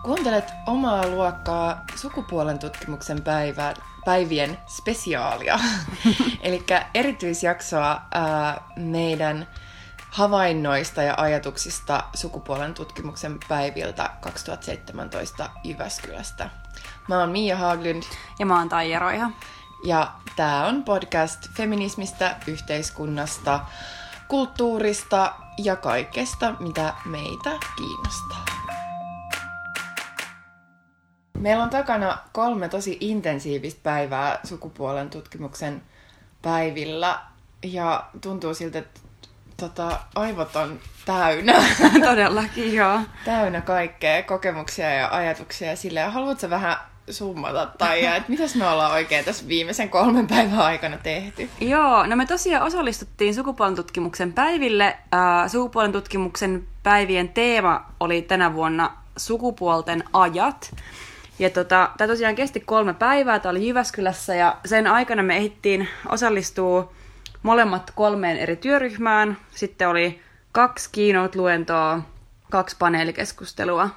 Kuuntelet omaa luokkaa sukupuolen tutkimuksen päivien spesiaalia, eli erityisjaksoa meidän havainnoista ja ajatuksista sukupuolen tutkimuksen päiviltä 2017 Jyväskylästä. Mä oon Mia Haglund. Ja mä oon Taija Roiha. Ja tää on podcast feminismistä, yhteiskunnasta, kulttuurista ja kaikesta, mitä meitä kiinnostaa. Meillä on takana 3 tosi intensiivistä päivää sukupuolen tutkimuksen päivillä ja tuntuu siltä, että aivot on täynnä. Todellakin, joo. Täynnä kaikkea kokemuksia ja ajatuksia silleen. Haluatko vähän summata Taija, että mitäs me ollaan oikein tässä viimeisen 3 päivän aikana tehty? Joo, no me tosiaan osallistuttiin sukupuolen tutkimuksen päiville. Sukupuolen tutkimuksen päivien teema oli tänä vuonna sukupuolten ajat. Ja tämä tosiaan kesti 3 päivää, tämä oli Jyväskylässä ja sen aikana me ehdittiin osallistua molemmat 3 eri työryhmään. Sitten oli 2 keynote-luentoa, 2 paneelikeskustelua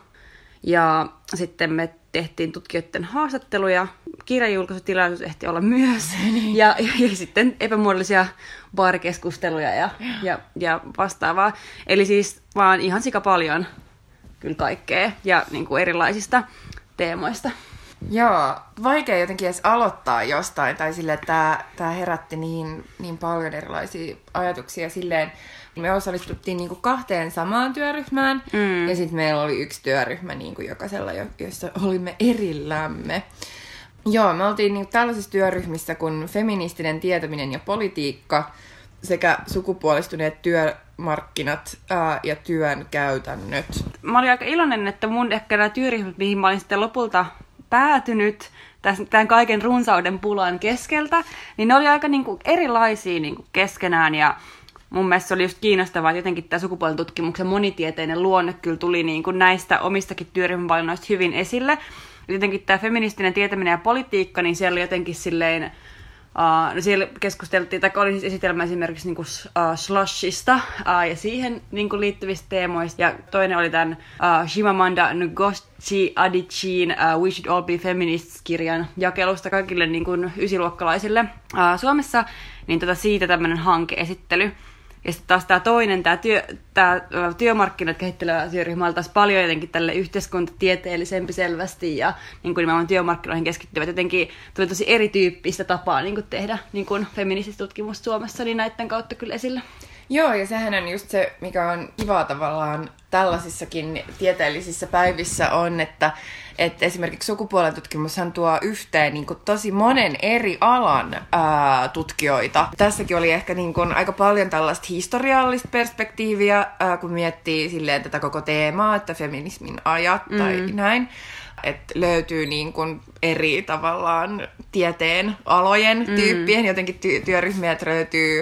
ja sitten me tehtiin tutkijoiden haastatteluja. Kirjajulkaisutilaisuus ehti olla myös ja sitten epämuodollisia baarikeskusteluja ja vastaavaa. Eli siis vaan ihan sika paljon kyllä kaikkea ja niin kuin erilaisista teemoista. Joo, vaikea jotenkin edes aloittaa jostain, tai silleen, että tämä herätti niin paljon erilaisia ajatuksia silleen. Me osallistuttiin niinku 2 samaan työryhmään, ja sitten meillä oli 1 työryhmä niinku jokaisella, jossa olimme erillämme. Joo, me oltiin niinku tällaisissa työryhmissä kuin feministinen tietäminen ja politiikka, sekä sukupuolistuneet työmarkkinat ja työn käytännöt. Mä olin aika iloinen, että mun ehkä nämä työryhmät, mihin mä olin sitten lopulta päätynyt tämän kaiken runsauden pulan keskeltä, niin ne oli aika niinku erilaisia niinku keskenään ja mun mielestä se oli just kiinnostavaa, että jotenkin tämä sukupuolen tutkimuksen monitieteinen luonne kyllä tuli niinku näistä omistakin työryhmävalinnoista hyvin esille. Jotenkin tämä feministinen tietäminen ja politiikka, niin siellä oli jotenkin silleen, no siellä keskusteltiin, tai oli siis esitelmä esimerkiksi niinku slushista ja siihen niinku liittyvistä teemoista. Ja toinen oli tämän Chimamanda Ngozi Adichien We Should All Be Feminists-kirjan jakelusta kaikille niinku 9-luokkalaisille Suomessa. Niin siitä tämmöinen hankeesittely. Ja sitten taas tämä toinen, tämä työmarkkinat kehittelevä työryhmä oli taas paljon jotenkin tälle yhteiskuntatieteellisempi selvästi ja niin kuin nimenomaan työmarkkinoihin keskittyvät jotenkin tuli tosi erityyppistä tapaa niin kuin tehdä niin kuin feminististä tutkimusta Suomessa, niin näiden kautta kyllä esillä. Joo, ja sehän on just se, mikä on kivaa tavallaan tällaisissakin tieteellisissä päivissä on, että esimerkiksi sukupuolen tutkimushan tuo yhteen niin kuin tosi monen eri alan tutkijoita. Tässäkin oli ehkä niin kuin aika paljon tällaista historiallista perspektiiviä, kun miettii silleen tätä koko teemaa, että feminismin ajat tai näin. Että löytyy niin kuin eri tavallaan tieteen alojen tyyppien, jotenkin työryhmiä, että löytyy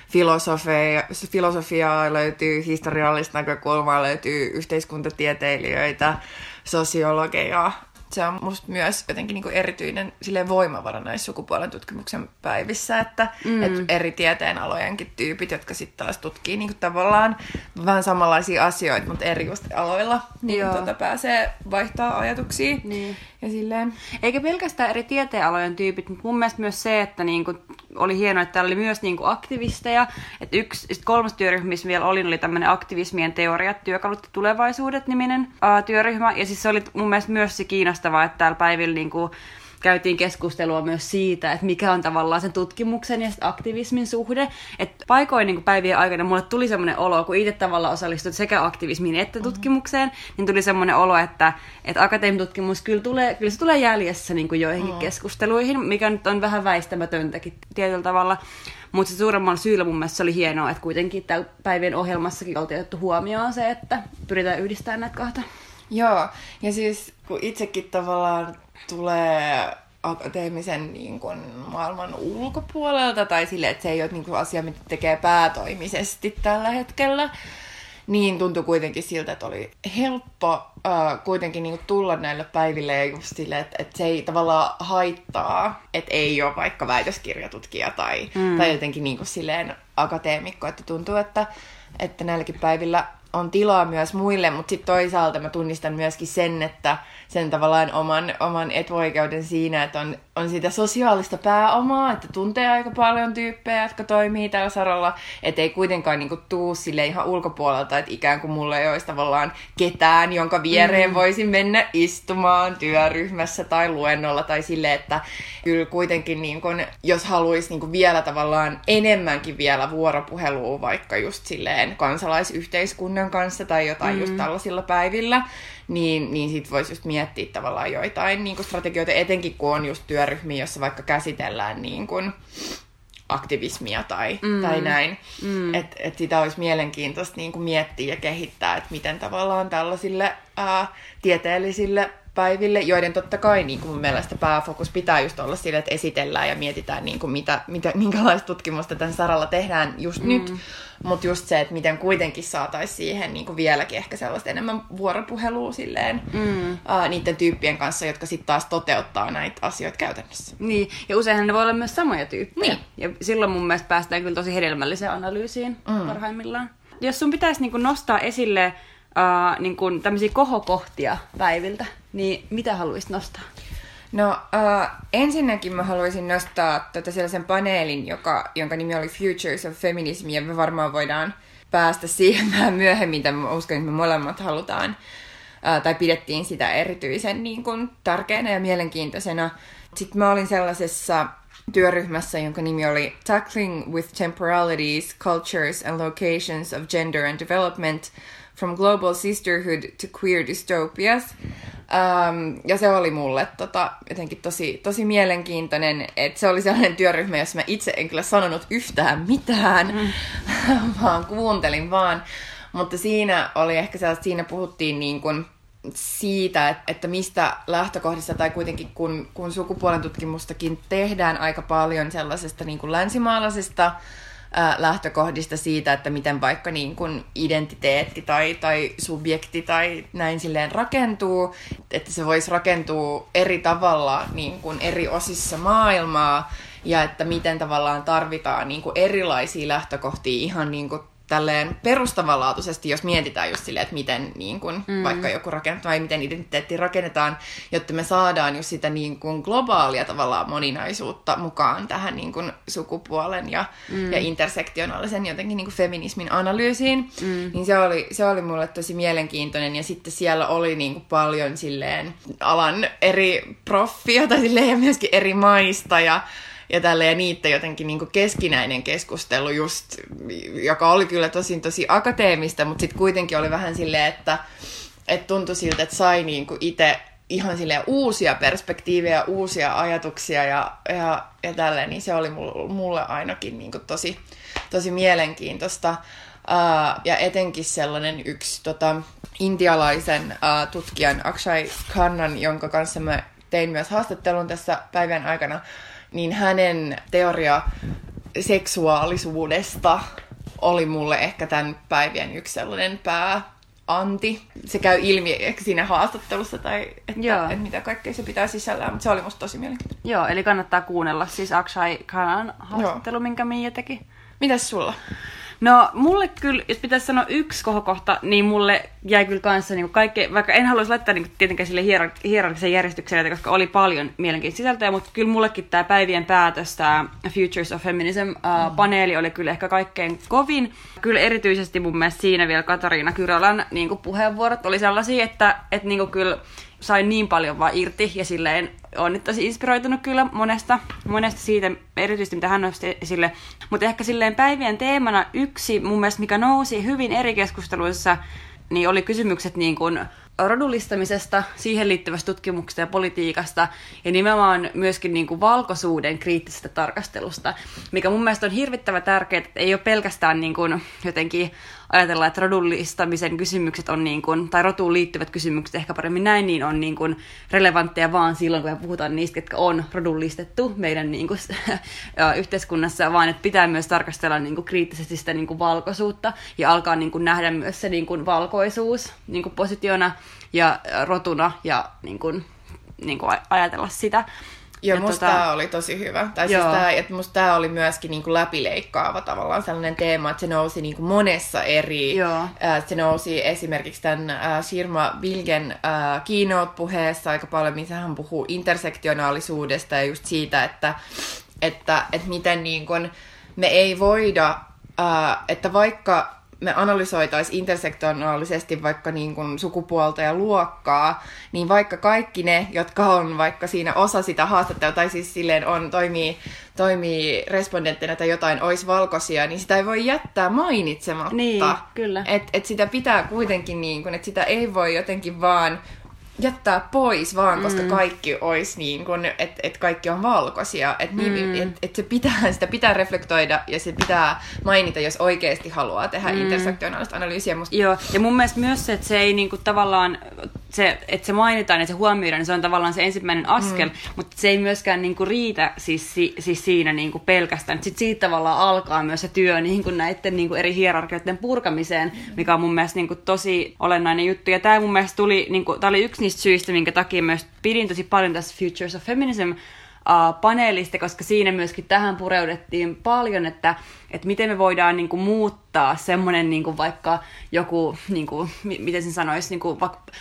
filosofiaa, löytyy historiallista näkökulmaa, löytyy yhteiskuntatieteilijöitä, sosiologeja. Se on musta myös jotenkin niinku erityinen silleen voimavara näissä sukupuolen tutkimuksen päivissä, että eri tieteenalojenkin tyypit, jotka sitten taas tutkii niinku tavallaan vähän samanlaisia asioita, mutta eri just aloilla, niin pääsee vaihtaa ajatuksia. Niin. Ja silleen. Eikä pelkästään eri tieteenalojen tyypit, mutta mun mielestä myös se, että niinku oli hienoa, että täällä oli myös niinku aktivisteja. Että 3. työryhmä, missä vielä oli tämmöinen aktivismien teoriat, työkalut ja tulevaisuudet -niminen työryhmä. Ja siis se oli mun mielestä myös se kiinnostavaa, että täällä päivillä niinku käytiin keskustelua myös siitä, että mikä on tavallaan sen tutkimuksen ja aktivismin suhde. Että paikoin niin päivien aikana mulle tuli semmoinen olo, kun itse tavallaan osallistut sekä aktivismiin että tutkimukseen, niin tuli semmoinen olo, että akateemitutkimus kyllä se tulee jäljessä niin kuin joihinkin keskusteluihin, mikä nyt on vähän väistämätöntäkin tietyllä tavalla. Mutta se suuremmalla syyllä mun mielestä se oli hienoa, että kuitenkin täällä päivien ohjelmassakin oltiin otettu huomioon se, että pyritään yhdistämään näitä 2. Joo, ja siis kun itsekin tavallaan tulee akateemisen niin kuin, maailman ulkopuolelta, tai silleen, että se ei ole niin kuin, asia, mitä tekee päätoimisesti tällä hetkellä, niin tuntui kuitenkin siltä, että oli helppo kuitenkin niin kuin, tulla näille päiville ja just silleen, että se ei tavallaan haittaa, että ei ole vaikka väitöskirjatutkija tai jotenkin niin kuin, silleen akateemikko, että tuntuu, että näilläkin päivillä on tilaa myös muille, mutta sitten toisaalta mä tunnistan myöskin sen, että sen tavallaan oman etuoikeuden siinä, että on sitä sosiaalista pääomaa, että tuntee aika paljon tyyppejä, jotka toimii tällä saralla, että ei kuitenkaan niinku tuu sille ihan ulkopuolelta, että ikään kuin mulla ei olisi tavallaan ketään, jonka viereen voisin mennä istumaan työryhmässä tai luennolla tai sille, että kyllä kuitenkin niinku, jos haluaisi niinku vielä tavallaan enemmänkin vielä vuoropuhelua vaikka just silleen kansalaisyhteiskunnan kanssa tai jotain just tällaisilla päivillä, niin sit voisi just miettiä tavallaan joitain niin kuin strategioita, etenkin kun on just työryhmiä, jossa vaikka käsitellään niin kuin aktivismia tai näin. Että sitä olisi mielenkiintoista niin kuin miettiä ja kehittää, että miten tavallaan tällaisille tieteellisille päiville, joiden totta kai niin kuin mun mielestä pääfokus pitää just olla sille, että esitellään ja mietitään, niin kuin minkälaista tutkimusta tämän saralla tehdään just nyt, mutta just se, että miten kuitenkin saataisiin siihen niin kuin vieläkin ehkä sellaista enemmän vuoropuhelua silleen, niiden tyyppien kanssa, jotka sitten taas toteuttaa näitä asioita käytännössä. Niin, ja useinhan ne voi olla myös samoja tyyppejä. Niin. Ja silloin mun mielestä päästään kyllä tosi hedelmälliseen analyysiin parhaimmillaan. Jos sun pitäisi niin kuin nostaa esille niin kuin tämmöisiä kohokohtia päiviltä, niin mitä haluaisit nostaa? No ensinnäkin mä haluaisin nostaa sellaisen paneelin, jonka nimi oli Futures of Feminism, ja me varmaan voidaan päästä siihen vähän myöhemmin, mitä mä uskon, että me molemmat halutaan, tai pidettiin sitä erityisen niin kuin tärkeänä ja mielenkiintoisena. Sitten mä olin sellaisessa työryhmässä, jonka nimi oli Tackling with Temporalities, Cultures and Locations of Gender and Development, From Global Sisterhood to Queer Dystopias. Ja se oli mulle jotenkin tosi mielenkiintoinen, että se oli sellainen työryhmä, jossa mä itse en kyllä sanonut yhtään mitään, vaan kuuntelin vaan. Mutta siinä oli ehkä sellaista, siinä puhuttiin niin kuin siitä, että mistä lähtökohdista, tai kuitenkin kun sukupuolen tutkimustakin tehdään aika paljon sellaisesta niin kuin länsimaalaisesta lähtökohdista siitä, että miten vaikka niin kuin identiteetti tai subjekti tai näin silleen rakentuu, että se voisi rakentua eri tavalla niin kuin eri osissa maailmaa, ja että miten tavallaan tarvitaan niin kuin erilaisia lähtökohtia ihan niin kuin tälleen perustavanlaatuisesti, jos mietitään just silleen, että miten niin kun, vaikka joku rakennetaan tai miten identiteetti rakennetaan, jotta me saadaan just sitä niin kun globaalia tavallaan moninaisuutta mukaan tähän niin kun sukupuolen ja intersektionaalisen jotenkin niin kun feminismin analyysiin. Niin se oli mulle tosi mielenkiintoinen, ja sitten siellä oli niin kun paljon silleen alan eri proffia tai silleen, ja myöskin eri maista ja niiden jotenkin niin kuin keskinäinen keskustelu just, joka oli kyllä tosi akateemista, mutta sitten kuitenkin oli vähän silleen, että tuntui siltä, että sai niin kuin itse ihan silleen uusia perspektiivejä, uusia ajatuksia ja tälleen, niin se oli mulle ainakin niin kuin tosi mielenkiintoista. Ja etenkin sellainen yksi intialaisen tutkijan Akshay Khannan, jonka kanssa mä tein myös haastattelun tässä päivän aikana, niin hänen teoria seksuaalisuudesta oli mulle ehkä tämän päivän yksi sellainen pääanti. Se käy ilmi ehkä siinä haastattelussa, tai että mitä kaikkea se pitää sisällään, mutta se oli musta tosi mielenkiintoinen. Joo, eli kannattaa kuunnella siis Akshay Khannan haastattelu, minkä Miia teki. Mitäs sulla? No, mulle kyllä, jos pitäisi sanoa yksi kohokohta, niin mulle jäi kyllä kanssa niin kaikkea, vaikka en haluaisi laittaa niin tietenkään sille hierarkisen järjestykselle, koska oli paljon mielenkiintoista sisältöjä, mutta kyllä mullekin tämä päivien päätös, tämä Futures of Feminism-paneeli oli kyllä ehkä kaikkein kovin. Kyllä erityisesti mun mielestä siinä vielä Katariina Kyrolan niin puheenvuorot oli sellaisia, että niin kyllä sain niin paljon vaan irti, ja silleen on nyt tosi inspiroitunut kyllä monesta siitä, erityisesti mitä hän nosti esille. Mutta ehkä silleen päivien teemana yksi mun mielestä, mikä nousi hyvin eri keskusteluissa, niin oli kysymykset niin kuin rodullistamisesta, siihen liittyvästä tutkimuksesta ja politiikasta, ja nimenomaan myöskin niin kuin valkoisuuden kriittisestä tarkastelusta, mikä mun mielestä on hirvittävän tärkeää, että ei ole pelkästään niin kuin jotenkin ajatella, että rodullistamisen kysymykset on niin kuin, tai rotuun liittyvät kysymykset ehkä paremmin näin, niin on niin kuin relevantteja vaan silloin, kun me puhutaan niistä, jotka on rodullistettu meidän niin kuin yhteiskunnassa, vaan että pitää myös tarkastella niin kuin kriittisesti sitä niin kuin valkoisuutta ja alkaa niin kuin nähdä myös se niin kuin valkoisuus niin kuin positiona ja rotuna ja niin kuin ajatella sitä. Joo, musta tää oli tosi hyvä. Tai siis että musta tää oli myöskin niinku läpileikkaava tavallaan sellainen teema, että se nousi niinku monessa eri... Se nousi esimerkiksi tämän Shirma Bilgen keynote-puheessa aika paljon, missä hän puhuu intersektionaalisuudesta ja just siitä, että miten niin kun me ei voida, että vaikka me analysoitaisiin intersektionaalisesti vaikka niin kuin sukupuolta ja luokkaa, niin vaikka kaikki ne, jotka on vaikka siinä osa sitä haastattelua, tai siis silleen toimii respondenttina tai jotain, olisi valkoisia, niin sitä ei voi jättää mainitsematta. Niin, kyllä. Et sitä pitää kuitenkin, niin kuin, että sitä ei voi jotenkin vaan jättää pois vaan, koska kaikki olisi niin kuin, että kaikki on valkoisia. Että sitä pitää reflektoida ja se pitää mainita, jos oikeasti haluaa tehdä intersektionaalista analyysiä. Joo, ja mun mielestä myös se, että se ei niinku tavallaan, että se mainitaan ja se huomioidaan, niin se on tavallaan se ensimmäinen askel, mutta se ei myöskään niinku riitä siis siinä niinku pelkästään. Sitten siitä tavallaan alkaa myös se työ niinku näiden niinku eri hierarkioiden purkamiseen, mikä on mun mielestä niinku tosi olennainen juttu. Ja tämä mun mielestä tää oli yksi niistä syistä, minkä takia myös pidin tosi paljon tässä Futures of Feminism paneelista, koska siinä myöskin tähän pureudettiin paljon, että miten me voidaan niinku muuttaa semmoinen niinku vaikka joku, niinku, miten sen sanoisi, niinku,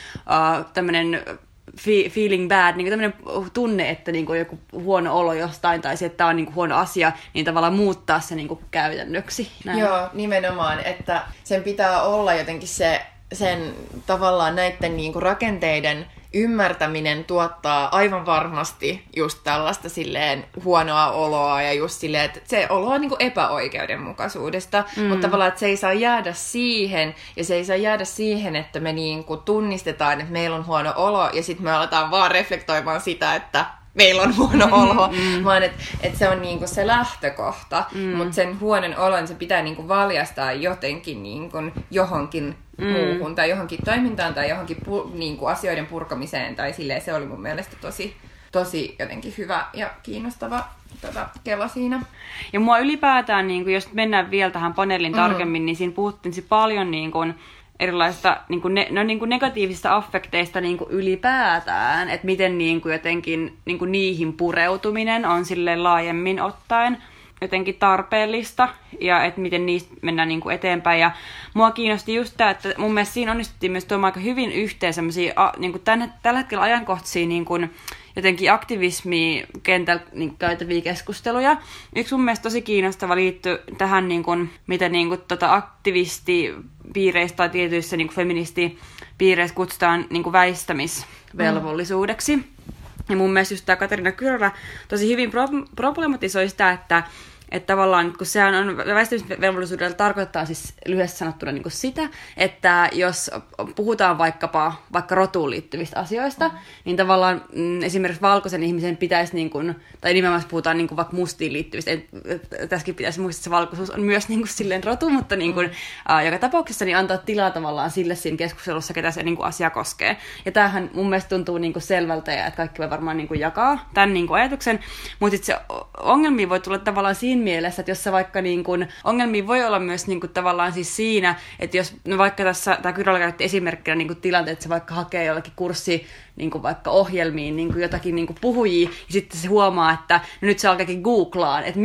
tämmöinen feeling bad, niinku tämmöinen tunne, että niinku joku huono olo jostain tai se, että tämä on niinku huono asia, niin tavallaan muuttaa se niinku käytännöksi. Näin. Joo, nimenomaan, että sen pitää olla jotenkin sen tavallaan näiden niinku rakenteiden ymmärtäminen tuottaa aivan varmasti just tällaista silleen huonoa oloa ja just silleen, että se olo on niinku epäoikeudenmukaisuudesta, mutta tavallaan, että se ei saa jäädä siihen ja se ei saa jäädä siihen, että me niinku tunnistetaan, että meillä on huono olo ja sitten me aletaan vaan reflektoimaan sitä, että meillä on huono olo, vaan että se on niinku se lähtökohta, mutta sen huonon olon se pitää niinku valjastaa jotenkin niinku johonkin muuhun tai johonkin toimintaan tai johonkin niinku asioiden purkamiseen tai silleen, se oli mun mielestä tosi jotenkin hyvä ja kiinnostava kela siinä. Ja mua ylipäätään, niinku, jos mennään vielä tähän paneelin tarkemmin, niin siinä puhuttiin paljon niinku erilaisista niinku negatiivisista affekteista niinku ylipäätään, että miten niinku jotenkin niinku niihin pureutuminen on silleen laajemmin ottaen jotenkin tarpeellista ja että miten niistä mennään niinku eteenpäin. Ja mua kiinnosti just tämä, että mun mielestä siinä onnistuttiin myös tuomaan aika hyvin yhteen semmoisia niinku tällä hetkellä ajankohtaisia niinku jotenkin aktivismikentällä niin käytäviä keskusteluja. Yksi mun mielestä tosi kiinnostava liittyy tähän, niin kuin, mitä niin kuin, aktivistipiireissä tai tietyissä niin kuin feministipiireissä kutsutaan niin kuin väistämisvelvollisuudeksi. Ja mun mielestä just tämä Katarina Kyrölä tosi hyvin problematisoi sitä, että tavallaan, kun sehän on väistämisvelvollisuudella tarkoittaa siis lyhyesti sanottuna niin kuin sitä, että jos puhutaan vaikka rotuun liittyvistä asioista, niin tavallaan esimerkiksi valkoisen ihmisen pitäisi, niin kuin, tai nimenomaan puhutaan niin kuin vaikka mustiin liittyvistä, tässäkin pitäisi muistaa, että se valkoisuus on myös niin kuin silleen rotu, mutta niin kuin, joka tapauksessa niin antaa tilaa tavallaan sille siinä keskustelussa, ketä se niin kuin asia koskee. Ja tämähän mun mielestä tuntuu niin kuin selvältä, ja että kaikki voi varmaan niin kuin jakaa tämän niin kuin ajatuksen, mutta sitten se ongelmia voi tulla tavallaan siinä mielessä, että jos se vaikka niin kuin, ongelmia voi olla myös niin kuin tavallaan siis siinä, että jos no vaikka tässä, tämä Kyrölä käytti esimerkkinä niin kuin tilanteet, että se vaikka hakee jollakin kurssi niin kuin vaikka ohjelmiin niin kuin jotakin niin kuin puhujia, ja sitten se huomaa, että no nyt se alkaakin googlaan, että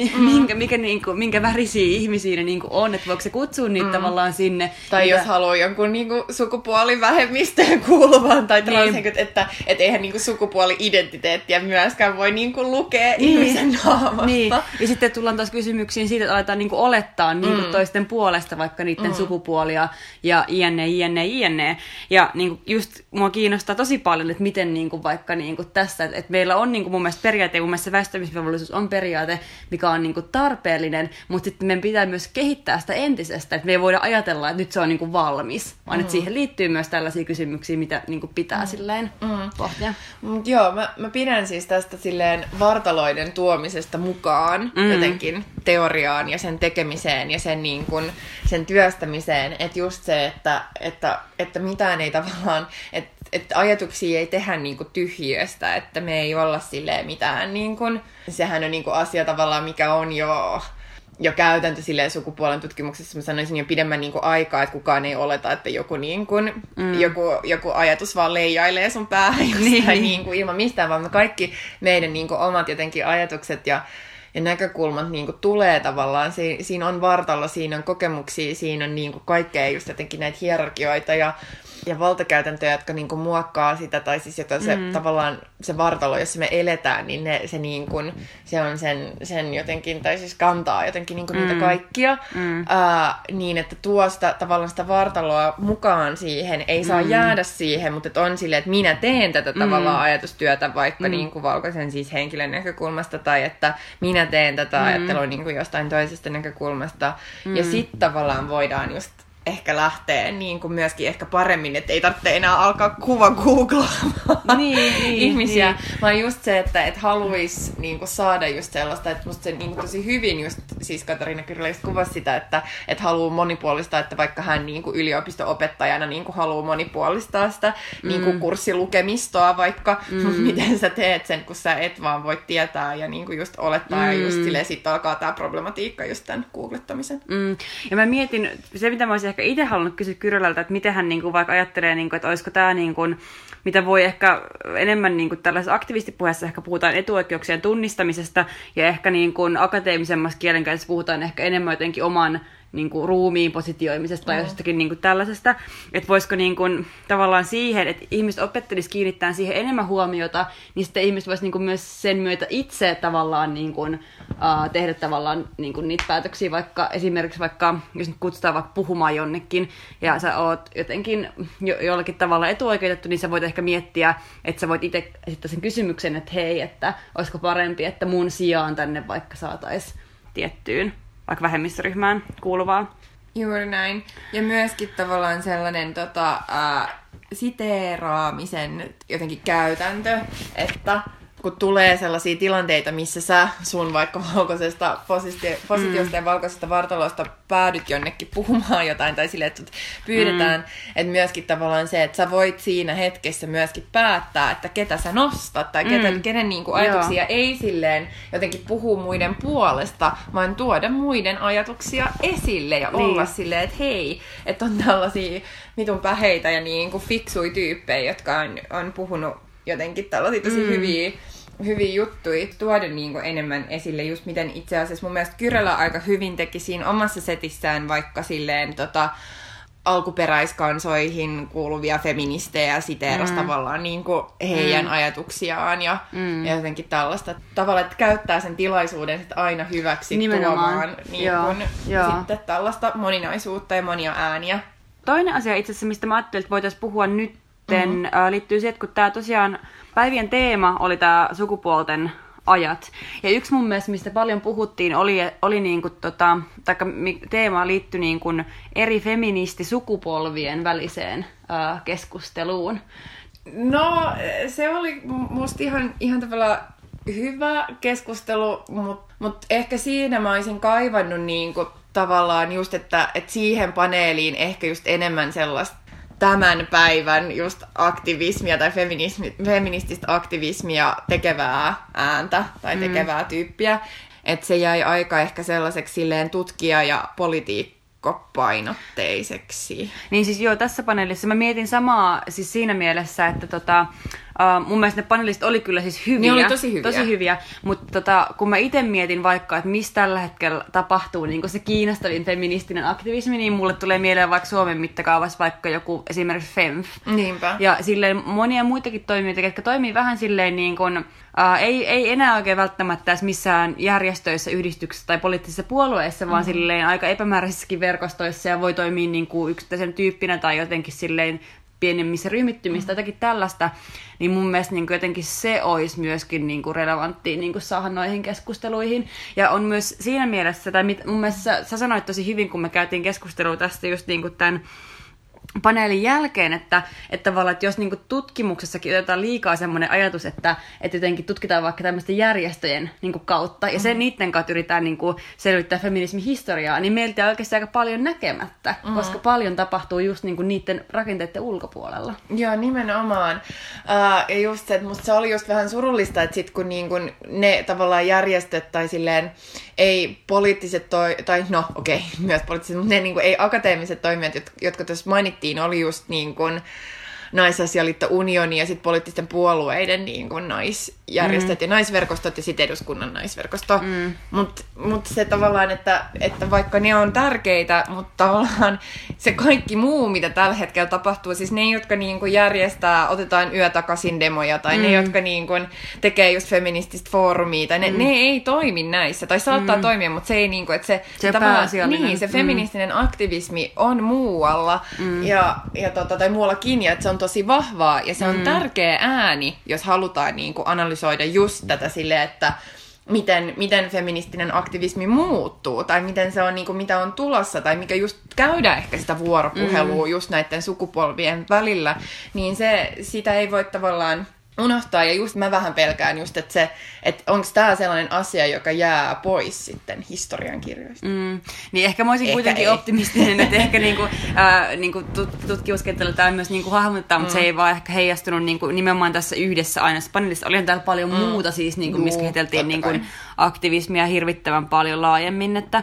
minkä värisiä ihmisiä ne niin kuin on, että voiko se kutsua niitä tavallaan sinne. Tai jos haluaa jonkun niin kuin sukupuolivähemmistöön kuuluvan tai transhenkilöt, että eihän niin kuin sukupuoli-identiteettiä myöskään voi niin kuin lukea ihmisen naamasta. Niin. Ja sitten tullaan taas kysymyksiin siitä, että aletaan niin kuin olettaa niin kuin toisten puolesta vaikka niiden sukupuolia ja jne. Ja niin kuin just mua kiinnostaa tosi paljon, että miten niin kuin vaikka niin kuin tässä, että meillä on niin kuin mun mielestä periaate, ja mun mielestä se väistämisvelvollisuus on periaate, mikä on niin kuin tarpeellinen, mutta sitten meidän pitää myös kehittää sitä entisestä, että me ei voida ajatella, että nyt se on niin kuin valmis, vaan että siihen liittyy myös tällaisia kysymyksiä, mitä niin kuin pitää silleen pohtia. Joo, mä pidän siis tästä silleen vartaloiden tuomisesta mukaan jotenkin teoriaan ja sen tekemiseen ja sen, niin kuin, sen työstämiseen, että just se, että mitään ei tavallaan, että ajatuksia ei tehdä niinku tyhjiöstä, että me ei olla silleen mitään, niinku, sehän on niinku asia tavallaan, mikä on jo jo käytäntö silleen sukupuolen tutkimuksessa, mä sanoisin jo pidemmän niin kuin aikaa, että kukaan ei oleta, että joku, niin kuin, joku ajatus vaan leijailee sun päähän niin kuin ilman mistään, vaan me kaikki meidän niin kuin omat jotenkin ajatukset ja näkökulmat niin kuin tulee tavallaan. Siinä on vartalo, siinä on kokemuksia, siinä on niin kuin kaikkea just jotenkin näitä hierarkioita ja valtakäytäntöjä, jotka niin kuin muokkaa sitä, tai siis jota se tavallaan se vartalo, jossa me eletään, niin se, niin kuin, se on sen jotenkin, tai siis kantaa jotenkin niin kuin niitä kaikkia, niin että tuo sitä, tavallaan sitä vartaloa mukaan siihen, ei saa jäädä siihen, mutta että on silleen, että minä teen tätä tavallaan ajatustyötä vaikka niin kuin valkoisen siis henkilön näkökulmasta, tai että minä teen tätä ajattelua niin kuin jostain toisesta näkökulmasta, ja sitten tavallaan voidaan just ehkä lähtee niin kuin myöskin ehkä paremmin, että ei tarvitse enää alkaa googlaamaan ihmisiä, vaan just se, että haluaisi niin kuin saada just sellaista, että musta se niin kuin tosi hyvin just, siis Katariina Kyrölä just kuvasi sitä, että haluaa monipuolistaa, että vaikka hän niin kuin yliopisto-opettajana niin kuin haluaa monipuolistaa sitä niin kuin kurssilukemistoa vaikka, mutta miten sä teet sen, kun sä et vaan voi tietää ja niin kuin just olettaa ja just silleen sitten alkaa tämä problematiikka just tämän googlettamisen. Ja mä mietin, se mitä mä olisin ehkä itse halunnut kysyä Kyrölältä, että miten hän niin kuin vaikka ajattelee, niin kuin, että olisiko tämä, niin kuin, mitä voi ehkä enemmän niin kuin tällaisessa aktivistipuheessa ehkä puhutaan etuoikeuksien tunnistamisesta ja ehkä niin kuin akateemisemmassa kielenkäytössä puhutaan ehkä enemmän jotenkin oman niin kuin ruumiin positioimisesta tai jostakin niin kuin tällaisesta, että voisiko niin kuin, tavallaan siihen, että ihmiset opettelisi kiinnittää siihen enemmän huomiota, niin sitten ihmiset voisi niin kuin myös sen myötä itse tavallaan niin kuin, tehdä tavallaan niin kuin niitä päätöksiä, esimerkiksi vaikka, jos nyt kutsutaan vaikka puhumaan jonnekin, ja sä oot jotenkin jollakin tavalla etuoikeutettu, niin sä voit ehkä miettiä, että sä voit itse esittää sen kysymyksen, että hei, että olisiko parempi, että mun sijaan tänne vaikka saataisiin tiettyyn vaikka vähemmistöryhmään kuuluvaa. Juuri näin. Ja myöskin tavallaan sellainen siteeraamisen jotenkin käytäntö, että kun tulee sellaisia tilanteita, missä sä sun vaikka valkoisesta positiosta ja valkoisesta vartalosta päädyt jonnekin puhumaan jotain, tai silleen, että pyydetään, että myöskin tavallaan se, että sä voit siinä hetkessä myöskin päättää, että ketä sä nostat, tai kenen niin kuin ajatuksia ei silleen jotenkin puhu muiden puolesta, vaan tuoda muiden ajatuksia esille ja olla silleen, että hei, että on tällaisia mitun päheitä ja niin kuin fiksui tyyppejä, jotka on puhunut jotenkin tällaisia tosi hyviä juttuja tuoda niin kuin enemmän esille, just miten itse asiassa mun mielestä Kyrölä aika hyvin teki siinä omassa setissään vaikka silleen alkuperäiskansoihin kuuluvia feministejä siteerasi tavallaan niin kuin heidän ajatuksiaan ja jotenkin tällaista tavalla, että käyttää sen tilaisuuden sit aina hyväksi tuomaan niin kuin, sitten tällaista moninaisuutta ja monia ääniä. Toinen asia itse asiassa, mistä mä ajattelin, että voitaisiin puhua nyt, liittyy siihen, että kun tämä tosiaan päivien teema oli tämä sukupuolten ajat. Ja yksi mun mielestä, mistä paljon puhuttiin, oli niinku teema liittyi niinku eri feministisukupolvien väliseen keskusteluun. No, se oli musta ihan tavallaan hyvä keskustelu, mutta ehkä siinä mä olisin kaivannut niinku tavallaan just, että siihen paneeliin ehkä just enemmän sellaista tämän päivän just aktivismia tai feminististä aktivismia tekevää ääntä tai tekevää tyyppiä. Että se jäi aika ehkä sellaiseksi silleen tutkija- ja politiikkopainotteiseksi. Niin siis joo, tässä paneelissa mä mietin samaa siis siinä mielessä, että mun mielestä ne panelistit oli kyllä siis hyviä. Ne oli tosi hyviä, mutta kun mä itse mietin vaikka, että missä tällä hetkellä tapahtuu niin se kiinnostavin feministinen aktivismi, niin mulle tulee mieleen vaikka Suomen mittakaavassa vaikka joku esimerkiksi FEMF. Niinpä. Ja silleen monia muitakin toimijoita, jotka toimii vähän silleen niin kuin, ei enää oikein välttämättä edes missään järjestöissä, yhdistyksissä tai poliittisissa puolueissa, vaan silleen aika epämääräisissäkin verkostoissa ja voi toimia niin kuin yksittäisen tyyppinä tai jotenkin silleen pienemmissä ryhmittymistä, jotakin tällaista, niin mun mielestä niin jotenkin se olisi myöskin niin relevanttia niin saada noihin keskusteluihin. Ja on myös siinä mielessä, tai mun mielestä sä sanoit tosi hyvin, kun me käytiin keskustelua tästä just niin tämän paneelin jälkeen, että tavallaan, että jos niinku tutkimuksessakin otetaan liikaa semmoinen ajatus, että jotenkin tutkitaan vaikka tämmöisten järjestöjen niinku kautta, ja sen niiden kautta yritetään niinku selvittää feminismin historiaa, niin meiltä on oikeasti aika paljon näkemättä, koska paljon tapahtuu just niinku niiden rakenteiden ulkopuolella. Joo, nimenomaan. Ja just se, että musta se oli just vähän surullista, että sit kun niinku ne tavallaan järjestöt tai silleen ei poliittiset myös poliittiset, mutta ne niinku ei akateemiset toimijat, jotka tuossa mainittiin, oli just niin kuin Naisasialiitto Unioni ja sitten poliittisten puolueiden niin kuin naisjärjestöt ja naisverkostot ja sitten eduskunnan naisverkosto. Mut se tavallaan, että vaikka ne on tärkeitä, mutta tavallaan se kaikki muu, mitä tällä hetkellä tapahtuu, siis ne, jotka niin kuin järjestää, otetaan yötakaisin demoja, tai ne, jotka niin kuin tekee just feminististä foorumia, tai ne ei toimi näissä, tai saattaa toimia, mutta se ei niin kuin, että se tavallaan, niin, se feministinen aktivismi on muualla, tai muuallakin, ja että se on tosi vahvaa, ja se on tärkeä ääni, jos halutaan niin kuin analysoida just tätä silleen, että miten feministinen aktivismi muuttuu, tai miten se on, niin kuin, mitä on tulossa, tai mikä just käydään ehkä sitä vuoropuhelua just näiden sukupolvien välillä, niin sitä ei voi tavallaan unohtaa, ja just mä vähän pelkään just, että onko tämä sellainen asia, joka jää pois sitten historiankirjoista. Niin ehkä mä olisin kuitenkin optimistinen, että ehkä niinku tutkimuskentällä tämä myös niinku hahmottaa, mutta se ei vaan ehkä heijastunut niinku nimenomaan tässä yhdessä aina. Paneelissa oli täällä paljon muuta siis, niinku, missä käsiteltiin niinku aktivismia hirvittävän paljon laajemmin, että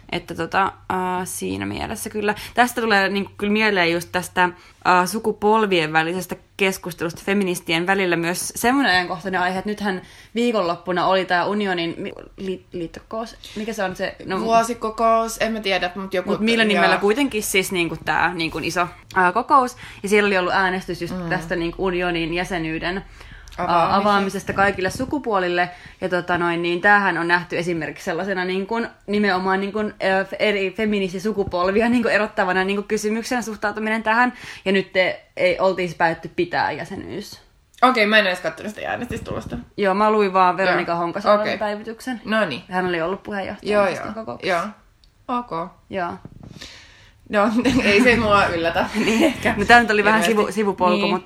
siinä mielessä kyllä. Tästä tulee niin kyllä mieleen just tästä sukupolvien välisestä keskustelusta feministien välillä myös semmoinen ajankohtainen aihe, että nythän viikonloppuna oli tämä unionin liittokous. Mikä se on se? No, vuosikokous, en mä tiedä, mutta joku... Mutta millä nimellä kuitenkin siis niinku tämä niinku iso kokous. Ja siellä oli ollut äänestys just tästä niinku unionin jäsenyyden avaamisesta kaikille sukupuolille. Ja niin tämähän on nähty esimerkiksi sellaisena niin kuin, nimenomaan niin kuin, eri feministisukupolvia niin kuin erottavana niin kuin kysymyksenä suhtautuminen tähän. Ja nyt ei oltiin päätetty pitää jäsenyys. Okei, mä en edes katsonut sitä äänestystulosta. Joo, mä luin vaan Veronika Honkasalon päivityksen. No niin. Hän oli ollut puheenjohtaja. Joo. Ok. Joo. No, ei se mua yllätä. Niin ehkä. No, tämä nyt oli vähän sivupolku, niin.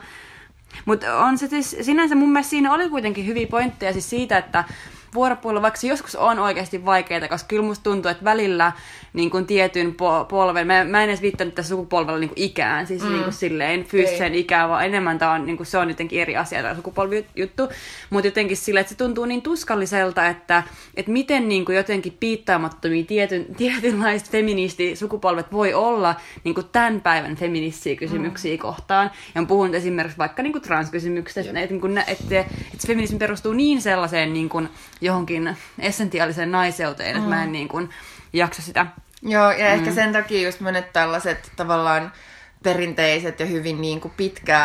Mutta on se siis, sinänsä mun mielestä siinä oli kuitenkin hyviä pointteja siis siitä, että vuoropuhelu, vaikka se joskus on oikeasti vaikeaa, koska kyllä musta tuntuu, että välillä niin kuin tietyn polven, mä en edes viittanut tässä sukupolvella niin kuin ikään, siis niin kuin silleen fyysiseen ikään, vaan enemmän tää on, niin kuin se on jotenkin eri asia tämä sukupolvijuttu, mutta jotenkin silleen, että se tuntuu niin tuskalliselta, että miten niin kuin jotenkin piittaamattomia tietynlaiset feministisukupolvet voi olla niin kuin tämän päivän feministisiä kysymyksiä kohtaan, ja on puhunut esimerkiksi vaikka niin kuin transkysymyksestä, että se feminismi perustuu niin sellaiseen niin kuin johonkin essentiaaliseen naiseuteen, että mä en niin kuin jaksa sitä. Joo, ja ehkä sen takia just monet tällaiset tavallaan perinteiset ja hyvin niin kuin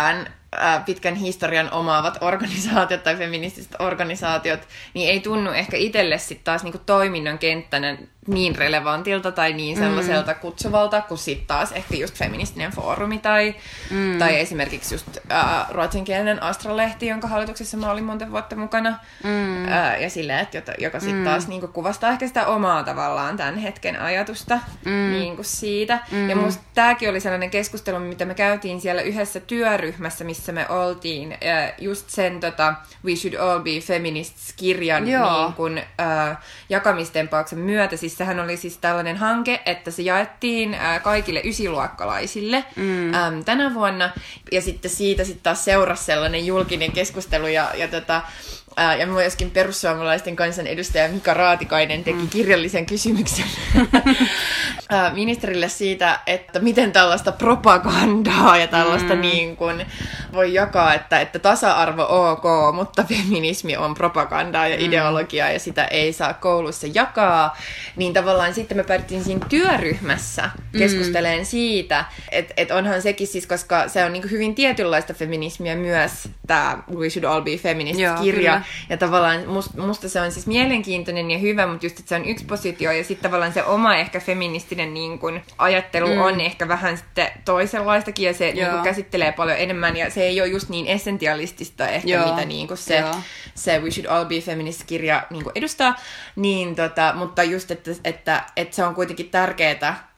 pitkän historian omaavat organisaatiot tai feministiset organisaatiot, niin ei tunnu ehkä itselle sitten taas niin kuin toiminnan kenttänä niin relevantilta tai niin sellaiselta kutsuvalta, kuin sitten taas ehkä just feministinen foorumi tai esimerkiksi just ruotsinkielinen Astra-lehti, jonka hallituksessa mä olin monta vuotta mukana. Ja silleen, joka sitten taas niinku kuvastaa ehkä sitä omaa tavallaan tämän hetken ajatusta niinku siitä. Ja musta tämäkin oli sellainen keskustelu, mitä me käytiin siellä yhdessä työryhmässä, missä me oltiin just sen We Should All Be Feminists-kirjan niin kuin, jakamistempauksen myötä. Siis sehän oli siis tällainen hanke, että se jaettiin kaikille ysiluokkalaisille tänä vuonna. Ja sitten siitä sitten taas seurasi sellainen julkinen keskustelu ja myöskin perussuomalaisten kansanedustaja Mika Raatikainen teki kirjallisen kysymyksen ministerille siitä, että miten tällaista propagandaa ja tällaista niin kuin voi jakaa, että tasa-arvo ok, mutta feminismi on propagandaa ja ideologiaa ja sitä ei saa koulussa jakaa. Niin tavallaan sitten me päädyttiin siinä työryhmässä keskustelemaan siitä, että onhan sekin siis, koska se on niin kuin hyvin tietynlaista feminismiä myös tämä We Should All Be Feminist-kirja. Ja tavallaan musta se on siis mielenkiintoinen ja hyvä, mutta just, että se on yksi positio. Ja sitten tavallaan se oma ehkä feministinen niin kun, ajattelu on ehkä vähän sitten toisenlaistakin. Ja se niin kun, käsittelee paljon enemmän. Ja se ei ole just niin essentialistista ehkä, mitä niin kun, se We Should All Be Feminist-kirja niin kun, edustaa. Niin, mutta just, että se on kuitenkin tärkeää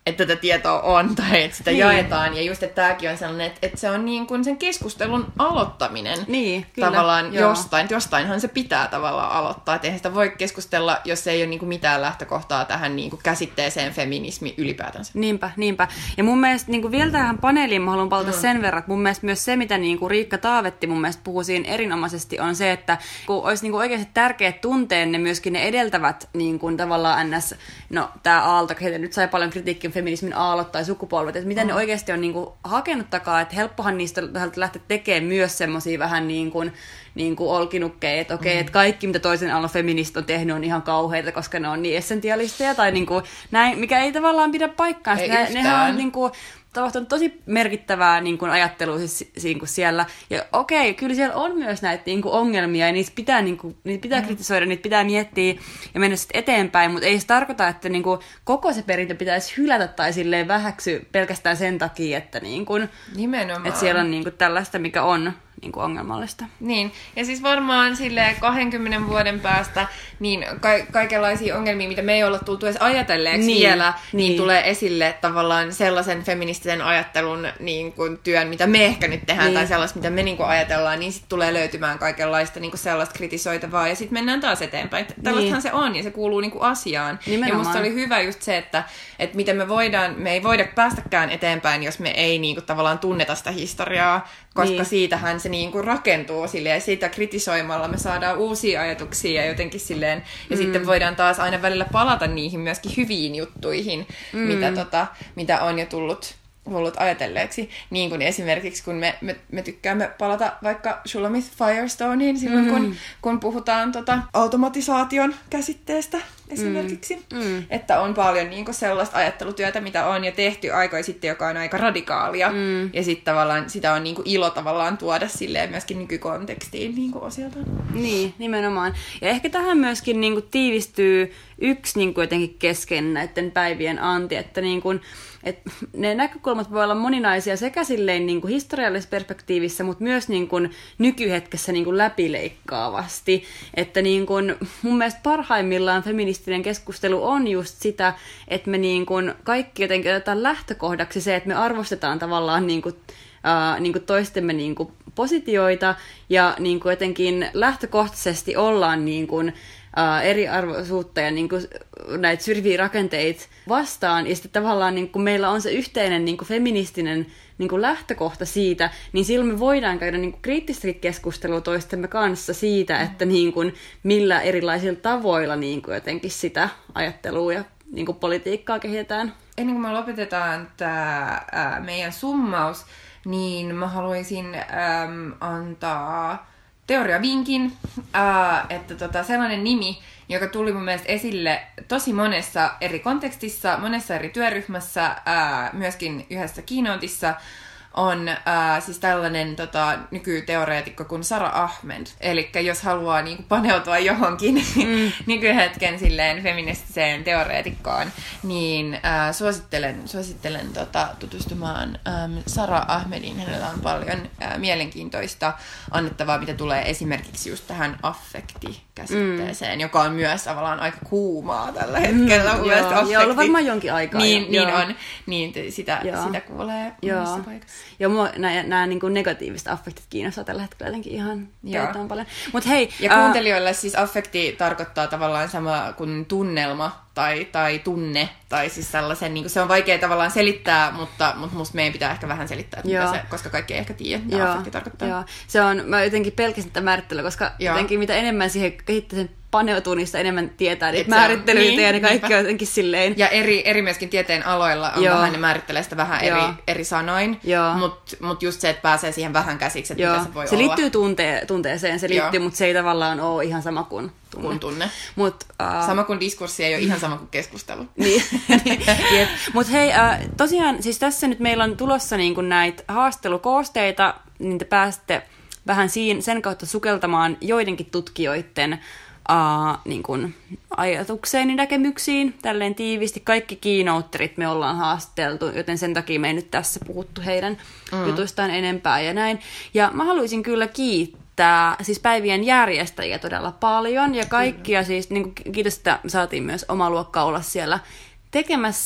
että tätä tietoa on tai että sitä jaetaan. Ja just, että tämäkin on sellainen, että se on niin kuin sen keskustelun aloittaminen kyllä, tavallaan jostain. Jostainhan se pitää tavallaan aloittaa. Että eihän sitä voi keskustella, jos ei ole niin kuin mitään lähtökohtaa tähän niin kuin käsitteeseen feminismi ylipäätänsä. Niinpä. Ja mun mielestä niin kuin vielä tähän paneeliin mä haluan palata sen verran, että mun mielestä myös se, mitä niin kuin Riikka Taavetti mun mielestä puhuu siinä erinomaisesti, on se, että kun olisi niin kuin oikeasti tärkeät tunteen ne myöskin ne edeltävät niin kuin tavallaan ns. No tää Aalto, ketä nyt sai paljon kritiikkiä feminismin aallot tai sukupolvet, että miten ne oikeasti on niin kuin hakenut takaa, että helppohan niistä lähteä tekemään myös semmosia vähän niin kuin olkinukkeja, että okei, että kaikki mitä toisen aallon feminist on tehnyt on ihan kauheita, koska ne on niin essentialisteja tai niin kuin näin, mikä ei tavallaan pidä paikkaansa. Nehän on niin kuin tapahtunut tosi merkittävää niin kuin ajattelua siis siellä. Ja okei, kyllä siellä on myös näitä niin kuin ongelmia, ja niitä pitää kritisoida, niitä pitää miettiä ja mennä sitten eteenpäin, mutta ei se tarkoita, että niin kuin koko se perintö pitäisi hylätä tai silleen vähäksy pelkästään sen takia, että, niin kuin, että siellä on niin kuin tällaista, mikä on niin kuin ongelmallista. Niin, ja siis varmaan silleen 20 vuoden päästä niin kaikenlaisia ongelmia, mitä me ei olla tultu edes ajatelleeksi vielä, niin tulee esille tavallaan sellaisen feministisen ajattelun niin kuin työn, mitä me ehkä nyt tehdään, tai sellaista, mitä me niin kuin ajatellaan, niin sitten tulee löytymään kaikenlaista niin kuin sellaista kritisoitavaa, ja sitten mennään taas eteenpäin. Tällaistahan se on, ja se kuuluu niin kuin asiaan. Nimenomaan. Ja musta oli hyvä just se, että miten me ei voida päästäkään eteenpäin, jos me ei niin kuin tavallaan tunneta sitä historiaa, koska siitähän se niin kuin rakentuu silleen, ja siitä kritisoimalla me saadaan uusia ajatuksia ja jotenkin silleen, ja sitten voidaan taas aina välillä palata niihin myöskin hyviin juttuihin, mitä on jo tullut ajatelleeksi. Niin kuin esimerkiksi, kun me tykkäämme palata vaikka Shulamith Firestoneen silloin, kun puhutaan automatisaation käsitteestä esimerkiksi. Että on paljon niin kuin sellaista ajattelutyötä, mitä on jo tehty aikoja sitten, joka on aika radikaalia. Ja sitten tavallaan sitä on niin kuin ilo tavallaan tuoda silleen myöskin nykykontekstiin niin kuin osiltaan. Niin, nimenomaan. Ja ehkä tähän myöskin niin kuin tiivistyy yksi niin kuin jotenkin kesken näiden päivien anti, että niin kuin että ne näkökulmat voi olla moninaisia sekä silleen niin kuin historiallisessa perspektiivissä, mutta myös niin kuin nykyhetkessä niin kuin läpileikkaavasti. Että niin kuin mun mielestä parhaimmillaan feministinen keskustelu on just sitä, että me niin kuin kaikki jotenkin otetaan lähtökohdaksi se, että me arvostetaan tavallaan niin kuin toistemme niin kuin positioita ja niin kuin jotenkin lähtökohtaisesti ollaan niin kuin eriarvoisuutta ja niin kuin näitä syrjiviä rakenteita vastaan, ja sitten tavallaan niin kuin meillä on se yhteinen niin kuin feministinen niin kuin lähtökohta siitä, niin silloin me voidaan käydä niin kuin kriittistäkin keskustelua toistemme kanssa siitä, että niin kuin millä erilaisilla tavoilla niin kuin jotenkin sitä ajattelua ja niin kuin politiikkaa kehitetään. Ennen kuin me lopetetaan tämä meidän summaus, niin mä haluaisin antaa teoriavinkin, että sellainen nimi, joka tuli mun mielestä esille tosi monessa eri kontekstissa, monessa eri työryhmässä, myöskin yhdessä keynoteissa, on siis tällainen nykyteoreetikko kuin Sara Ahmed. Eli jos haluaa niinku paneutua johonkin nykyhetken silleen feministiseen teoreetikkoon, niin suosittelen tutustumaan Sara Ahmediin. Hänellä on paljon mielenkiintoista annettavaa, mitä tulee esimerkiksi just tähän affekti-käsitteeseen, joka on myös tavallaan aika kuumaa tällä hetkellä. Joo, ollut varmaan jonkin aikaa. Niin on. Niin sitä kuulee monessa paikassa. Ja mua nämä niin kuin negatiiviset affektit kiinnostaa tällä hetkellä jotenkin ihan paljon. Mut hei, ja kuuntelijoille siis affekti tarkoittaa tavallaan sama kuin tunnelma tai tunne, tai siis sellaisen, niin kuin se on vaikea tavallaan selittää, mutta musta meidän pitää ehkä vähän selittää, mitä se, koska kaikki ei ehkä tiedä, mitä affekti tarkoittaa. Joo. Mä jotenkin pelkäsin tätä määrittelyä, koska jotenkin mitä enemmän siihen kehittäisen paneutuu, niin sitä enemmän tietää niitä määrittelyitä ja ne kaikki on jotenkin silleen. Ja eri myöskin tieteen aloilla on vähän, ne määrittelee sitä vähän eri sanoin, mutta just se, että pääsee siihen vähän käsiksi, että mitä se voi olla. Se liittyy tunteeseen, se liittyy, mutta se ei tavallaan ole ihan sama kuin tunne. Sama kuin diskurssi ei ole ihan sama kuin keskustelu. Niin. Mutta hei, tosiaan siis tässä nyt meillä on tulossa niin kuin näitä haastelukoosteita, niin te pääsette vähän sen kautta sukeltamaan joidenkin tutkijoiden niin kuin ajatukseen ja näkemyksiin, tälleen tiivisti. Kaikki keynoterit me ollaan haasteltu, joten sen takia me ei nyt tässä puhuttu heidän jutuistaan enempää ja näin. Ja mä haluaisin kyllä kiittää siis päivien järjestäjiä todella paljon ja kaikkia siis, niin kuin, kiitos, että saatiin myös oma luokka olla siellä tekemässä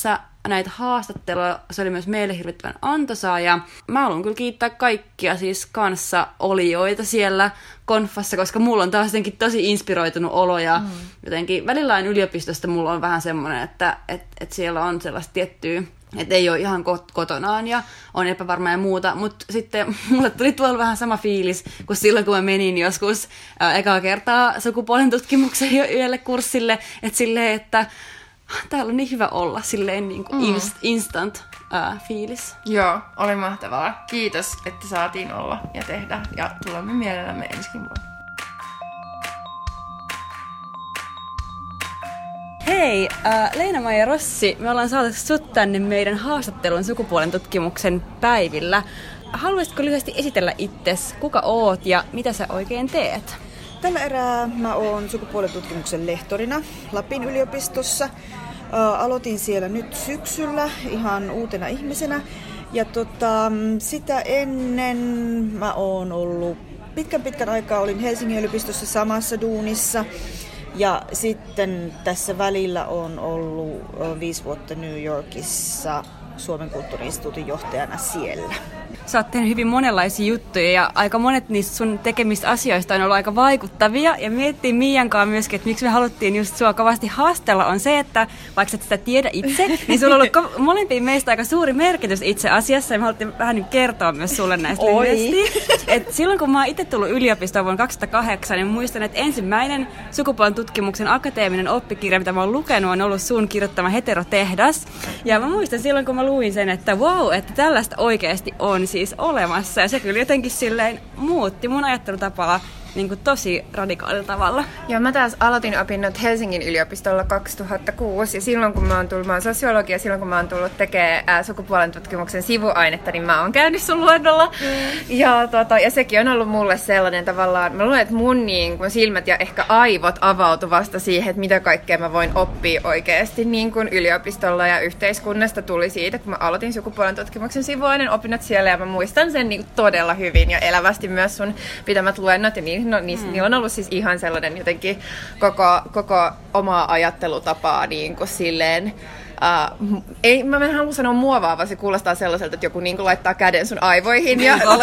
näitä haastatteluja. Se oli myös meille hirvittävän antoisaa ja mä haluan kyllä kiittää kaikkia siis kanssa olijoita siellä konfassa, koska mulla on taas jotenkin tosi inspiroitunut olo ja jotenkin välillä yliopistosta mulla on vähän semmoinen, että siellä on sellaista tiettyä, että ei ole ihan kotonaan ja on epävarma ja muuta, mutta sitten mulle tuli tuolla vähän sama fiilis kuin silloin, kun mä menin joskus ekaa kertaa sukupuolen tutkimuksen yhdelle kurssille, että silleen, että täällä on niin hyvä olla, silleen niin kuin instant fiilis. Joo, oli mahtavaa. Kiitos, että saatiin olla ja tehdä ja tulemme mielellämme ensikin vuonna. Hei, Leena-Maija Rossi, me ollaan saatu sut tänne meidän haastattelun sukupuolen tutkimuksen päivillä. Haluaisitko lyhyesti esitellä itsesi, kuka oot ja mitä sä oikein teet? Tällä erää mä oon sukupuolen tutkimuksen lehtorina Lapin yliopistossa. Aloitin siellä nyt syksyllä ihan uutena ihmisenä. Ja sitä ennen mä oon ollut pitkän aikaa, olin Helsingin yliopistossa samassa duunissa. Ja sitten tässä välillä on ollut 5 vuotta New Yorkissa Suomen kulttuuri-instituutin johtajana siellä. Sä oot tehnyt hyvin monenlaisia juttuja ja aika monet niistä sun tekemistä asioista on ollut aika vaikuttavia. Ja miettii Miiankaan myöskin, että miksi me haluttiin just sua kovasti haastella, on se, että vaikka et sitä tiedä itse, niin sulla on ollut molempiin meistä aika suuri merkitys itse asiassa. Ja me haluttiin vähän nyt kertoa myös sulle näistä lyhyesti. Et silloin kun mä oon itse tullut yliopistoon vuonna 2008, niin muistan, että ensimmäinen sukupuolen tutkimuksen akateeminen oppikirja, mitä mä oon lukenut, on ollut sun kirjoittama Heterotehdas. Ja mä muistan silloin, kun mä luin sen, että wow, että tällaista oikeasti on siis olemassa. Ja se kyllä jotenkin silleen muutti mun ajattelutapaa niin kuin tosi radikaalilla tavalla. Joo, mä taas aloitin opinnot Helsingin yliopistolla 2006 ja silloin kun mä oon sosiologi ja silloin kun mä oon tullut tekemään sukupuolen tutkimuksen sivuainetta, niin mä oon käynyt sun luennolla. Ja sekin on ollut mulle sellainen tavallaan, mä luulen, että mun silmät ja ehkä aivot avautui vasta siihen, että mitä kaikkea mä voin oppia oikeasti niin kuin yliopistolla ja yhteiskunnasta tuli siitä, kun mä aloitin sukupuolen tutkimuksen sivuaineen opinnot siellä ja mä muistan sen niin todella hyvin ja elävästi myös sun pitämät luennot ja niillä on ollut siis ihan sellainen jotenkin koko omaa ajattelutapaa niin kuin silleen. Mä en halua sanoa muovaava, se kuulostaa sellaiselta, että joku niin kuin laittaa käden sun aivoihin.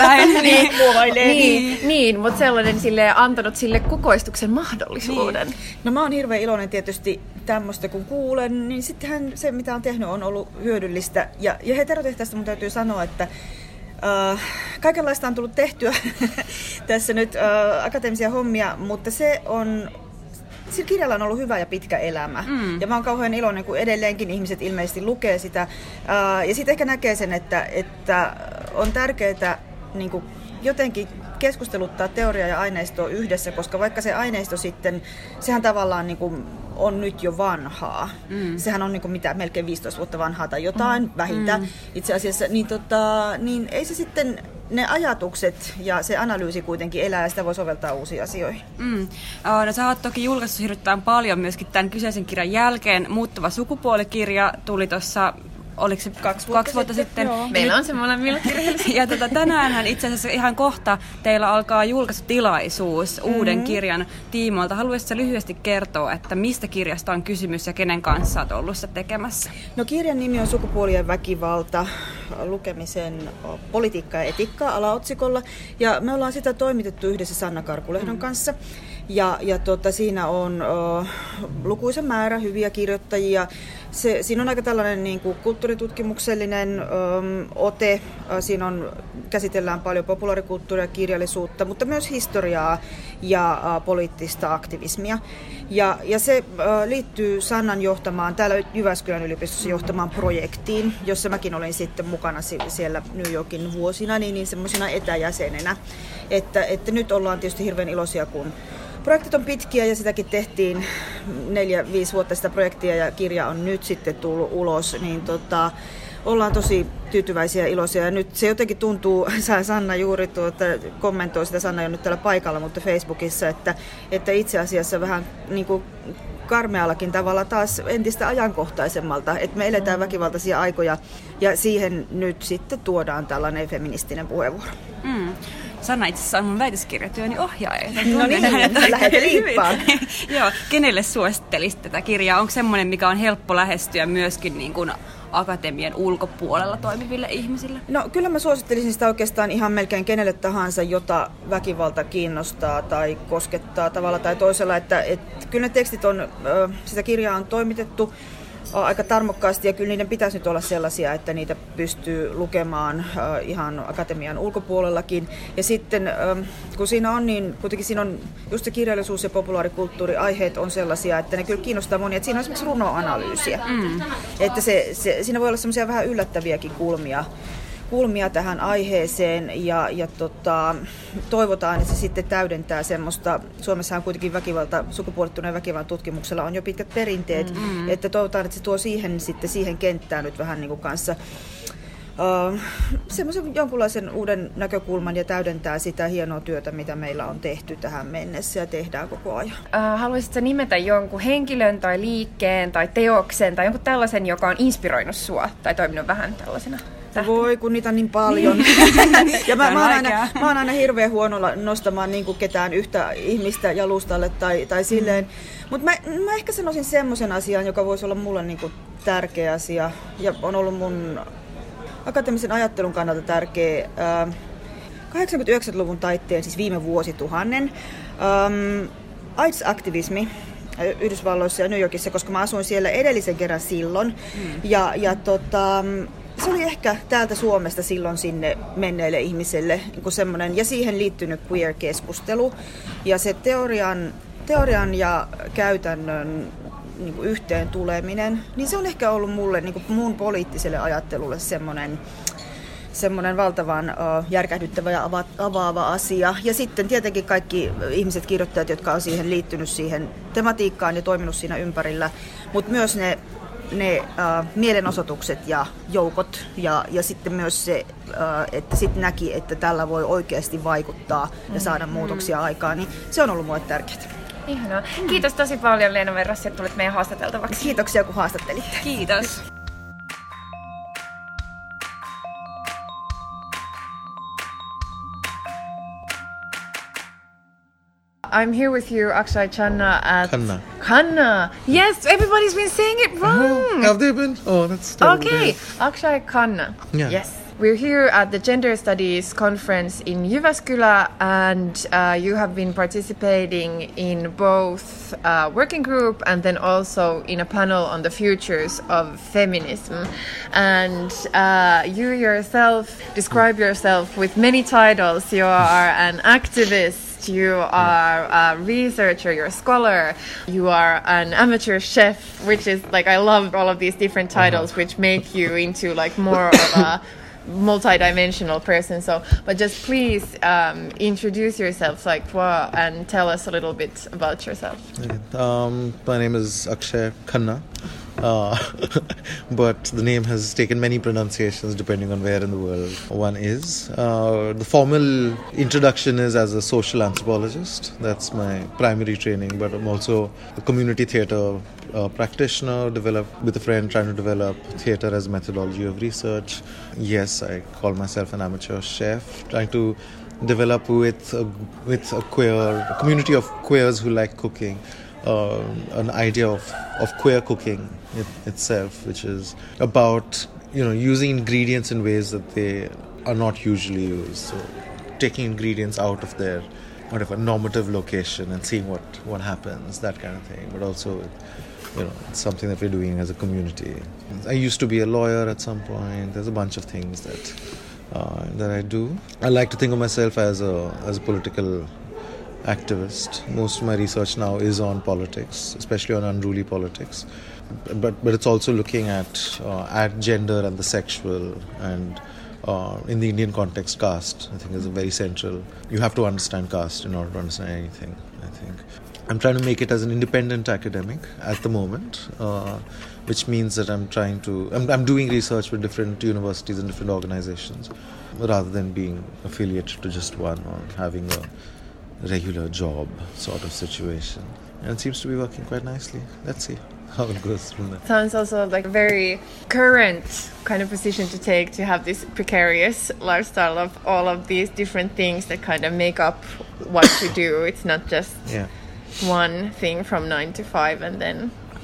Niin, mutta sellainen silleen, antanut sille kukoistuksen mahdollisuuden. Niin. No mä oon hirveän iloinen tietysti tämmöistä, kun kuulen, niin sittenhän se, mitä on tehnyt, on ollut hyödyllistä. Ja Heterotehtäistä mun täytyy sanoa, että kaikenlaista on tullut tehtyä tässä nyt akateemisia hommia, mutta sillä kirjalla on ollut hyvä ja pitkä elämä. Ja mä oon kauhean iloinen, kun edelleenkin ihmiset ilmeisesti lukee sitä. Ja sitten ehkä näkee sen, että on tärkeää niin kuin jotenkin keskusteluttaa teoriaa ja aineistoa yhdessä, koska vaikka se aineisto sitten, sehän tavallaan niin kuin on nyt jo vanhaa. Sehän on niin kuin melkein 15 vuotta vanhaa tai jotain vähintään itse asiassa. Niin ei se sitten, ne ajatukset ja se analyysi kuitenkin elää ja sitä voi soveltaa uusiin asioihin. No, sä oot toki julkaissut hirveän paljon myöskin tämän kyseisen kirjan jälkeen. Muuttuva sukupuolikirja tuli tuossa, oliko se 2 vuotta sitten? Meillä on se molemmilla kirjallisia. Ja tänäänhän itse asiassa ihan kohta teillä alkaa julkaisutilaisuus uuden kirjan tiimoilta. Haluaisitko lyhyesti kertoa, että mistä kirjasta on kysymys ja kenen kanssa olet ollut sitä tekemässä? No, kirjan nimi on Sukupuolien väkivalta, lukemisen politiikka ja etiikkaa alaotsikolla. Ja me ollaan sitä toimitettu yhdessä Sanna Karkulehdon kanssa. Ja siinä on lukuisen määrä hyviä kirjoittajia. Siinä on aika tällainen niin kuin kulttuuritutkimuksellinen ote. Siinä käsitellään paljon populaarikulttuuria ja kirjallisuutta, mutta myös historiaa ja poliittista aktivismia. Ja se liittyy Sannan johtamaan, täällä Jyväskylän yliopistossa johtamaan projektiin, jossa mäkin olin sitten mukana siellä New Yorkin vuosina, niin semmoisena etäjäsenenä. Että nyt ollaan tietysti hirveän iloisia, kun projektit on pitkiä ja sitäkin tehtiin 4-5 vuotta sitä projektia ja kirja on nyt sitten tullut ulos, niin ollaan tosi tyytyväisiä ja iloisia. Ja nyt se jotenkin tuntuu, Sanna juuri kommentoi sitä, Sanna ei ole nyt täällä paikalla, mutta Facebookissa, että itse asiassa vähän niin kuin karmeallakin tavalla taas entistä ajankohtaisemmalta, että me eletään väkivaltaisia aikoja ja siihen nyt sitten tuodaan tällainen feministinen puheenvuoro. Sanna itse asiassa on mun väitöskirjatyöni ohjaaja. No niin, lähdet liippaan. Joo, kenelle suosittelisit tätä kirjaa? Onko semmoinen, mikä on helppo lähestyä myöskin niin kuin akatemian ulkopuolella toimiville ihmisille? No kyllä mä suosittelisin sitä oikeastaan ihan melkein kenelle tahansa, jota väkivalta kiinnostaa tai koskettaa tavalla tai toisella. Että kyllä ne tekstit on, sitä kirjaa on toimitettu aika tarmokkaasti ja kyllä niiden pitäisi nyt olla sellaisia, että niitä pystyy lukemaan ihan akatemian ulkopuolellakin. Ja sitten kun siinä on niin, kuitenkin siinä on just se kirjallisuus ja populaarikulttuuri, aiheet on sellaisia, että ne kyllä kiinnostaa monia. Että siinä on esimerkiksi runoanalyysiä. Että siinä voi olla semmoisia vähän yllättäviäkin kulmia tähän aiheeseen ja toivotaan, että se sitten täydentää semmoista, Suomessa on kuitenkin sukupuolittuneen väkivallan tutkimuksella on jo pitkät perinteet, että toivotaan, että se tuo siihen kenttään nyt vähän niin kuin kanssa semmoisen jonkunlaisen uuden näkökulman ja täydentää sitä hienoa työtä, mitä meillä on tehty tähän mennessä ja tehdään koko ajan. Haluaisitko nimetä jonkun henkilön tai liikkeen tai teoksen tai jonkun tällaisen, joka on inspiroinut sua tai toiminut vähän tällaisena? Voi, kun niitä on niin paljon. Ja mä oon aina hirveän huono nostamaan niin kuin ketään yhtä ihmistä jalustalle tai silleen. Mutta mä ehkä sanoisin semmoisen asian, joka voisi olla mulle niin kuin tärkeä asia ja on ollut mun akateemisen ajattelun kannalta tärkeä. 80-90-luvun taitteen, siis viime vuosituhannen, AIDS-aktivismi Yhdysvalloissa ja New Yorkissa, koska mä asuin siellä edellisen kerran silloin. Se oli ehkä täältä Suomesta silloin sinne menneille ihmisille niin semmoinen, ja siihen liittynyt queer-keskustelu. Ja se teorian ja käytännön niin kuin yhteen tuleminen, niin se on ehkä ollut mulle niin kuin mun poliittiselle ajattelulle semmoinen valtavan järkähdyttävä ja avaava asia. Ja sitten tietenkin kaikki ihmiset, kirjoittajat, jotka on siihen liittynyt siihen tematiikkaan ja toiminut siinä ympärillä, mutta myös ne mielenosoitukset ja joukot ja sitten myös se, että sitten näki, että tällä voi oikeasti vaikuttaa ja saada muutoksia aikaan, niin se on ollut mulle tärkeää. Ihanaa. Kiitos tosi paljon Leena Verrassi, että tulit meidän haastateltavaksi. Kiitoksia kun haastattelitte. Kiitos. I'm here with you, Akshay Khanna at... Khanna. Yes, everybody's been saying it wrong. Have they been? Oh, that's terrible. Okay, Akshay Khanna. Yeah. Yes. We're here at the Gender Studies Conference in Jyväskylä, and you have been participating in both a working group and then also in a panel on the futures of feminism. And you yourself describe yourself with many titles. You are an activist, you are a researcher, you're a scholar, you are an amateur chef, which is like, I love all of these different titles, which make you into like more of a multi-dimensional person. So, but just please introduce yourself, and tell us a little bit about yourself. Okay. My name is Akshay Khanna, but the name has taken many pronunciations depending on where in the world one is. The formal introduction is as a social anthropologist. That's my primary training, but I'm also a community theatre practitioner, with a friend trying to develop theatre as a methodology of research. Yes, I call myself an amateur chef, trying to develop with a community of queers who like cooking, an idea of queer cooking itself, which is about using ingredients in ways that they are not usually used. So taking ingredients out of their whatever normative location and seeing what happens, that kind of thing. But also, it's something that we're doing as a community. I used to be a lawyer at some point. There's a bunch of things that I do. I like to think of myself as a political activist. Most of my research now is on politics, especially on unruly politics. But it's also looking at gender and the sexual, and in the Indian context, caste, I think, is a very central. You have to understand caste in order to understand anything, I think. I'm trying to make it as an independent academic at the moment, which means that I'm doing research with different universities and different organizations, rather than being affiliated to just one or having a regular job sort of situation. And it seems to be working quite nicely. Let's see how it goes from there. Sounds also like a very current kind of position to take, to have this precarious lifestyle of all of these different things that kind of make up what you do. It's not just one thing from 9 to 5 and then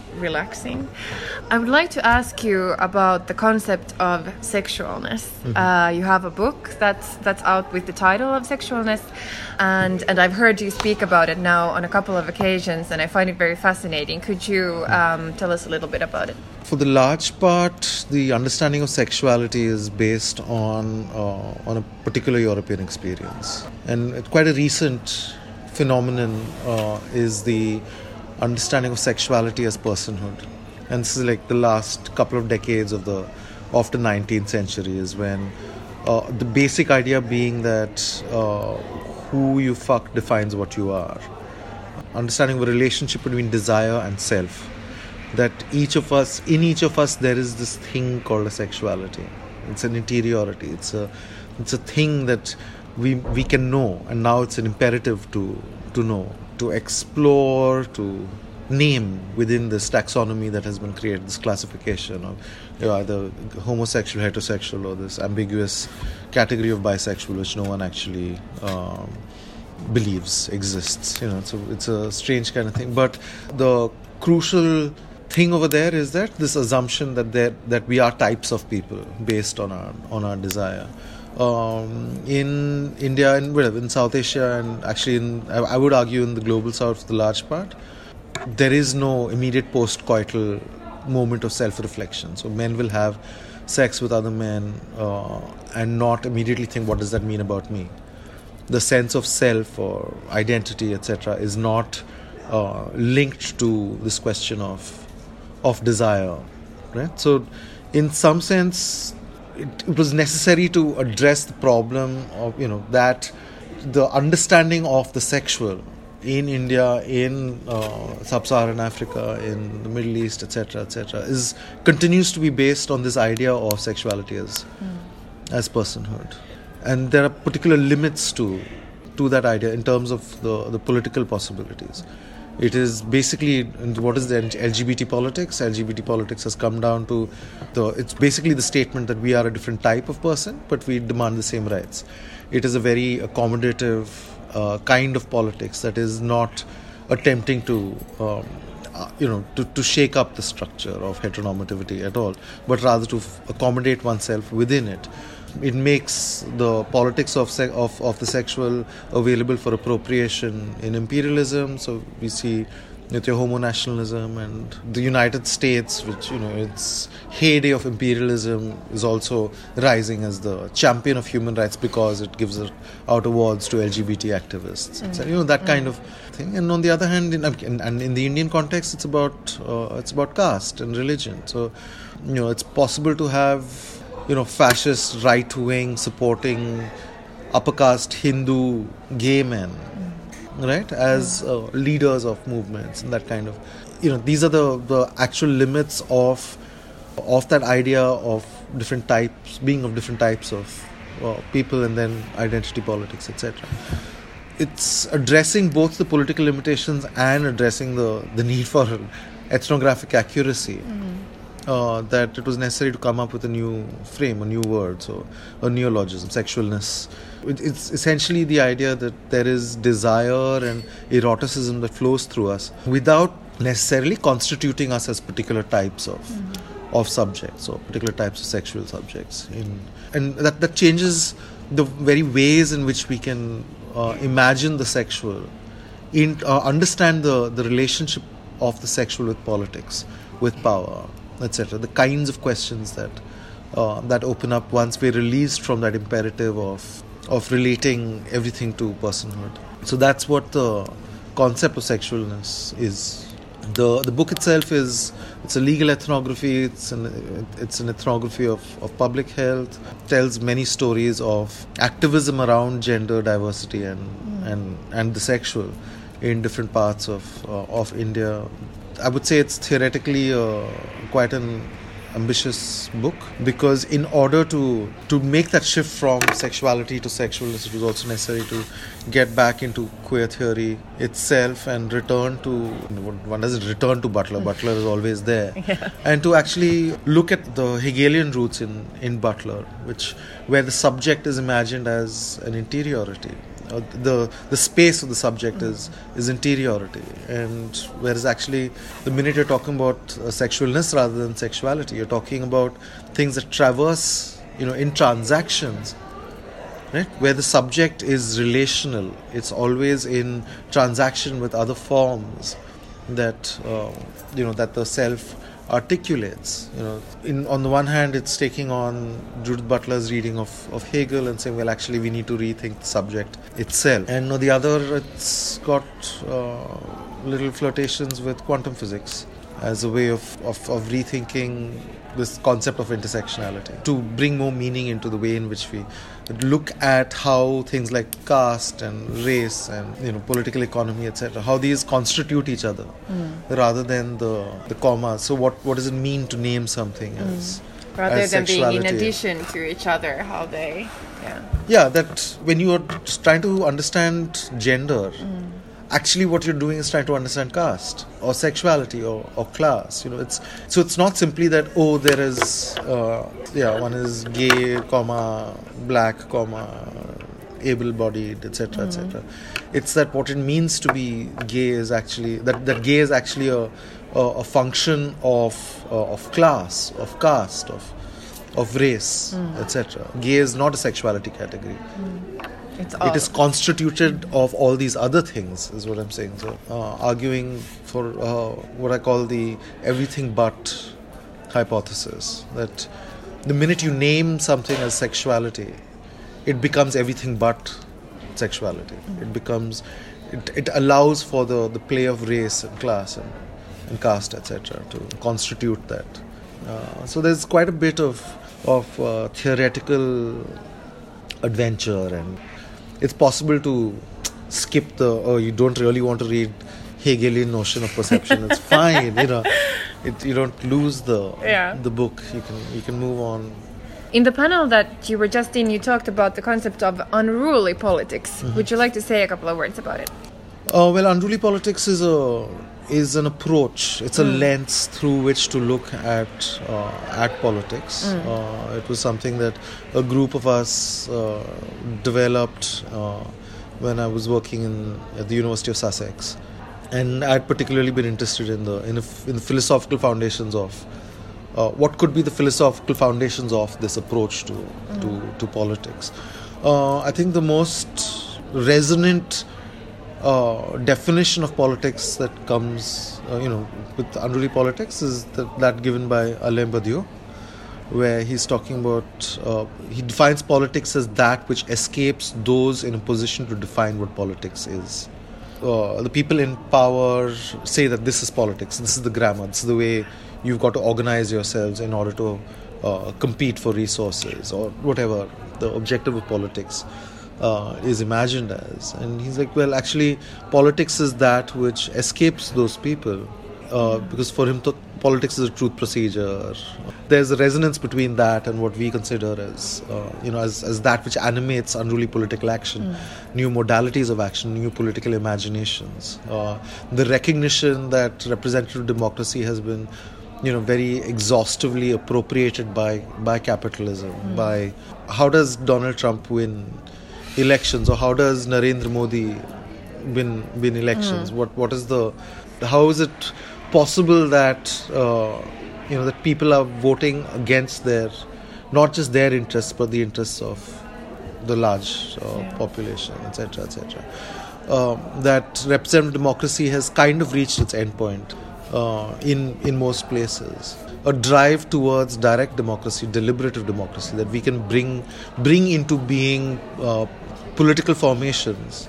relaxing. I would like to ask you about the concept of sexualness. You have a book that's out with the title of Sexualness, and I've heard you speak about it now on a couple of occasions, and I find it very fascinating. Could you tell us a little bit about it? For the large part, the understanding of sexuality is based on a particular European experience, and quite a recent phenomenon is the understanding of sexuality as personhood. And this is like the last couple of decades of the 19th century is when the basic idea being that who you fuck defines what you are. Understanding the relationship between desire and self. That in each of us there is this thing called a sexuality. It's an interiority. It's a thing that we can know, and now it's an imperative to know, to explore, to name within this taxonomy that has been created, this classification of either homosexual, heterosexual, or this ambiguous category of bisexual, which no one actually believes exists. It's a strange kind of thing. But the crucial thing over there is that this assumption that we are types of people based on our desire. In India, in South Asia, and actually I would argue in the global south for the large part, there is no immediate post-coital moment of self-reflection. So men will have sex with other men and not immediately think, what does that mean about me? The sense of self or identity, etc., is not linked to this question of desire, right? So in some sense, it was necessary to address the problem of that the understanding of the sexual in India, in sub-Saharan Africa, in the Middle East, etc., continues to be based on this idea of sexuality as personhood, and there are particular limits to that idea in terms of the political possibilities. It is basically, what is the LGBT politics? LGBT politics has come down to it's basically the statement that we are a different type of person, but we demand the same rights. It is a very accommodative kind of politics that is not attempting to shake up the structure of heteronormativity at all, but rather to accommodate oneself within it. It makes the politics of the sexual available for appropriation in imperialism. So we see with your homo-nationalism, and the United States, which its heyday of imperialism, is also rising as the champion of human rights because it gives out awards to LGBT activists. So, that kind of thing. And on the other hand, in the Indian context, it's about caste and religion. So it's possible to have fascist right-wing supporting upper caste Hindu gay men, right, as leaders of movements, and that kind of, these are the actual limits of that idea of different types, being of different types of people, and then identity politics, etc. It's addressing both the political limitations and addressing the need for ethnographic accuracy. That it was necessary to come up with a new frame, a new word, so a neologism, sexualness. It's essentially the idea that there is desire and eroticism that flows through us without necessarily constituting us as particular types of subjects or particular types of sexual subjects. And that changes the very ways in which we can imagine the sexual, understand the relationship of the sexual with politics, with power, etc. The kinds of questions that open up once we're released from that imperative of relating everything to personhood. So that's what the concept of sexualness is. The book itself it's a legal ethnography. It's an ethnography of public health. It tells many stories of activism around gender diversity and the sexual in different parts of India. I would say it's theoretically quite an ambitious book, because in order to make that shift from sexuality to sexualness, it was also necessary to get back into queer theory itself and return to, one doesn't return to Butler. Butler is always there. Yeah. And to actually look at the Hegelian roots in Butler, where the subject is imagined as an interiority. the space of the subject is interiority, and whereas actually the minute you're talking about sexualness rather than sexuality, you're talking about things that traverse, in transactions, right? Where the subject is relational, it's always in transaction with other forms that that the self articulates. On the one hand, it's taking on Judith Butler's reading of Hegel and saying, well, actually, we need to rethink the subject itself. And on the other, it's got little flirtations with quantum physics as a way of rethinking this concept of intersectionality, to bring more meaning into the way in which we look at how things like caste and race and political economy, etc., how these constitute each other rather than the commas. So what does it mean to name something as rather as than being in sexuality? addition to each other, how they that when you are trying to understand gender, actually what you're doing is trying to understand caste or sexuality or class. It's not simply that there is one is gay, black, able-bodied, etc., etc. It's that what it means to be gay is actually that gay is actually a function of class, of caste, of race, etc. Gay is not a sexuality category. It is constituted of all these other things, is what I'm saying. So, arguing for what I call the everything but hypothesis, that the minute you name something as sexuality, it becomes everything but sexuality. It allows for the play of race and class and caste, etc., to constitute that. So there's quite a bit of theoretical adventure, and it's possible to skip you don't really want to read Hegelian notion of perception. It's fine, you don't lose the book. You can move on. In the panel that you were just in, you talked about the concept of unruly politics. Would you like to say a couple of words about it? Well, unruly politics is an approach. It's a lens through which to look at politics. It was something that a group of us developed when I was working at the University of Sussex, and I'd particularly been interested in the philosophical foundations of what could be the philosophical foundations of this approach to politics. I think the most resonant definition of politics that comes, with unruly politics is that given by Alain Badiou, where he's talking about, he defines politics as that which escapes those in a position to define what politics is. The people in power say that this is politics, this is the grammar, this is the way you've got to organize yourselves in order to compete for resources or whatever the objective of politics is imagined as. And he's like, well, actually, politics is that which escapes those people, because for him, politics is a truth procedure. There's a resonance between that and what we consider as, as that which animates unruly political action, new modalities of action, new political imaginations. The recognition that representative democracy has been, very exhaustively appropriated by capitalism. By how does Donald Trump win elections, or how does Narendra Modi win elections? How is it possible that that people are voting against not just their interests but the interests of the large population, etc., etc. That representative democracy has kind of reached its end point in most places. A drive towards direct democracy, deliberative democracy, that we can bring into being political formations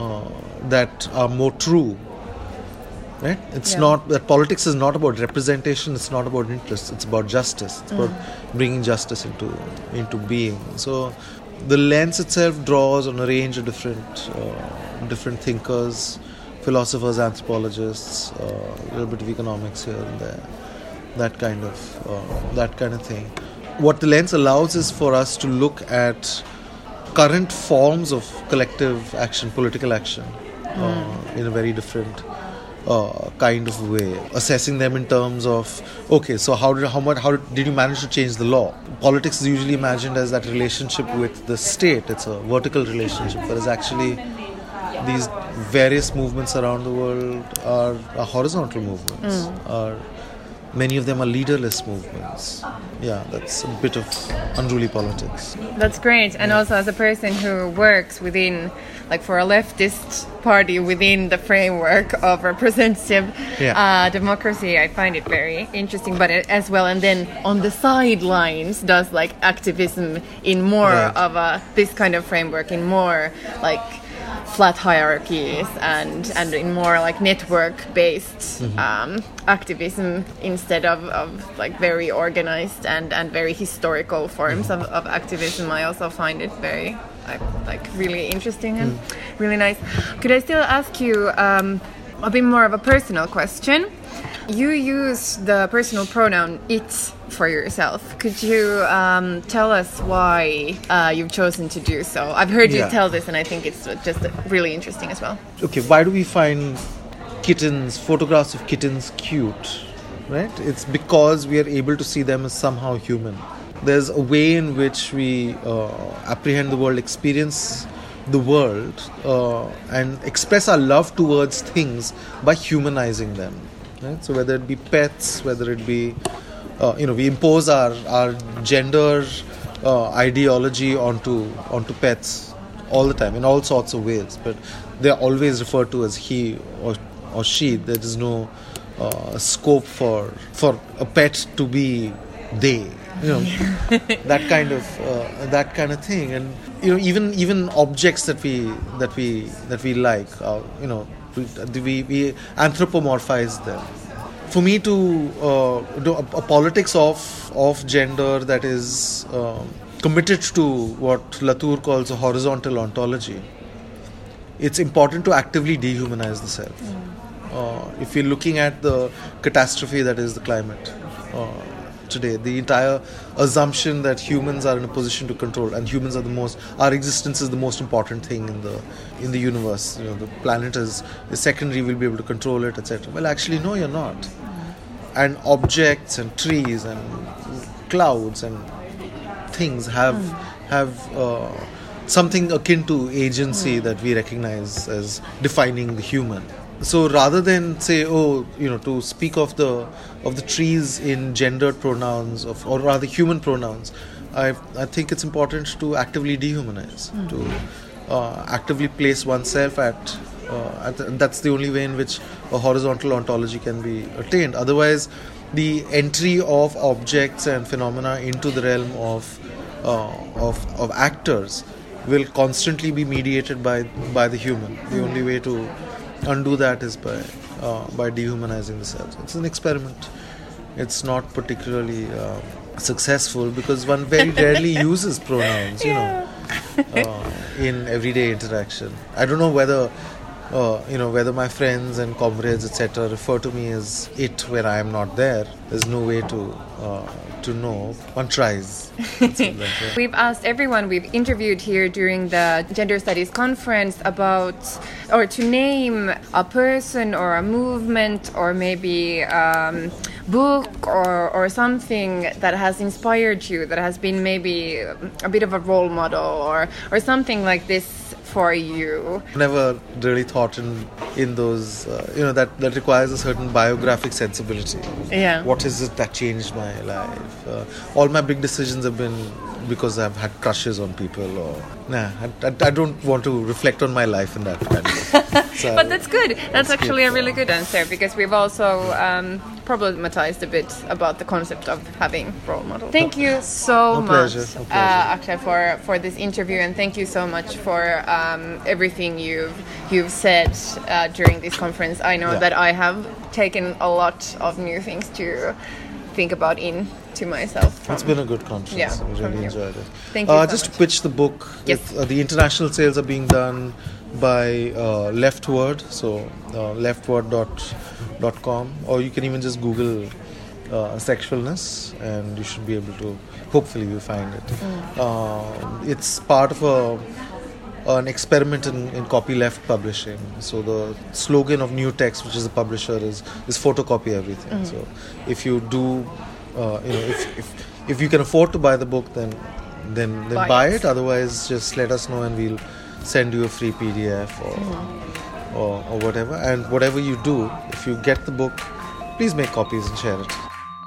that are more true. Right? It's not that politics is not about representation. It's not about interest. It's about justice. It's about bringing justice into being. So the lens itself draws on a range of different thinkers, philosophers, anthropologists, a little bit of economics here and there. That kind of thing. What the lens allows is for us to look at current forms of collective action, political action, in a very different kind of way, assessing them in terms of, okay, so how did you manage to change the law? Politics is usually imagined as that relationship with the state. It's a vertical relationship, whereas actually these various movements around the world are horizontal movements. Many of them are leaderless movements. Yeah, that's a bit of unruly politics. That's great. And also as a person who works within, like for a leftist party within the framework of representative democracy, I find it very interesting. But as well, and then on the sidelines does like activism in more of this kind of framework, in more like flat hierarchies and in more like network-based activism instead of like very organized and very historical forms of activism. I also find it very like really interesting and really nice. Could I still ask you a bit more of a personal question? You use the personal pronoun it for yourself. Could you tell us why you've chosen to do so? I've heard you tell this, and I think it's just really interesting as well. Okay, why do we find photographs of kittens cute? Right? It's because we are able to see them as somehow human. There's a way in which we apprehend the world, experience the world, and express our love towards things by humanizing them. Right? So whether it be pets, whether it be we impose our gender ideology onto pets all the time in all sorts of ways, but they are always referred to as he or she. There is no scope for a pet to be they. That kind of thing, and even objects that we like, we anthropomorphize them. For me to do a politics of gender that is committed to what Latour calls a horizontal ontology, it's important to actively dehumanize the self. If you're looking at the catastrophe that is the climate today, the entire assumption that humans are in a position to control, and humans are our existence is the most important thing in the universe. The planet is secondary, we'll be able to control it, etc. Well, actually, no, you're not. And objects and trees and clouds and things have something akin to agency that we recognize as defining the human. So rather than say, to speak of the trees in gendered pronouns or rather human pronouns, I think it's important to actively dehumanize, to actively place oneself that's the only way in which a horizontal ontology can be attained. Otherwise, the entry of objects and phenomena into the realm of actors will constantly be mediated by the human. The only way to undo that is by dehumanizing the self. It's an experiment. It's not particularly successful because one very rarely uses pronouns, in everyday interaction. I don't know whether my friends and comrades, etc., refer to me as it when I am not there. There's no way to know. One tries. We've asked everyone we've interviewed here during the Gender Studies Conference about, or to name a person or a movement or maybe book or something that has inspired you, that has been maybe a bit of a role model or something like this for you. Never really thought in those, that requires a certain biographic sensibility. Yeah. What is it that changed my life? All my big decisions have been because I've had crushes on people I don't want to reflect on my life in that kind of so But that's good. That's actually a really good answer, because we've also problematized a bit about the concept of having role models. Thank you so much, Akshay, for this interview, and thank you so much for everything you've said during this conference. I know that I have taken a lot of new things to think about to myself. It's been a good conference. Yeah, I really enjoyed it. Thank you. Just to pitch the book. Yes. The international sales are being done by Leftword, so leftword.com, or you can even just Google sexualness, and you should be able to. Hopefully, you find it. It's part of an experiment in copyleft publishing. So the slogan of New Text, which is the publisher, is photocopy everything. So if you do, if you can afford to buy the book, then buy it. Otherwise, just let us know and we'll send you a free PDF or whatever. And whatever you do, if you get the book, please make copies and share it.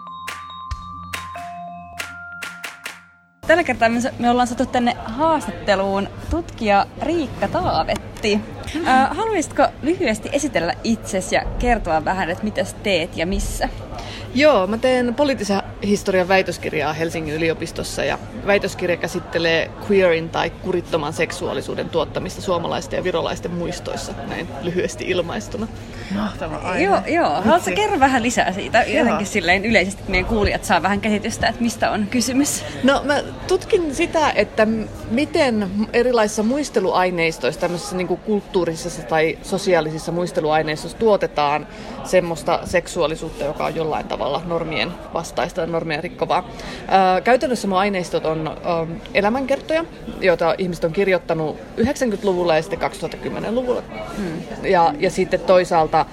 Tällä kertaa me ollaan saatu tänne haastatteluun tutkija Riikka Taavetti. Haluaisitko lyhyesti esitellä itsesi ja kertoa vähän, että mitä teet ja missä? Joo, mä teen poliittisen historian väitöskirjaa Helsingin yliopistossa ja väitöskirja käsittelee queerin tai kurittoman seksuaalisuuden tuottamista suomalaisten ja virolaisten muistoissa, näin lyhyesti ilmaistuna. Mahtava aihe. Joo. Haluatko kertoa vähän lisää siitä? Jotenkin silleen yleisesti, että meidän kuulijat saa vähän käsitystä, että mistä on kysymys. No mä tutkin sitä, että miten erilaisissa muisteluaineistoissa, tämmöisissä niin kuin kulttuurisissa tai sosiaalisissa muisteluaineistoissa tuotetaan semmoista seksuaalisuutta, joka on jollain tavalla normien vastaista ja normien rikkovaa. Käytännössä mun aineistot on elämänkertoja, joita ihmiset on kirjoittanut 90-luvulla ja sitten 2010-luvulla. Ja sitten toisaalta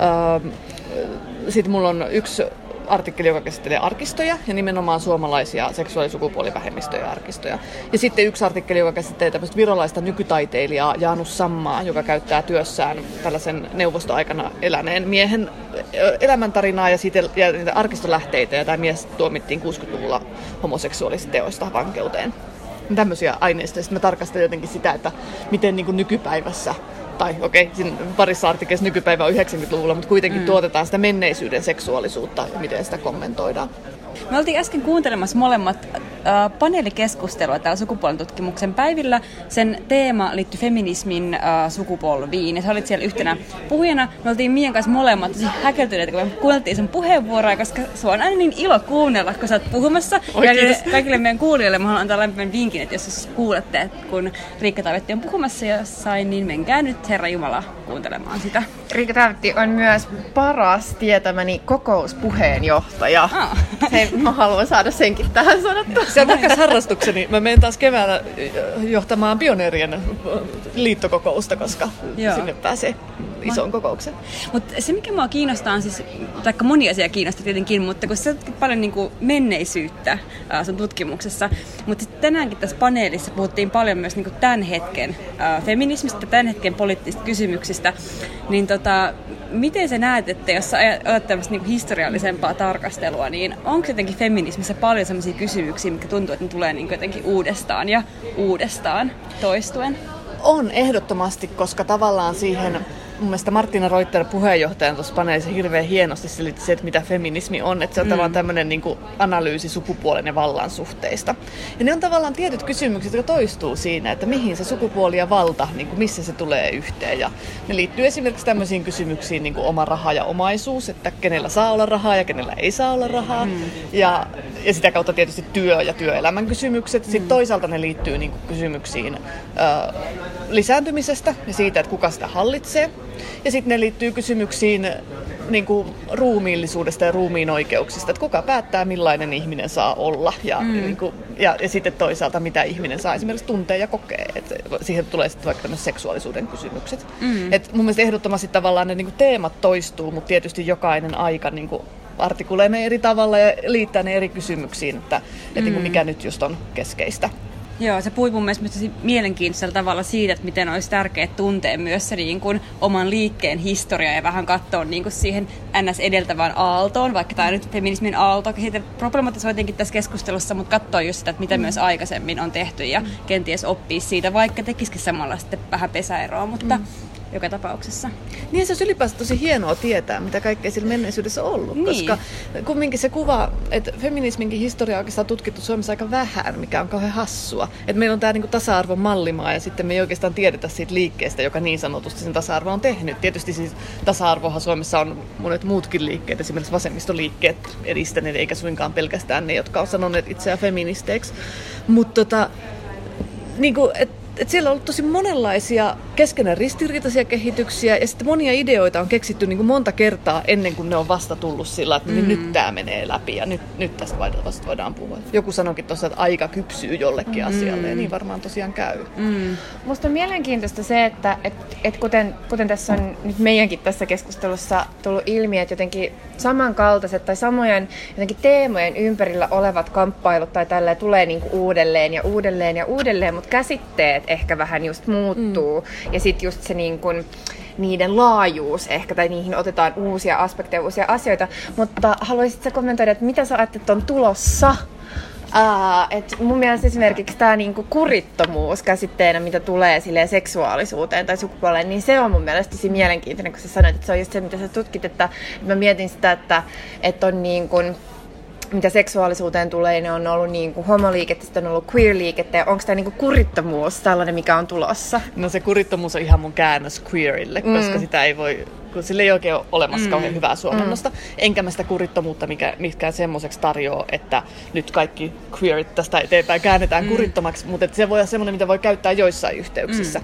sit mulla on yksi artikkeli, joka käsittelee arkistoja ja nimenomaan suomalaisia seksuaalisukupuolivähemmistöjä arkistoja. Ja sitten yksi artikkeli, joka käsittelee tämmöistä virolaista nykytaiteilijaa Jaanus Sammaa, joka käyttää työssään tällaisen neuvostoaikana eläneen miehen elämäntarinaa ja niitä arkistolähteitä. Ja tämä mies tuomittiin 60-luvulla homoseksuaalisista teoista vankeuteen. Tämmöisiä aineistoja. Sitten mä tarkastan jotenkin sitä, että miten niin kuin nykypäivässä tai siinä parissa artikkelissa nykypäivä on 90-luvulla, mutta kuitenkin tuotetaan sitä menneisyyden seksuaalisuutta ja miten sitä kommentoidaan. Me oltiin äsken kuuntelemassa molemmat paneelikeskustelua täällä sukupuolentutkimuksen päivillä. Sen teema liittyi feminismin sukupolviin ja sä olit siellä yhtenä puhujana. Me oltiin Mian kanssa molemmat tosi häkeltyneitä, kun me kuunneltiin sen puheenvuoroa, koska sua on aina niin ilo kuunnella, kun sä oot puhumassa. Ja kaikille meidän kuulijoille mä haluan antaa lämpimän vinkin, että jos kuulette, että kun Riikka Taavetti on puhumassa jossain, niin menkää nyt Herra Jumala kuuntelemaan sitä. Riikka Taavetti on myös paras tietämäni kokouspuheenjohtaja. Mä haluan saada senkin tähän sanottua. Se on takas harrastukseni. Mä menen taas keväällä johtamaan pioneerien liittokokousta, koska sinne pääsee isoon kokoukseen. Mutta se, mikä mua kiinnostaa, on siis, taikka moni asia kiinnostaa tietenkin, mutta kun sä tutkit paljon niinku menneisyyttä sun tutkimuksessa, mutta tänäänkin tässä paneelissa puhuttiin paljon myös niinku tämän hetken feminismistä, tämän hetken poliittisista kysymyksistä, niin miten sä näet, että jos sä olet tämmöistä niinku historiallisempaa tarkastelua, niin onko jotenkin feminismissä paljon sellaisia kysymyksiä, mitkä tuntuu, että ne tulee niinku jotenkin uudestaan ja uudestaan toistuen? On ehdottomasti, koska tavallaan siihen mun mielestä Martina Reuter puheenjohtajan tuossa paneelissa hirveän hienosti selitti se, että mitä feminismi on. Että se on tavallaan tämmöinen niin kuin analyysi sukupuolen ja vallan suhteista. Ja ne on tavallaan tietyt kysymykset, jotka toistuu siinä, että mihin se sukupuoli ja valta, niin kuin missä se tulee yhteen. Ja ne liittyy esimerkiksi tämmöisiin kysymyksiin niin kuin oma raha ja omaisuus, että kenellä saa olla rahaa ja kenellä ei saa olla rahaa. Ja sitä kautta tietysti työ ja työelämän kysymykset. Sitten toisaalta ne liittyy niin kuin kysymyksiin lisääntymisestä ja siitä, että kuka sitä hallitsee. Ja sitten ne liittyy kysymyksiin niin kuin ruumiillisuudesta ja ruumiin oikeuksista, että kuka päättää, millainen ihminen saa olla. Ja sitten toisaalta, mitä ihminen saa esimerkiksi tuntea ja kokea. Et siihen tulee sitten vaikka tämmöiset seksuaalisuuden kysymykset. Et mun mielestä ehdottomasti tavallaan ne niin kuin teemat toistuu, mutta tietysti jokainen aika niin kuin artikulee ne eri tavalla ja liittää ne eri kysymyksiin, että niin kuin mikä nyt just on keskeistä. Joo, se puhui mun mielestä mielenkiintoisella tavalla siitä, että miten olisi tärkeää tuntea myös se niin kuin oman liikkeen historia ja vähän katsoa niin kuin siihen NS-edeltävään aaltoon, vaikka tämä nyt feminismin aalto, siitä problematisoitiinkin tässä keskustelussa, mutta katsoa just sitä, että mitä myös aikaisemmin on tehty ja kenties oppia siitä, vaikka tekisikin samalla sitten vähän pesäeroa, mutta joka tapauksessa. Niin se olisi ylipäänsä tosi hienoa tietää, mitä kaikkea sillä menneisyydessä on ollut, koska kumminkin se kuva, että feminisminkin historia on oikeastaan tutkittu Suomessa aika vähän, mikä on kauhean hassua. Että meillä on tämä niin kuin tasa-arvon mallimaa ja sitten me ei oikeastaan tiedetä siitä liikkeestä, joka niin sanotusti sen tasa-arvo on tehnyt. Tietysti siis tasa-arvohan Suomessa on monet muutkin liikkeet, esimerkiksi vasemmistoliikkeet edistäneet, eikä suinkaan pelkästään ne, jotka on sanoneet itseään feministeiksi. Mutta niin kuin, siellä on ollut tosi monenlaisia keskenään ristiriitaisia kehityksiä ja sitten monia ideoita on keksitty niin kuin monta kertaa ennen kuin ne on vasta tullut sillä, että nyt tämä menee läpi ja nyt tästä vasta voidaan puhua. Joku sanoikin tuossa, että aika kypsyy jollekin asialle ja niin varmaan tosiaan käy. Musta on mielenkiintoista se, että kuten tässä on nyt meidänkin tässä keskustelussa tullut ilmi, että jotenkin samankaltaiset tai samojen jotenkin teemojen ympärillä olevat kamppailut tai tälleen tulee niinku uudelleen ja uudelleen ja uudelleen, mutta käsitteet ehkä vähän just muuttuu ja sitten just se niinku niiden laajuus ehkä, tai niihin otetaan uusia aspekteja, uusia asioita, mutta haluaisitko kommentoida, että mitä sä ajattelet on tulossa? Et mun mielestä esimerkiksi tämä niinku kurittomuus käsitteenä, mitä tulee silleen seksuaalisuuteen tai sukupuoleen, niin se on mun mielestä tosi mielenkiintoinen, kun sä sanoit, että se on just se, mitä sä tutkit, että mä mietin sitä, että on niinku, mitä seksuaalisuuteen tulee, ne on ollut niinku homoliikettä, sitten on ollut queer-liikettä, ja onko tämä niinku kurittomuus tällainen, mikä on tulossa? No se kurittomuus on ihan mun käännös queerille, koska sitä ei voi, kun sillä ei oikein ole olemassa kauhean hyvää suomennosta, enkä mä sitä kurittomuutta mikään semmoiseksi tarjoa, että nyt kaikki queerit tästä eteenpäin käännetään kurittomaksi, mutta se voi olla semmoinen, mitä voi käyttää joissain yhteyksissä.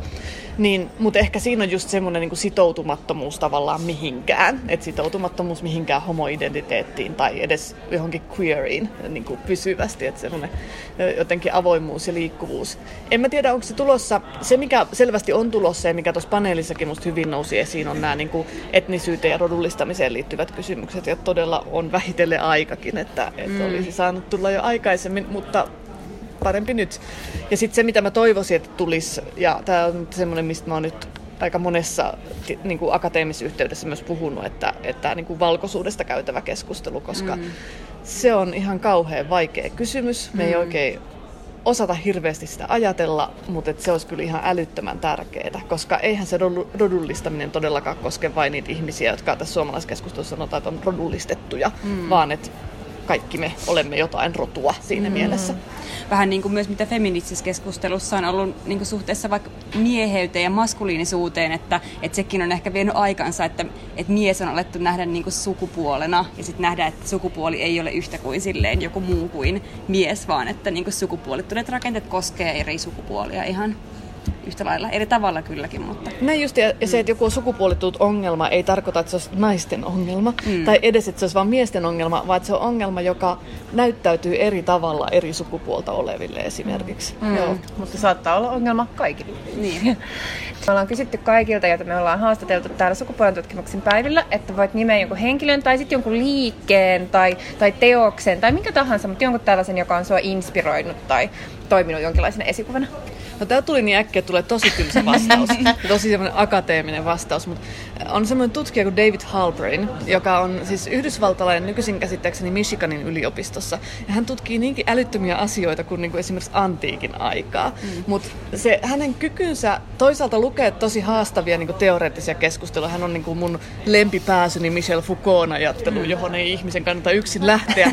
Mutta ehkä siinä on just semmoinen niin kuin sitoutumattomuus tavallaan mihinkään, että sitoutumattomuus mihinkään homoidentiteettiin tai edes johonkin queeriin niin kuin pysyvästi, että semmoinen jotenkin avoimuus ja liikkuvuus. En mä tiedä, onko se tulossa, se mikä selvästi on tulossa ja mikä tuossa paneelissakin musta hyvin nousi esiin, on nämä niin kuin etnisyyteen ja rodullistamiseen liittyvät kysymykset, ja todella on vähitellen aikakin, että olisi saanut tulla jo aikaisemmin, mutta parempi nyt. Ja sitten se, mitä mä toivoisin, että tulisi, ja tämä on semmoinen, mistä mä oon nyt aika monessa niin kuin akateemisessa yhteydessä myös puhunut, että niin kuin valkoisuudesta käytävä keskustelu, koska se on ihan kauhean vaikea kysymys. Me ei oikein osata hirveästi sitä ajatella, mutta se olisi kyllä ihan älyttömän tärkeää, koska eihän se rodullistaminen todellakaan koske vain niitä ihmisiä, jotka tässä suomalaiskeskustelussa sanotaan, että on rodullistettuja, vaan että kaikki me olemme jotain rotua siinä mielessä. Vähän niin kuin myös mitä feministisessä keskustelussa on ollut niin kuin suhteessa vaikka mieheyteen ja maskuliinisuuteen, että sekin on ehkä vienyt aikansa, että mies on alettu nähdä niin kuin sukupuolena ja sitten nähdä, että sukupuoli ei ole yhtä kuin silleen joku muu kuin mies, vaan että niin kuin sukupuolittuneet rakenteet koskee eri sukupuolia ihan yhtä lailla, eri tavalla kylläkin, mutta... Näin just, ja se, että joku on sukupuolittunut ongelma, ei tarkoita, että se olisi naisten ongelma, tai edes, että se olisi vain miesten ongelma, vaan että se on ongelma, joka näyttäytyy eri tavalla eri sukupuolta oleville esimerkiksi. Joo. Mutta saattaa olla ongelma kaikille. Niin. Me ollaan kysytty kaikilta, joita me ollaan haastateltu täällä sukupuolen tutkimuksen päivillä, että voit nimeä jonkun henkilön tai sitten jonkun liikkeen tai teoksen tai minkä tahansa, mutta jonkun tällaisen, joka on sua inspiroinut tai toiminut jonkinlaisena esikuvana. No tää tuli niin äkkiä, että tulee tosi tylsä vastaus, tosi semmoinen akateeminen vastaus, mutta on semmoinen tutkija kuin David Halperin, joka on siis yhdysvaltalainen nykyisin käsittääkseni Michiganin yliopistossa, ja hän tutkii niinkin älyttömiä asioita kuin niinku esimerkiksi antiikin aikaa, mutta se hänen kykynsä toisaalta lukee tosi haastavia niinku teoreettisia keskusteluja, hän on niinku mun lempipääsyni Michel Foucaultin ajattelu, johon ei ihmisen kannata yksin lähteä,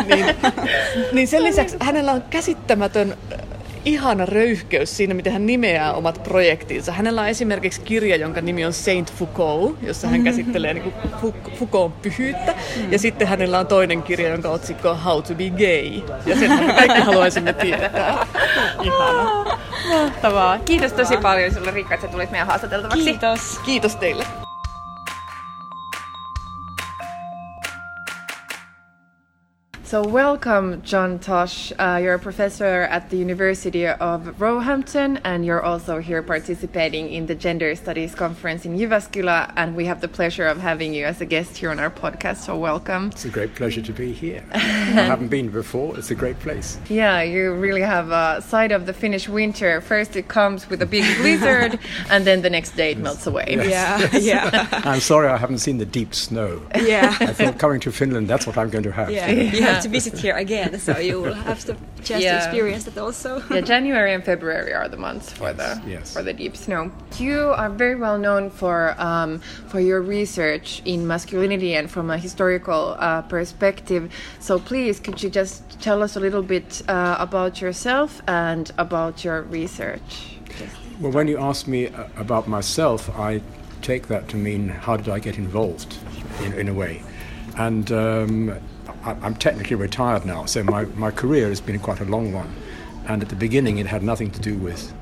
niin sen lisäksi hänellä on käsittämätön ihana röyhkeys siinä, miten hän nimeää omat projektinsa. Hänellä on esimerkiksi kirja, jonka nimi on Saint Foucault, jossa hän käsittelee niin kuin Foucaultin pyhyyttä. Ja sitten hänellä on toinen kirja, jonka otsikko on How to be gay. Ja sen me kaikki haluaisimme tietää. Ihana. Mahtavaa. Kiitos tosi paljon sinulle, Riikka, että tulit meidän haastateltavaksi. Kiitos. Kiitos teille. So welcome, John Tosh. You're a professor at the University of Roehampton, and you're also here participating in the Gender Studies Conference in Jyväskylä, and we have the pleasure of having you as a guest here on our podcast, so welcome. It's a great pleasure to be here. I haven't been before. It's a great place. Yeah, you really have a side of the Finnish winter. First it comes with a big blizzard, and then the next day it melts away. Yes. Yeah. I'm sorry I haven't seen the deep snow. Yeah. I thought coming to Finland, that's what I'm going to have. Yeah. You have to visit here again, so you will have the chance to experience that also. Yeah, January and February are the months for the deep snow. You are very well known for your research in masculinity and from a historical perspective. So please, could you just tell us a little bit about yourself and about your research? Well, when you ask me about myself, I take that to mean how did I get involved in a way. And I'm technically retired now, so my career has been quite a long one. And at the beginning it had nothing to do with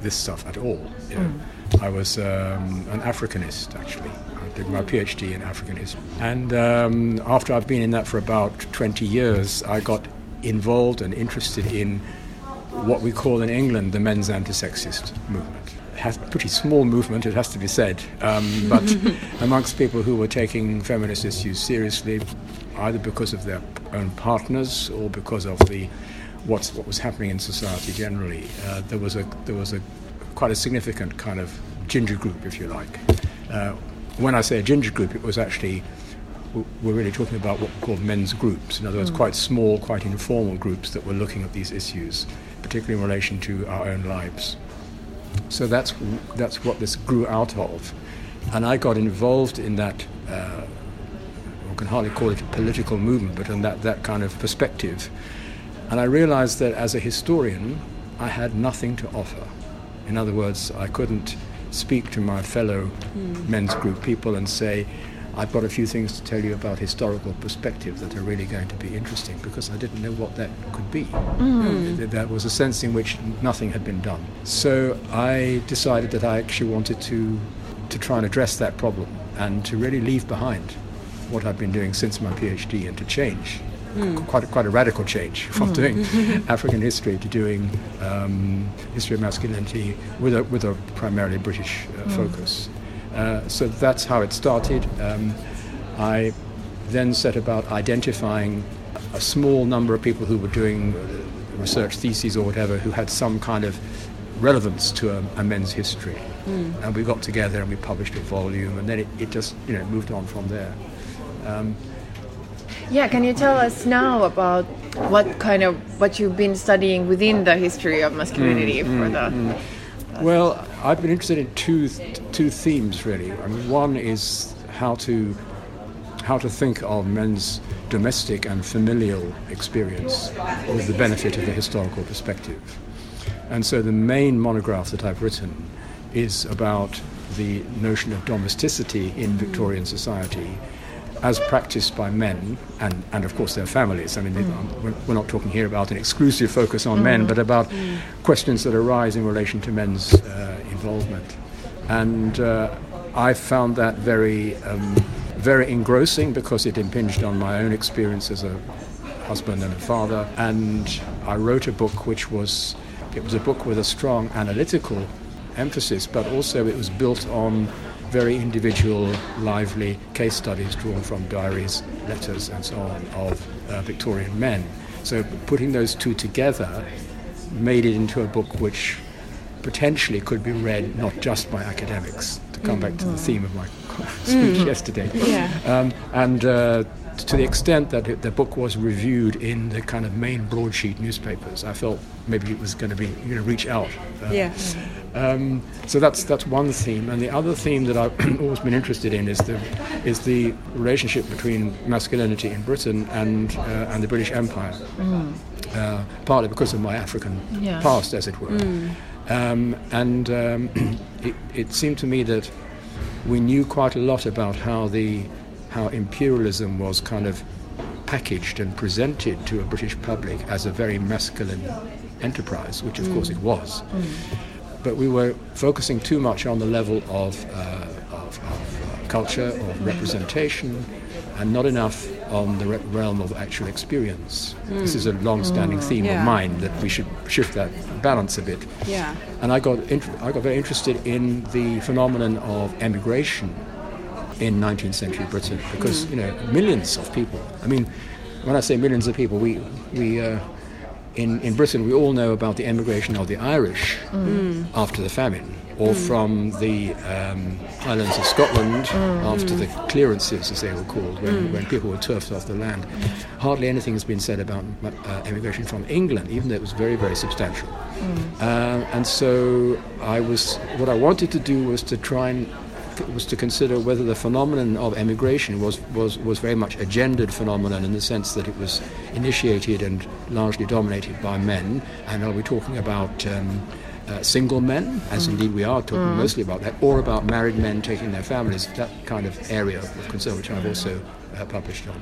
this stuff at all. You know. I was an Africanist, actually. I did my PhD in African history. And after I've been in that for about 20 years, I got involved and interested in what we call in England the men's anti-sexist movement. It has a pretty small movement, it has to be said, but amongst people who were taking feminist issues seriously, either because of their own partners or because of what was happening in society generally, there was a quite a significant kind of ginger group, if you like. When I say a ginger group, it was actually, we're really talking about what we call men's groups. In other words, quite small, quite informal groups that were looking at these issues, particularly in relation to our own lives. So that's what this grew out of. And I got involved in that, we can hardly call it a political movement, but in that kind of perspective. And I realized that as a historian, I had nothing to offer. In other words, I couldn't speak to my fellow men's group people and say, I've got a few things to tell you about historical perspective that are really going to be interesting, because I didn't know what that could be. There was a sense in which nothing had been done. So I decided that I actually wanted to try and address that problem and to really leave behind what I've been doing since my PhD and to change. Quite a radical change from doing African history to doing history of masculinity with a primarily British focus. So that's how it started. I then set about identifying a small number of people who were doing research theses or whatever who had some kind of relevance to a men's history. And we got together and we published a volume, and then it just moved on from there. Can you tell us now about what you've been studying within the history of masculinity Well, I've been interested in two themes really. I mean, one is how to think of men's domestic and familial experience with the benefit of the historical perspective. And so the main monograph that I've written is about the notion of domesticity in Victorian society as practiced by men and of course their families. I mean, we're not talking here about an exclusive focus on men, but about questions that arise in relation to men's involvement. And I found that very engrossing because it impinged on my own experience as a husband and a father. And I wrote a book it was a book with a strong analytical emphasis, but also it was built on very individual, lively case studies drawn from diaries, letters, and so on of Victorian men. So putting those two together made it into a book which potentially could be read not just by academics, to come back to the theme of my speech yesterday. And to the extent that the book was reviewed in the kind of main broadsheet newspapers, I felt maybe it was going to be reach out. So that's one theme, and the other theme that I've always been interested in is the relationship between masculinity in Britain and the British Empire, partly because of my African past, as it were. It seemed to me that we knew quite a lot about how imperialism was kind of packaged and presented to a British public as a very masculine enterprise, which of course it was. But we were focusing too much on the level of culture, of representation, and not enough on the realm of actual experience. This is a long-standing theme of mine, that we should shift that balance a bit. And I got very interested in the phenomenon of emigration in 19th century Britain, because millions of people. I mean, when I say millions of people, we in Britain we all know about the emigration of the Irish after the famine, or from the Highlands of Scotland after the clearances, as they were called, when people were turfed off the land. Hardly anything has been said about emigration from England, even though it was very, very substantial. And so what I wanted to do was to consider whether the phenomenon of emigration was very much a gendered phenomenon, in the sense that it was initiated and largely dominated by men. And are we talking about single men, as indeed we are talking mostly about that, or about married men taking their families? That kind of area of concern, which I've also published on.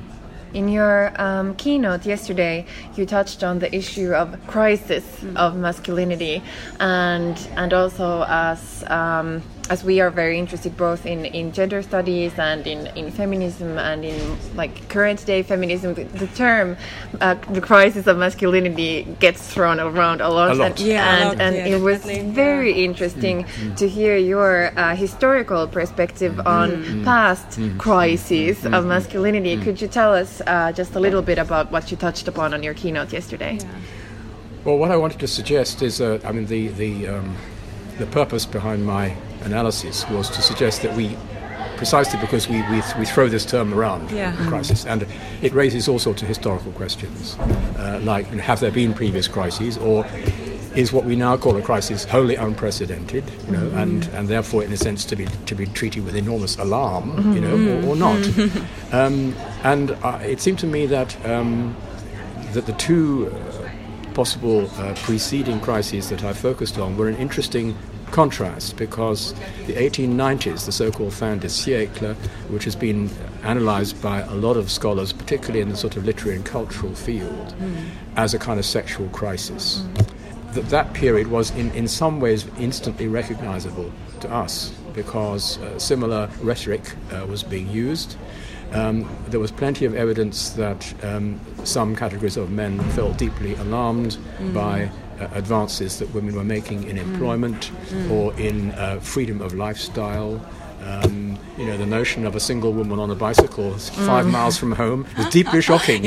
In your keynote yesterday, you touched on the issue of crisis of masculinity, and also as we are very interested both in gender studies and in feminism and in like current day feminism, the term the crisis of masculinity gets thrown around a lot. And it was very interesting to hear your historical perspective on past crises of masculinity. Could you tell us just a little bit about what you touched upon on your keynote yesterday? Yeah. Well, what I wanted to suggest is, the purpose behind my analysis was to suggest that precisely because we throw this term around, crisis, and it raises all sorts of historical questions, like have there been previous crises, or is what we now call a crisis wholly unprecedented, and therefore in a sense to be treated with enormous alarm, or not. And it seemed to me that the two possible preceding crises that I focused on were an interesting contrast, because the 1890s, the so-called fin de siècle, which has been analysed by a lot of scholars, particularly in the sort of literary and cultural field, as a kind of sexual crisis. That period was in some ways instantly recognisable to us, because similar rhetoric was being used. There was plenty of evidence that some categories of men felt deeply alarmed by advances that women were making in employment or in freedom of lifestyle. The notion of a single woman on a bicycle 5 miles from home was deeply shocking,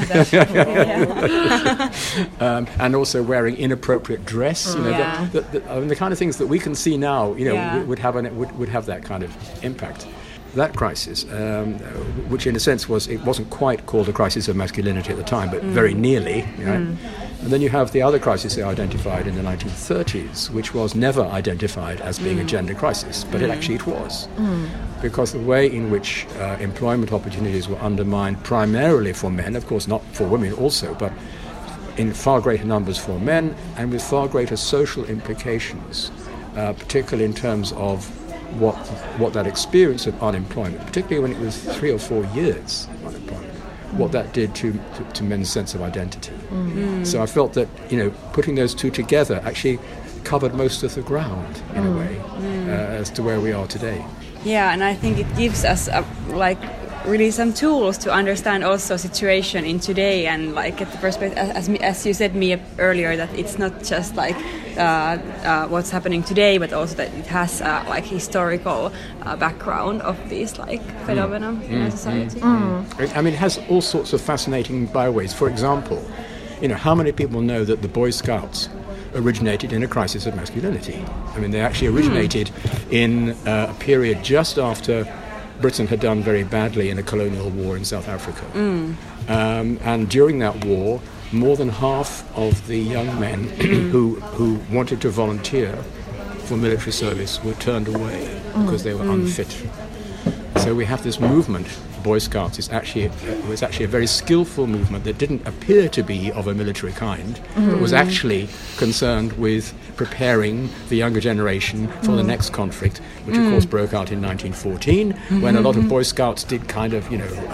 and also wearing inappropriate dress, the kind of things that we can see now, would have that kind of impact. That crisis, which in a sense it wasn't quite called a crisis of masculinity at the time, but very nearly, And then you have the other crisis they identified in the 1930s, which was never identified as being a gender crisis, but it was. Because the way in which employment opportunities were undermined primarily for men, of course not for women also, but in far greater numbers for men, and with far greater social implications, particularly in terms of what that experience of unemployment, particularly when it was 3 or 4 years of unemployment, what that did to men's sense of identity. So I felt that putting those two together actually covered most of the ground in a way as to where we are today. Yeah, and I think it gives us really some tools to understand also situation in today, and get the perspective, as you said me earlier, that it's not just what's happening today, but also that it has historical background of these phenomena in our society. I mean, it has all sorts of fascinating byways. For example, how many people know that the Boy Scouts originated in a crisis of masculinity? I mean, they actually originated in a period just after Britain had done very badly in a colonial war in South Africa. And during that war, more than half of the young men who wanted to volunteer for military service were turned away because they were unfit. So we have this movement, Boy Scouts, was actually a very skillful movement that didn't appear to be of a military kind, but was actually concerned with preparing the younger generation for the next conflict, which of course broke out in 1914, when a lot of Boy Scouts did kind of,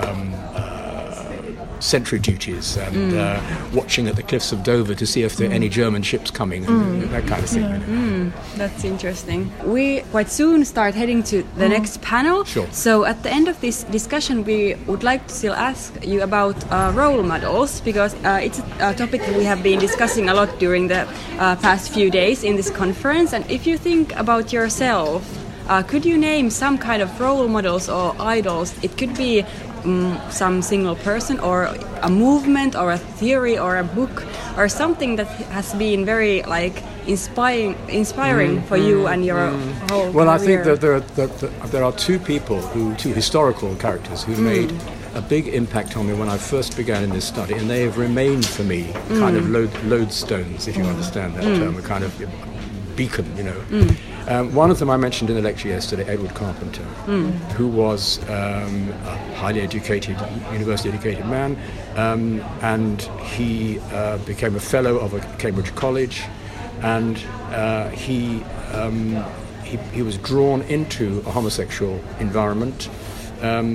sentry duties and watching at the cliffs of Dover to see if there are any German ships coming, and that kind of thing. That's interesting. We quite soon start heading to the next panel. Sure. So at the end of this discussion, we would like to still ask you about role models, because it's a topic that we have been discussing a lot during the past few days in this conference. And if you think about yourself, could you name some kind of role models or idols? It could be some single person or a movement or a theory or a book or something that has been very inspiring for you and your whole career. I think that there are two historical characters who made a big impact on me when I first began in this study, and they have remained for me kind of lodestones, if you understand that term, a kind of beacon, one of them I mentioned in the lecture yesterday, Edward Carpenter, who was a highly educated, university-educated man, and he became a fellow of a Cambridge college, and he was drawn into a homosexual environment,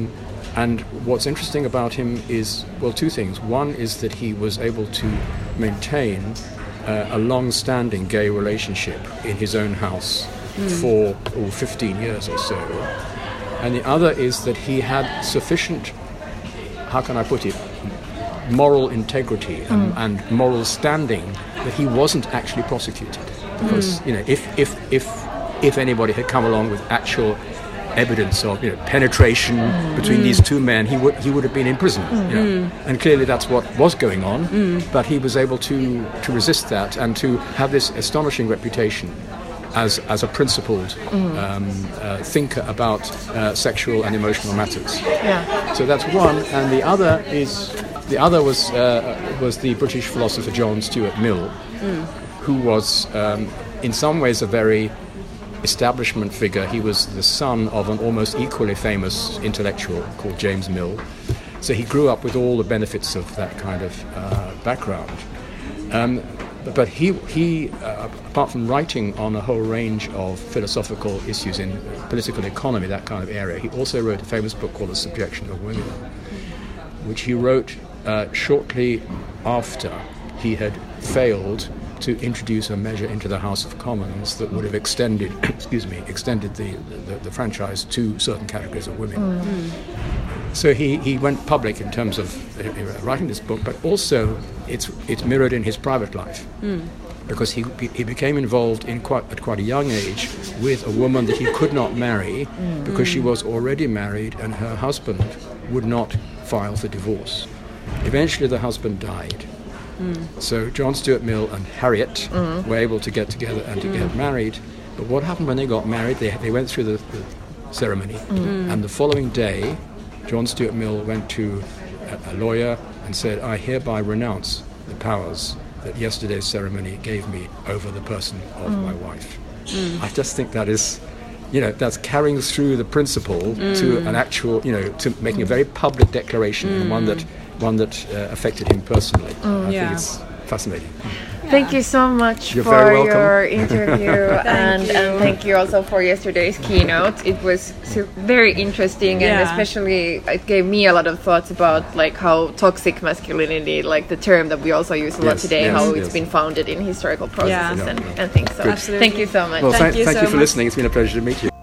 And what's interesting about him is, well, two things. One is that he was able to maintain a long-standing gay relationship in his own house for 15 years or so. And the other is that he had sufficient, how can I put it, moral integrity and moral standing that he wasn't actually prosecuted. Because, you know, if anybody had come along with actual evidence of, you know, penetration between these two men, he would have been in prison. You know? And clearly that's what was going on. But he was able to resist that and to have this astonishing reputation as a principled thinker about sexual and emotional matters. Yeah. So that's one, and the other was the British philosopher John Stuart Mill, who was in some ways a very establishment figure. He was the son of an almost equally famous intellectual called James Mill. So he grew up with all the benefits of that kind of background. But he apart from writing on a whole range of philosophical issues in political economy, that kind of area, he also wrote a famous book called The Subjection of Women, which he wrote shortly after he had failed to introduce a measure into the House of Commons that would have extended the franchise to certain categories of women. So he went public in terms of writing this book, but also it's mirrored in his private life, because he became involved at quite a young age with a woman that he could not marry because she was already married and her husband would not file for divorce. Eventually the husband died. So John Stuart Mill and Harriet were able to get together and to get married. But what happened when they got married? They went through the ceremony, and the following day John Stuart Mill went to a lawyer and said, "I hereby renounce the powers that yesterday's ceremony gave me over the person of my wife." I just think that is, that's carrying through the principle to an actual, to making a very public declaration, and one that affected him personally. I think it's fascinating. Thank you so much You're for very welcome. your interview and thank you also for yesterday's keynote. It was very interesting and especially it gave me a lot of thoughts about like how toxic masculinity, like the term that we also use a lot today, how it's been founded in historical processes and things. So thank you so much. Well, thank you so for much. listening. It's been a pleasure to meet you.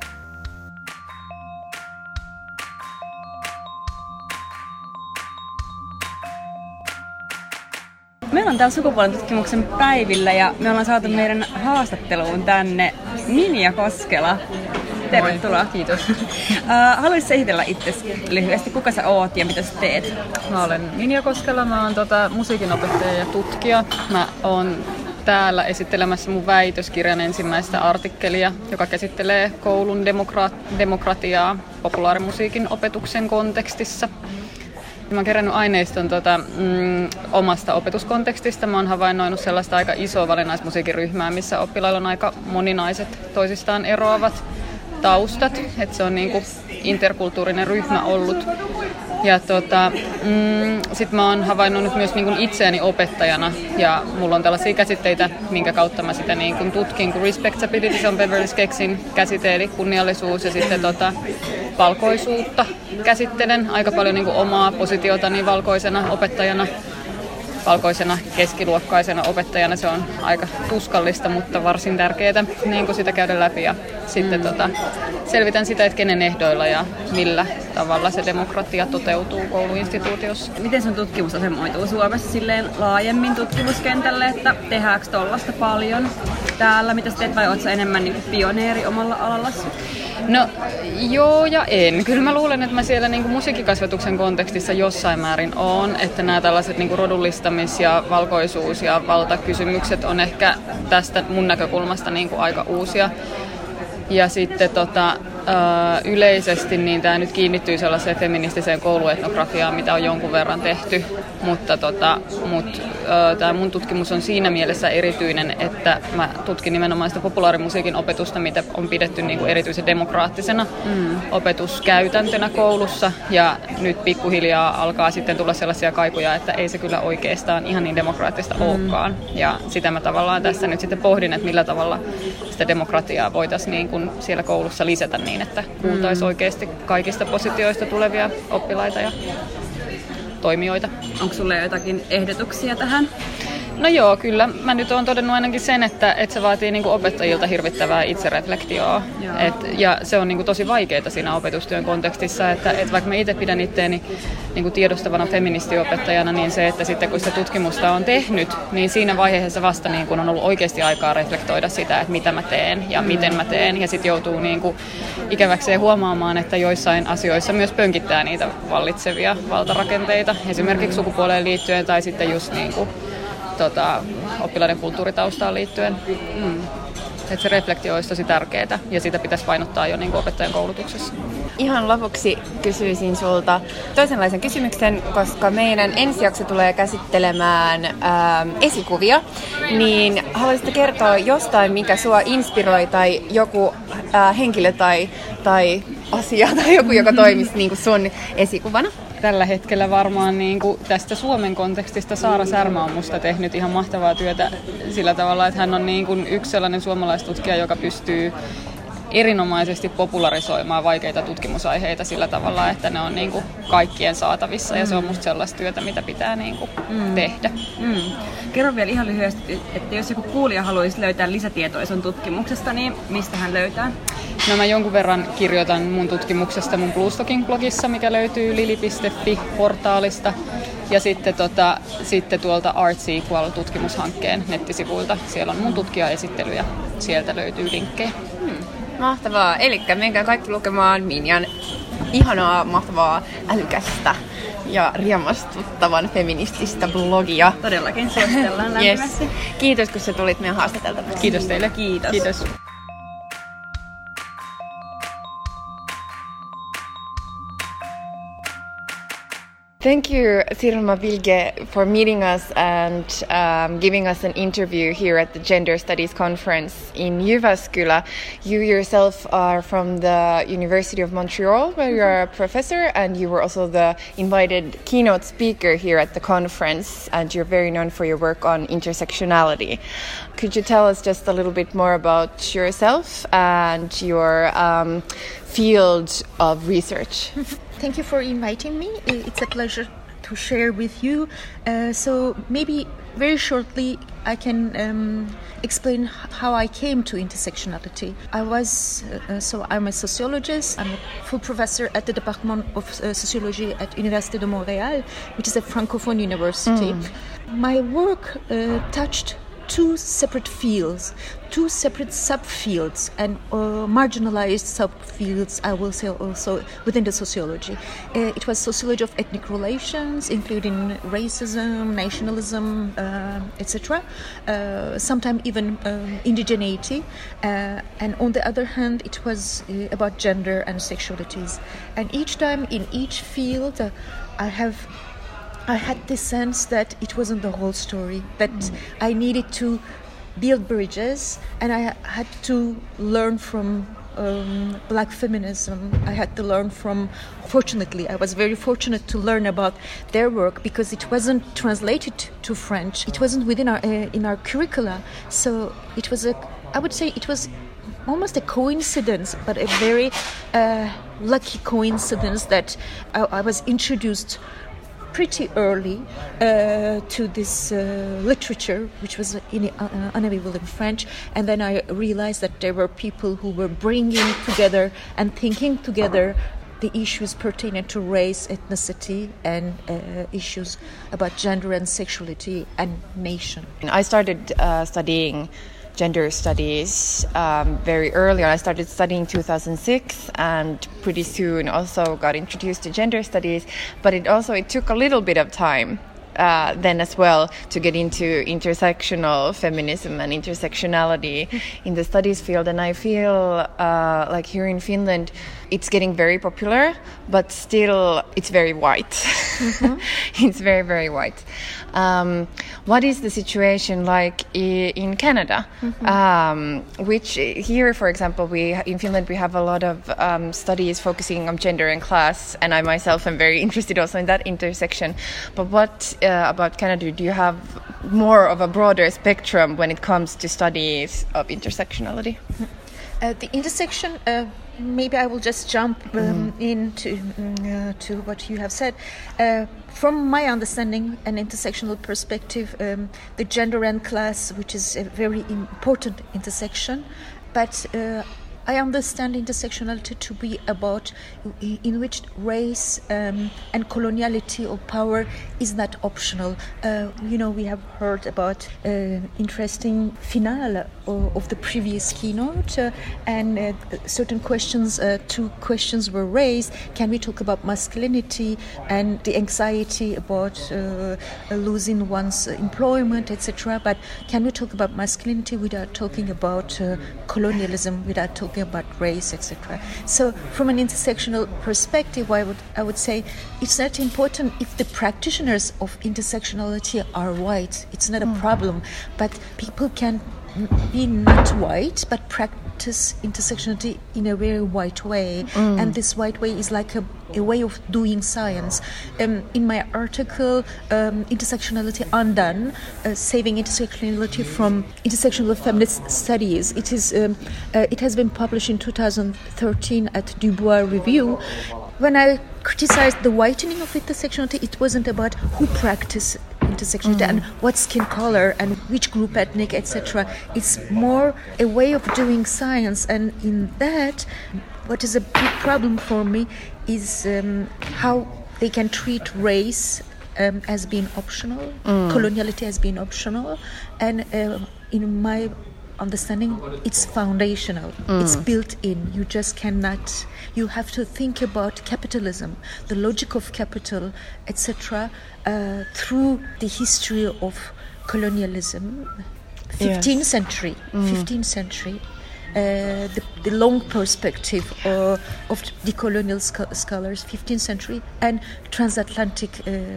Meillä on täällä sukupuolen tutkimuksen päivillä ja me ollaan saatu meidän haastatteluun tänne Minja Koskela. Tervetuloa. Moi, kiitos. Haluaisitko esitellä itsesi lyhyesti? Kuka sä oot ja mitä sä teet? Mä olen Minja Koskela, mä oon musiikinopettaja ja tutkija. Mä oon täällä esittelemässä mun väitöskirjan ensimmäistä artikkelia, joka käsittelee koulun demokratiaa populaarimusiikin opetuksen kontekstissa. Mä oon kerännyt aineiston omasta opetuskontekstista. Mä oon havainnoinut sellaista aika isoa valinnaismusiikiryhmää, missä oppilailla on aika moninaiset toisistaan eroavat taustat. Et se on niinku interkulttuurinen ryhmä ollut. Ja sit mä oon havainnut myös niinku itseäni opettajana ja mulla on tällaisia käsitteitä, minkä kautta mä sitä niinku tutkin, kun respectability, se on Beverly Skeksin käsite, eli kunniallisuus ja sitten valkoisuutta käsittelen aika paljon niinku omaa positiotani valkoisena opettajana. Valkoisena keskiluokkaisena opettajana se on aika tuskallista, mutta varsin tärkeää niin kuin sitä käydä läpi. Ja sitten selvitän sitä, että kenen ehdoilla ja millä tavalla se demokratia toteutuu kouluinstituutiossa. Miten sun tutkimus asemoituu Suomessa silleen laajemmin tutkimuskentälle, että tehdäänkö tollaista paljon täällä? Mitä sä teet vai ootko sä enemmän niin kuin pioneeri omalla alallasi? No joo ja en. Kyllä mä luulen, että mä siellä niin kuin musiikkikasvatuksen kontekstissa jossain määrin oon, että nämä tällaiset niin kuin rodullistamis- ja valkoisuus- ja valtakysymykset on ehkä tästä mun näkökulmasta niin kuin aika uusia. Ja sitten yleisesti niin tämä nyt kiinnittyy sellaiseen feministiseen kouluetnografiaan, mitä on jonkun verran tehty, mutta tämä mun tutkimus on siinä mielessä erityinen, että mä tutkin nimenomaan sitä populaarimusiikin opetusta, mitä on pidetty niin kuin erityisen demokraattisena opetuskäytäntönä koulussa, ja nyt pikkuhiljaa alkaa sitten tulla sellaisia kaikuja, että ei se kyllä oikeastaan ihan niin demokraattista olekaan, ja sitä mä tavallaan tässä nyt sitten pohdin, että millä tavalla sitä demokratiaa voitaisiin niin kuin siellä koulussa lisätä niin, niin, että kuultaisiin oikeasti kaikista positioista tulevia oppilaita ja toimijoita. Onko sulla jotakin ehdotuksia tähän? No joo, kyllä. Mä nyt oon todennut ainakin sen, että se vaatii niinku opettajilta hirvittävää itsereflektioa. Ja se on niinku tosi vaikeaa siinä opetustyön kontekstissa, että vaikka mä itse pidän itteeni niinku tiedostavana feministiopettajana, niin se, että sitten kun sitä tutkimusta on tehnyt, niin siinä vaiheessa vasta niinku on ollut oikeasti aikaa reflektoida sitä, että mitä mä teen ja miten mä teen. Ja sitten joutuu niinku ikäväkseen huomaamaan, että joissain asioissa myös pönkittää niitä vallitsevia valtarakenteita, esimerkiksi sukupuoleen liittyen tai sitten just niinku oppilaiden kulttuuritaustaan liittyen. Että se reflektio olisi tosi tärkeää ja sitä pitäisi painottaa jo niin kuin opettajan koulutuksessa. Ihan lopuksi kysyisin sulta toisenlaisen kysymyksen, koska meidän ensi jakso tulee käsittelemään esikuvia. Niin haluaisitko kertoa jostain, mikä sua inspiroi tai joku henkilö tai asia tai joku, joka toimisi niin kuin sun esikuvana? Tällä hetkellä varmaan niin kuin tästä Suomen kontekstista Saara Särmä on musta tehnyt ihan mahtavaa työtä sillä tavalla, että hän on niin kuin yksi sellainen suomalaistutkija, joka pystyy erinomaisesti popularisoimaan vaikeita tutkimusaiheita sillä tavalla, että ne on niin kuin kaikkien saatavissa ja se on musta sellaista työtä, mitä pitää niin kuin tehdä. Kerro vielä ihan lyhyesti, että jos joku kuulija haluaisi löytää lisätietoa sun tutkimuksesta, niin mistä hän löytää? No mä jonkun verran kirjoitan mun tutkimuksesta mun Bluestocking-blogissa, mikä löytyy lili.fi-portaalista. Ja sitten tuolta Arts Equal-tutkimushankkeen nettisivuilta. Siellä on mun tutkijaesittely ja sieltä löytyy linkkejä. Mahtavaa. Elikkä menkää kaikki lukemaan Minjan ihanaa, mahtavaa, älykästä ja riemastuttavan feminististä blogia. Todellakin suositellaan lämpimästi. Yes. Kiitos, kun sä tulit meidän haastateltavaksi. Kiitos teille. Kiitos. Thank you, Sirma Vilge, for meeting us and giving us an interview here at the Gender Studies Conference in Jyväskylä. You yourself are from the University of Montreal, where you are a professor, and you were also the invited keynote speaker here at the conference, and you're very known for your work on intersectionality. Could you tell us just a little bit more about yourself and your field of research? Thank you for inviting me. It's a pleasure to share with you. So maybe very shortly I can explain how I came to intersectionality. I'm a sociologist. I'm a full professor at the Department of Sociology at Université de Montréal, which is a francophone university. My work touched two separate fields, two separate subfields, and marginalized subfields, I will say also, within the sociology. It was sociology of ethnic relations, including racism, nationalism, etc., sometimes even indigeneity. And on the other hand, it was about gender and sexualities. And each time in each field, I had this sense that it wasn't the whole story, that I needed to build bridges, and I had to learn from black feminism. I had to learn from, fortunately, I was very fortunate to learn about their work because it wasn't translated to French. It wasn't within in our curricula. So it was I would say it was almost a coincidence, but a very lucky coincidence that I was introduced pretty early to this literature, which was unavailable in French, and then I realized that there were people who were bringing together and thinking together the issues pertaining to race, ethnicity, and issues about gender and sexuality and nation. I started studying gender studies very early on. I started studying 2006 and pretty soon also got introduced to gender studies, but it took a little bit of time then as well to get into intersectional feminism and intersectionality in the studies field. And I feel like here in Finland it's getting very popular, but still it's very white. It's very, very white. What is the situation like in Canada? Which here, for example, in Finland we have a lot of studies focusing on gender and class, and I myself am very interested also in that intersection. But what about Canada? Do you have more of a broader spectrum when it comes to studies of intersectionality? The intersection maybe I will just jump into to what you have said. From my understanding and intersectional perspective, the gender and class, which is a very important intersection, but I understand intersectionality to be about in which race and coloniality or power is not optional. We have heard about interesting finale of the previous keynote, and certain questions, two questions were raised. Can we talk about masculinity and the anxiety about losing one's employment, etc.? But can we talk about masculinity without talking about colonialism, without talking about race, etc.? So from an intersectional perspective, I would say it's not important if the practitioners of intersectionality are white. It's not a problem, but people can be not white but practice intersectionality in a very white way, and this white way is like a way of doing science. In my article, Intersectionality Undone, Saving Intersectionality from Intersectional Feminist Studies, it has been published in 2013 at Dubois Review. When I criticized the whitening of intersectionality, it wasn't about who practiced intersectionality and what skin color and which group ethnic, etc. It's more a way of doing science, and in that, what is a big problem for me is how they can treat race as being optional, coloniality as being optional, and in my understanding, it's foundational. It's built in. You just cannot. You have to think about capitalism, the logic of capital, etc., through the history of colonialism, 15th century, the long perspective of the colonial scholars, 15th century, and transatlantic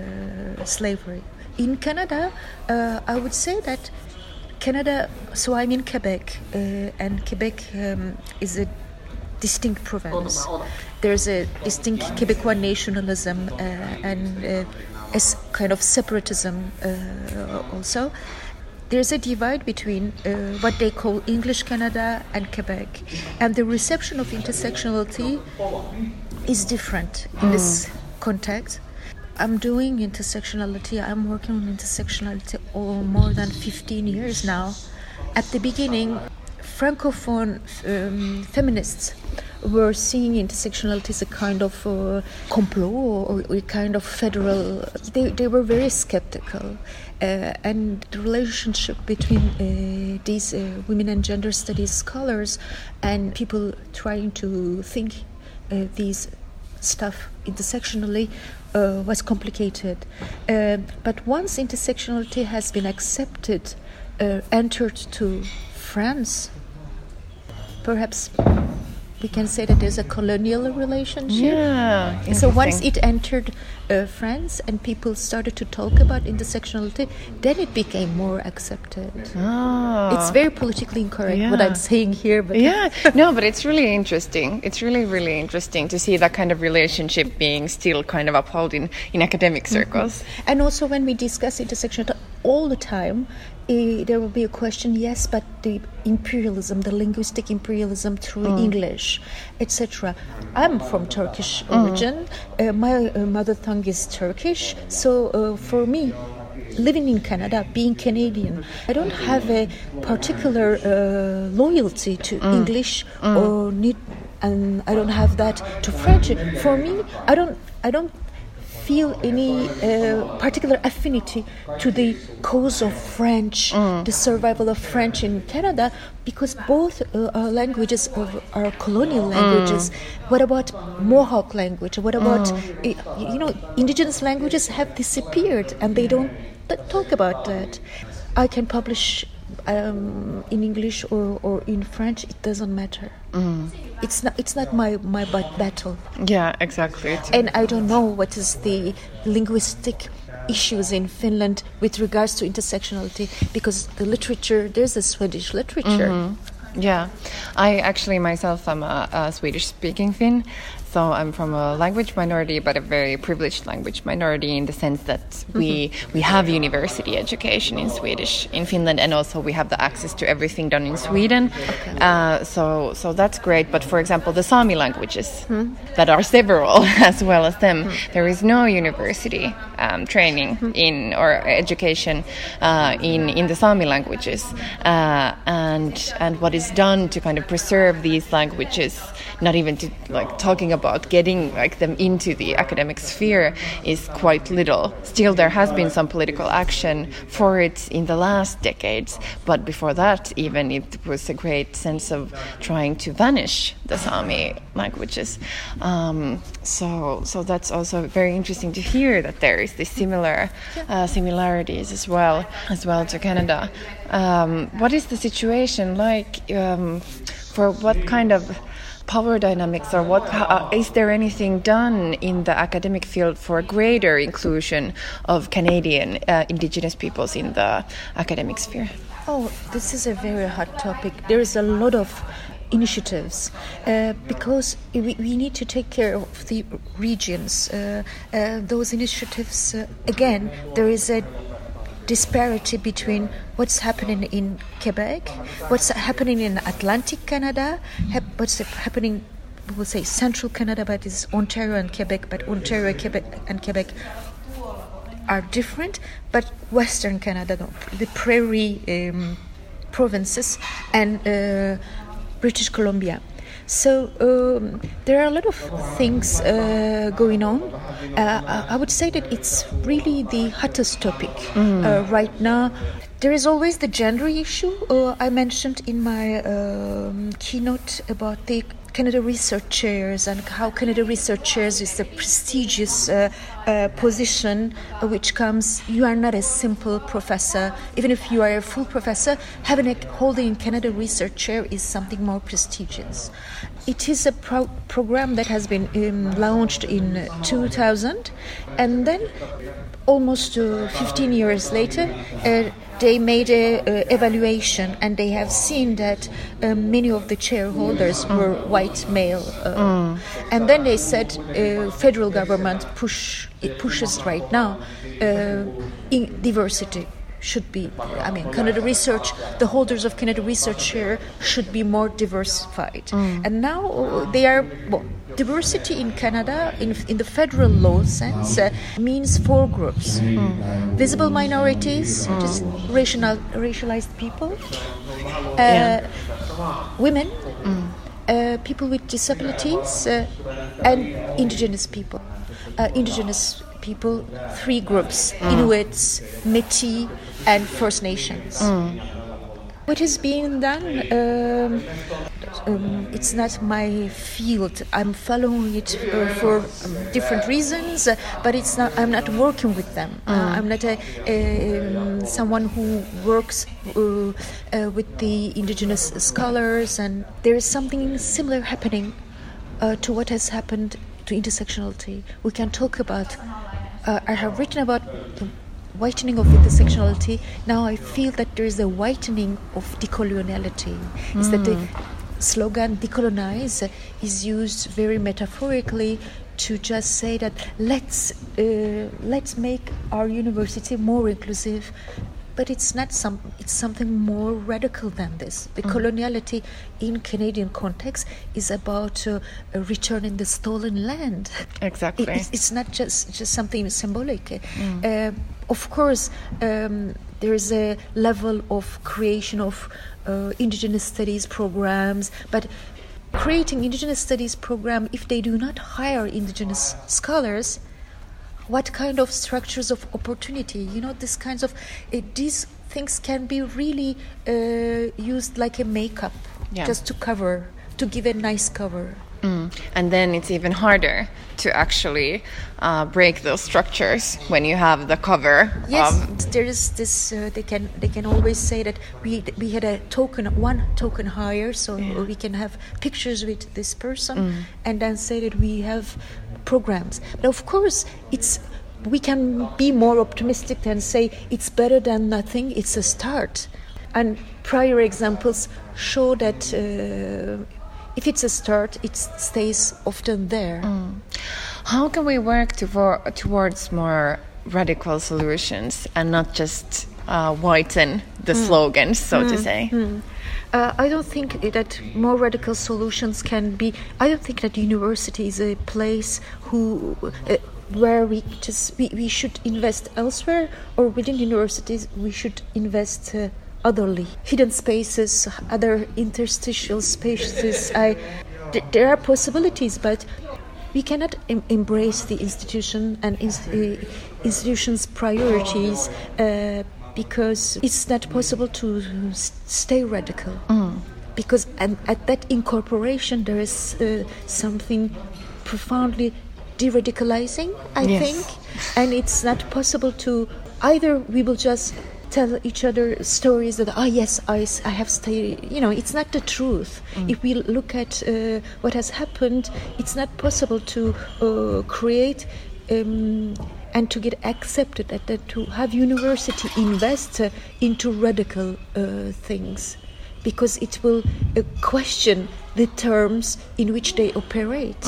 slavery. In Canada, I would say that Canada, so I'm in Quebec, and Quebec is a distinct province. There's a distinct Quebecois nationalism and a kind of separatism also. There's a divide between what they call English Canada and Quebec, and the reception of intersectionality is different in this context. I'm doing intersectionality. I'm working on intersectionality more than 15 years now. At the beginning, Francophone feminists were seeing intersectionality as a kind of complot or a kind of federal. They were very skeptical, and the relationship between these women and gender studies scholars and people trying to think these stuff intersectionally was complicated. But once intersectionality has been accepted, entered to France, perhaps we can say that there's a colonial relationship. Yeah. So once it entered France and people started to talk about intersectionality, then it became more accepted. It's very politically incorrect what I'm saying here. But no, but it's really interesting. It's really, really interesting to see that kind of relationship being still kind of upheld in academic circles. And also when we discuss intersectionality all the time, there will be a question, yes, but the imperialism, the linguistic imperialism through English, etc. I'm from Turkish origin. My mother tongue is Turkish. So for me, living in Canada, being Canadian, I don't have a particular loyalty to English or and I don't have that to French. For me, I don't feel any particular affinity to the cause of French, the survival of French in Canada, because both languages are colonial languages. What about Mohawk language? What about, indigenous languages have disappeared and they don't talk about that. I can publish in English or in French, it doesn't matter. It's not my battle. Yeah, exactly. And I don't know what is the linguistic issues in Finland with regards to intersectionality, because the literature, there's a Swedish literature. Yeah, I actually myself am a Swedish-speaking Finn, so I'm from a language minority, but a very privileged language minority in the sense that we have university education in Swedish in Finland, and also we have the access to everything done in Sweden. So that's great. But for example, the Sami languages that are several as well as them, there is no university training in or education in the Sami languages, and what is done to kind of preserve these languages, not even to like talking about getting like them into the academic sphere, is quite little. Still, there has been some political action for it in the last decades, but before that, even it was a great sense of trying to vanish the Sami languages. So that's also very interesting to hear that there is this similarities as well to Canada. What is the situation like for what kind of power dynamics, or is there anything done in the academic field for greater inclusion of Canadian Indigenous peoples in the academic sphere? Oh, this is a very hot topic. There is a lot of initiatives because we need to take care of the regions. Those initiatives, again, there is a disparity between what's happening in Quebec, what's happening in Atlantic Canada, what's happening, we will say Central Canada, but it's Ontario and Quebec, but Ontario, Quebec and Quebec are different, but Western Canada, the prairie provinces, and British Columbia. So there are a lot of things going on. I would say that it's really the hottest topic right now. There is always the gender issue. I mentioned in my keynote about the Canada Research Chairs and how Canada Research Chairs is a prestigious position which comes, you are not a simple professor. Even if you are a full professor, holding Canada Research Chair is something more prestigious. It is a program that has been launched in 2000, and then almost 15 years later, they made an evaluation, and they have seen that many of the shareholders were white male. And then they said federal government pushes right now in diversity should be, Canada Research, the holders of Canada Research Share should be more diversified. And now they are, diversity in Canada, in the federal law sense, means 4 groups. Visible minorities, just racialized people, women, people with disabilities, and Indigenous people. Indigenous people, 3 groups, Inuits, Métis, and First Nations. What is being done? It's not my field. I'm following it for different reasons, but it's not. I'm not working with them. I'm not someone who works with the Indigenous scholars, and there is something similar happening to what has happened to intersectionality. We can talk about. I have written about the whitening of intersectionality. Now I feel that there is a whitening of decoloniality. Is that the slogan "decolonize" is used very metaphorically to just say that let's make our university more inclusive. But it's not it's something more radical than this. The coloniality in Canadian context is about returning the stolen land. Exactly. It's not just something symbolic. Of course, there is a level of creation of Indigenous studies programs, but creating Indigenous studies program, if they do not hire Indigenous scholars, what kind of structures of opportunity? These kinds of these things can be really used like a makeup, just to give a nice cover. And then it's even harder to actually break those structures when you have the cover. Yes, there is this. They can always say that we had one token hire, so we can have pictures with this person, and then say that we have programs. But of course, we can be more optimistic and say it's better than nothing. It's a start. And prior examples show that if it's a start, it stays often there. How can we work towards more radical solutions and not just whiten the slogans, so to say? I don't think that more radical solutions can be. I don't think that university is a place where we should invest elsewhere, or within universities we should invest otherly. Hidden spaces, other interstitial spaces. There are possibilities, but we cannot embrace the institution and institution's priorities because it's not possible to stay radical. Because at that incorporation there is something profoundly de-radicalizing, I think. And it's not possible to either we will just tell each other stories that, yes, I have stayed, it's not the truth. If we look at what has happened, it's not possible to create and to get accepted, to have university invest into radical things, because it will question the terms in which they operate.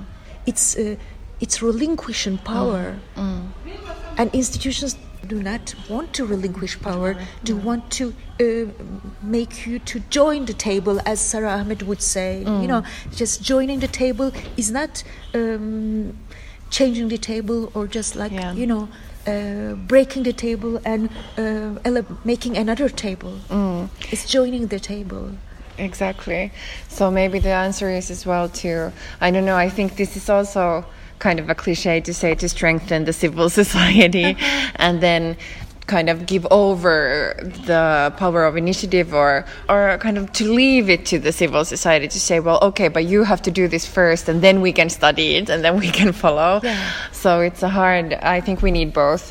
It's relinquishing power. And institutions do not want to relinquish power, do want to make you to join the table, as Sarah Ahmed would say. Just joining the table is not changing the table or just like, breaking the table and making another table. It's joining the table. Exactly. So maybe the answer is as well to, I don't know, I think this is also kind of a cliche to say, to strengthen the civil society and then kind of give over the power of initiative or kind of to leave it to the civil society to say, well, okay, but you have to do this first and then we can study it and then we can follow. So it's I think we need both.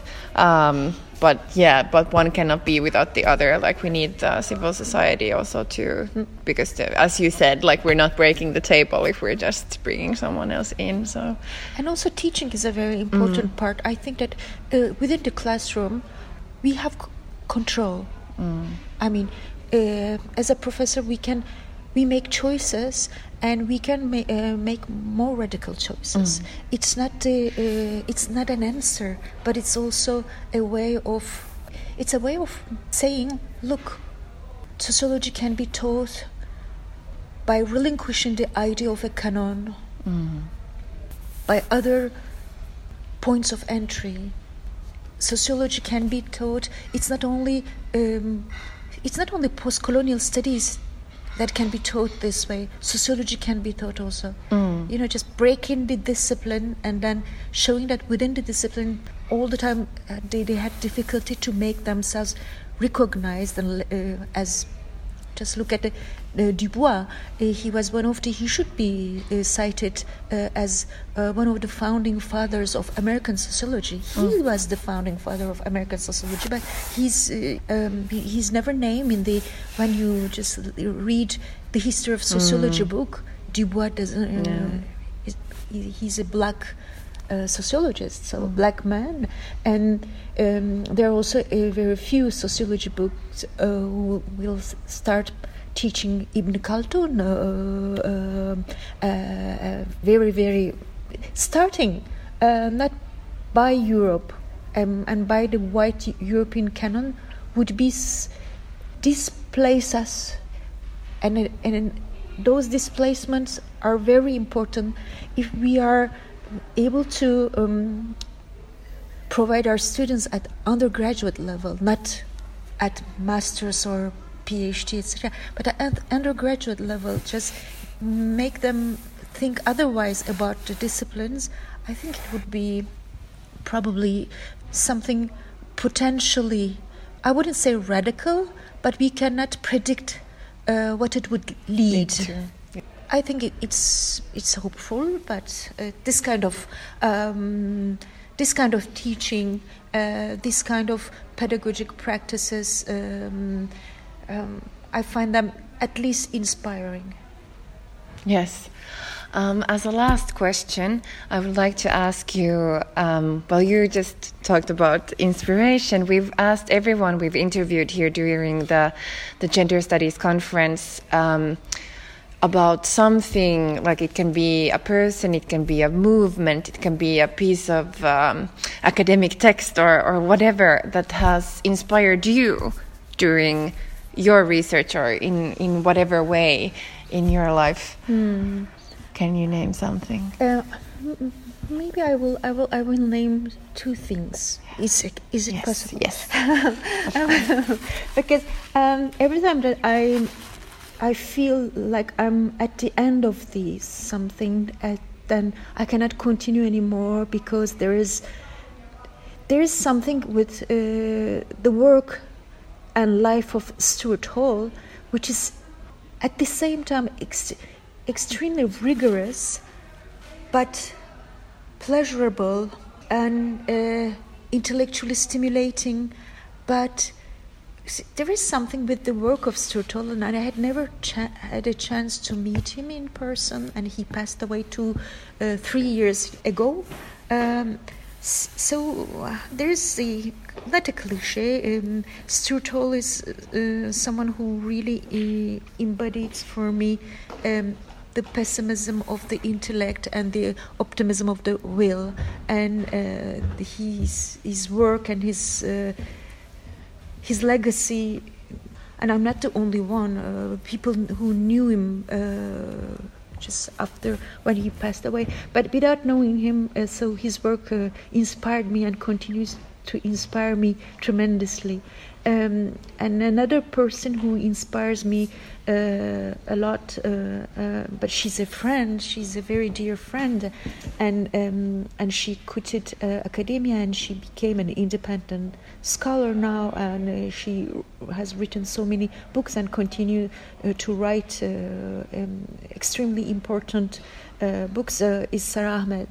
But one cannot be without the other. Like, we need the civil society also too, because as you said, like, we're not breaking the table if we're just bringing someone else in. So, and also teaching is a very important part. I think that within the classroom, we have control. I mean, as a professor, we make choices, and we can make more radical choices. It's not an answer, but it's also a way of saying, look, sociology can be taught by relinquishing the idea of a canon, by other points of entry. Sociology can be taught. It's not only post-colonial studies that can be taught this way. Sociology can be taught also. Just breaking the discipline and then showing that within the discipline all the time they had difficulty to make themselves recognized. And as just look at Dubois, he should be cited as one of the founding fathers of American sociology. He was the founding father of American sociology, but he's never named when you just read the history of sociology book. Dubois doesn't. He's a black sociologist, so a black man, and there are also very few sociology books who will start teaching Ibn Khaldun, very, very starting not by Europe and by the white European canon would be displace us, and those displacements are very important if we are able to provide our students at undergraduate level, not at master's or PhD, etc., but at undergraduate level, just make them think otherwise about the disciplines. I think it would be probably something potentially, I wouldn't say radical, but we cannot predict what it would lead to. I think it's hopeful, but this kind of teaching, this kind of pedagogic practices, I find them at least inspiring. Yes. As a last question, I would like to ask you, well, you just talked about inspiration. We've asked everyone we've interviewed here during the Gender Studies conference about something, like it can be a person, it can be a movement, it can be a piece of academic text or whatever that has inspired you during your research or in whatever way in your life. Can you name something? Maybe I will name two things. Is it yes, possible? Yes. Because every time that I feel like I'm at the end of something, then I cannot continue anymore, because there is something with the work and life of Stuart Hall, which is at the same time extremely rigorous, but pleasurable and intellectually stimulating. But there is something with the work of Stuart Hall, and I had never had a chance to meet him in person, and he passed away 3 years ago. So there's not a cliche. Stuart Hall is someone who really embodies for me the pessimism of the intellect and the optimism of the will, and his work and his legacy. And I'm not the only one. People who knew him just after when he passed away, but without knowing him, so his work inspired me and continues to inspire me tremendously. And another person who inspires me a lot, but she's a friend, she's a very dear friend, and she quitted academia and she became an independent scholar now, and she has written so many books and continue to write extremely important books, is Sara Ahmed.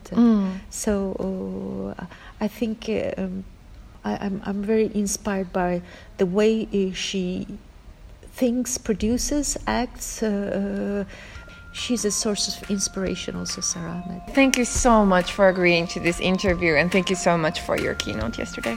So I think I'm very inspired by the way she thinks, produces, acts. She's a source of inspiration also, Sara Ahmed. Thank you so much for agreeing to this interview, and thank you so much for your keynote yesterday.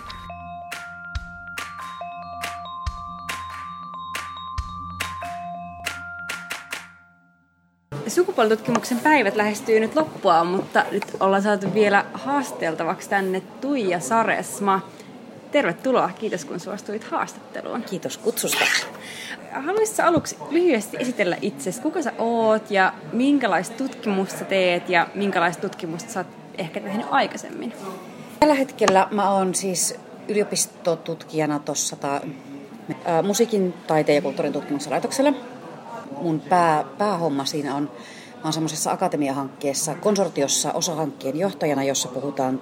Sukupuolitutkimuksen päivät lähestyy nyt loppua, mutta nyt ollaan saatu vielä haasteltavaksi tänne Tuija Saresma. Tervetuloa, kiitos kun suostuit haastatteluun. Kiitos kutsusta. Haluaisitko aluksi lyhyesti esitellä itsesi, kuka sä oot ja minkälaista tutkimusta teet ja minkälaista tutkimusta sä oot ehkä tehnyt aikaisemmin? Tällä hetkellä mä oon siis yliopistotutkijana tuossa musiikin, taiteen ja kulttuurin tutkimuksen laitoksella. Mun päähomma siinä on, mä oon semmoisessa akatemiahankkeessa, konsortiossa osahankkeen johtajana, jossa puhutaan,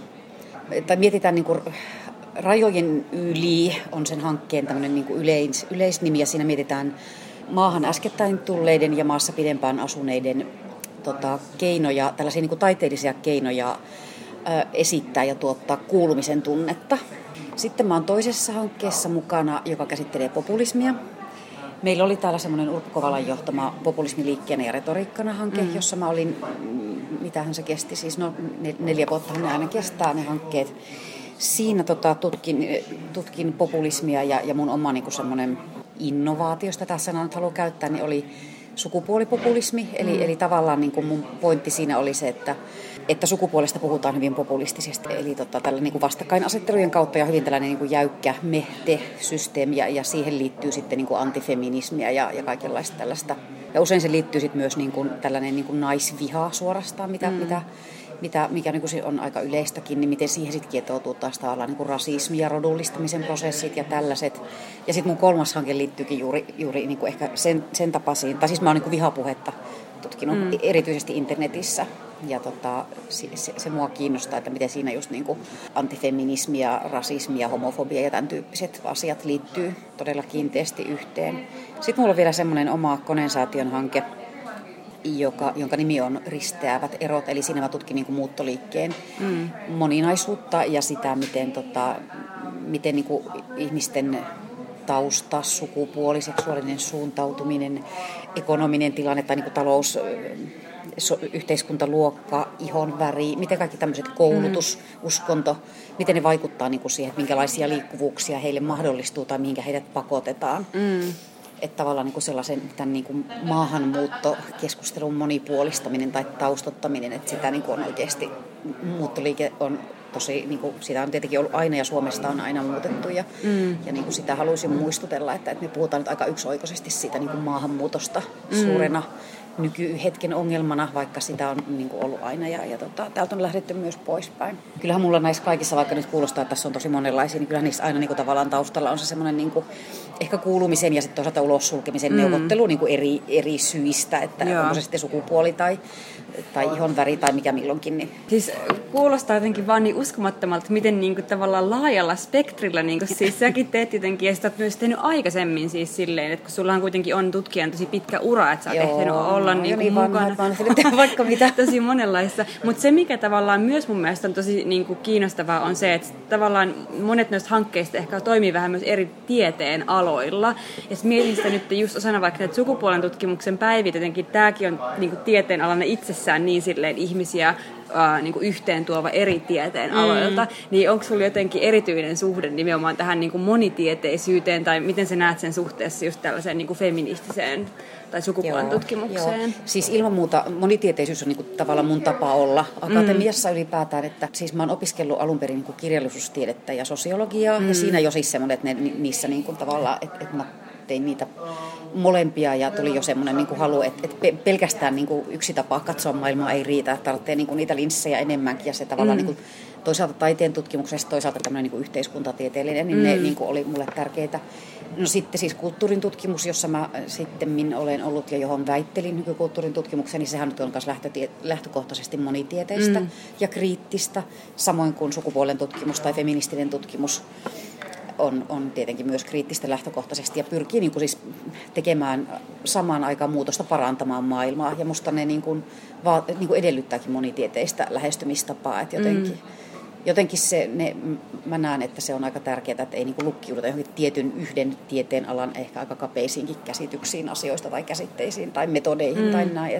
tai mietitään niin kuin rajojen yli, on sen hankkeen tämmöinen niin kuin yleisnimi, ja siinä mietitään maahan äskettäin tulleiden ja maassa pidempään asuneiden keinoja, tällaisia niin kuin taiteellisia keinoja esittää ja tuottaa kuulumisen tunnetta. Sitten mä oon toisessa hankkeessa mukana, joka käsittelee populismia. Meillä oli täällä semmoinen Urpo Kovalan johtama populismiliikkeenä ja retoriikkana hanke, jossa mä olin, mitähän se kesti, siis 4 vuotta ne aina kestää ne hankkeet. Siinä tutkin populismia ja mun oma niin kuin semmoinen innovaatiosta tässä sanaa nyt haluan käyttää, niin oli sukupuolipopulismi. Eli tavallaan niin kuin mun pointti siinä oli se, että sukupuolesta puhutaan hyvin populistisesti. Eli tällä niin kuin vastakkainasettelujen kautta ja hyvin tällainen niin kuin jäykkä me-te-systeemi. Ja siihen liittyy sitten niin kuin antifeminismiä ja kaikenlaista tällaista. Ja usein se liittyy sitten myös niin kuin tällainen niin kuin naisviha suorastaan, mikä niin kuin on aika yleistäkin, niin miten siihen sitten kietoutuu taas tavallaan niin kuin rasismi ja rodullistamisen prosessit ja tällaiset. Ja sitten mun 3. hanke liittyykin juuri niin kuin ehkä sen tapaisiin, tai siis mä oon niin kuin vihapuhetta tutkinut erityisesti internetissä. Ja se mua kiinnostaa, että miten siinä just niin kuin antifeminismi ja rasismi ja homofobia ja tämän tyyppiset asiat liittyy todella kiinteästi yhteen. Sitten mulla on vielä semmoinen oma kondensaation hanke, jonka nimi on Risteävät erot. Eli siinä mä tutkin niin kuin muuttoliikkeen moninaisuutta ja sitä, miten niin kuin ihmisten tausta, sukupuoli, seksuaalinen suuntautuminen, ekonominen tilanne tai niin kuin yhteiskuntaluokka, ihonväri, miten kaikki tämmöiset koulutus, uskonto, miten ne vaikuttaa niin kuin siihen, että minkälaisia liikkuvuuksia heille mahdollistuu tai mihinkä heidät pakotetaan. Että tavallaan niin kuin sellaisen tämän niin kuin maahanmuuttokeskustelun monipuolistaminen tai taustottaminen, että sitä niin kuin on oikeasti, muuttoliike on tosi, niin kuin, sitä on tietenkin ollut aina ja Suomesta on aina muutettu ja niin kuin sitä haluaisin muistutella, että me puhutaan nyt aika yksioikoisesti siitä niin kuin maahanmuutosta suurena nykyhetken ongelmana, vaikka sitä on niin kuin ollut aina ja täältä on lähdetty myös poispäin. Kyllähän mulla näissä kaikissa, vaikka nyt kuulostaa, että tässä on tosi monenlaisia, niin kyllähän niissä aina niin kuin tavallaan taustalla on se semmoinen niin kuin ehkä kuulumisen ja sitten toisaalta ulos sulkemisen neuvottelu niin kuin eri syistä, että onko se sitten sukupuoli tai ihonväri tai mikä milloinkin. Niin. Siis kuulostaa jotenkin vaan niin uskomattomalta, miten niin kuin tavallaan laajalla spektrillä, niin kuin, siis säkin teet jotenkin, ja sitä olet myös tehnyt aikaisemmin siis silleen, että kun sullahan kuitenkin on tutkijan tosi pitkä ura, että sä oot ehtinyt olla niin mukana vaikka mitä. Tosi monenlaista. Mutta se, mikä tavallaan myös mun mielestä on tosi niin kuin kiinnostavaa, on se, että tavallaan monet noista hankkeista ehkä toimii vähän myös eri tieteen aloilla. Ja mietin sitä nyt just osana vaikka näitä sukupuolen tutkimuksen päiviä, jotenkin tämäkin on niin kuin tieteen alana itsessään niin silleen ihmisiä niin kuin yhteen tuova eri tieteen aloilta, niin onko sulla jotenkin erityinen suhde nimenomaan tähän niin kuin monitieteisyyteen, tai miten sä näet sen suhteessa just tällaiseen niin kuin feministiseen tai sukupuolen tutkimukseen? Joo. Siis ilman muuta monitieteisyys on niin kuin tavallaan mun tapa olla akatemiassa ylipäätään, että siis mä oon opiskellut alun perin niin kuin kirjallisuustiedettä ja sosiologiaa, ja siinä jo siis semmoinen, että niissä niin kuin tavallaan, että mä tein niitä molempia ja tuli jo semmoinen niin kuin halu, että pelkästään niin kuin yksi tapa katsoa maailmaa ei riitä, että tarvitsee niin kuin niitä linssejä enemmänkin ja se tavallaan niin kuin, toisaalta taiteen tutkimuksessa, toisaalta tämmöinen niin kuin yhteiskuntatieteellinen, niin ne niin kuin oli mulle tärkeitä. No sitten siis kulttuurin tutkimus, jossa mä sitten olen ollut ja johon väittelin nykykulttuurin tutkimukseen, niin sehän nyt on myös lähtökohtaisesti monitieteistä ja kriittistä, samoin kuin sukupuolen tutkimus tai feministinen tutkimus. On tietenkin myös kriittistä lähtökohtaisesti ja pyrkii niin kuin siis tekemään samaan aikaan muutosta, parantamaan maailmaa. Ja musta ne niin kuin edellyttääkin monitieteistä lähestymistapaa. Että jotenkin mä näen, että se on aika tärkeää, että ei niin kuin lukkiuduta johonkin tietyn yhden tieteen alan ehkä aika kapeisiinkin käsityksiin asioista tai käsitteisiin tai metodeihin tai näin.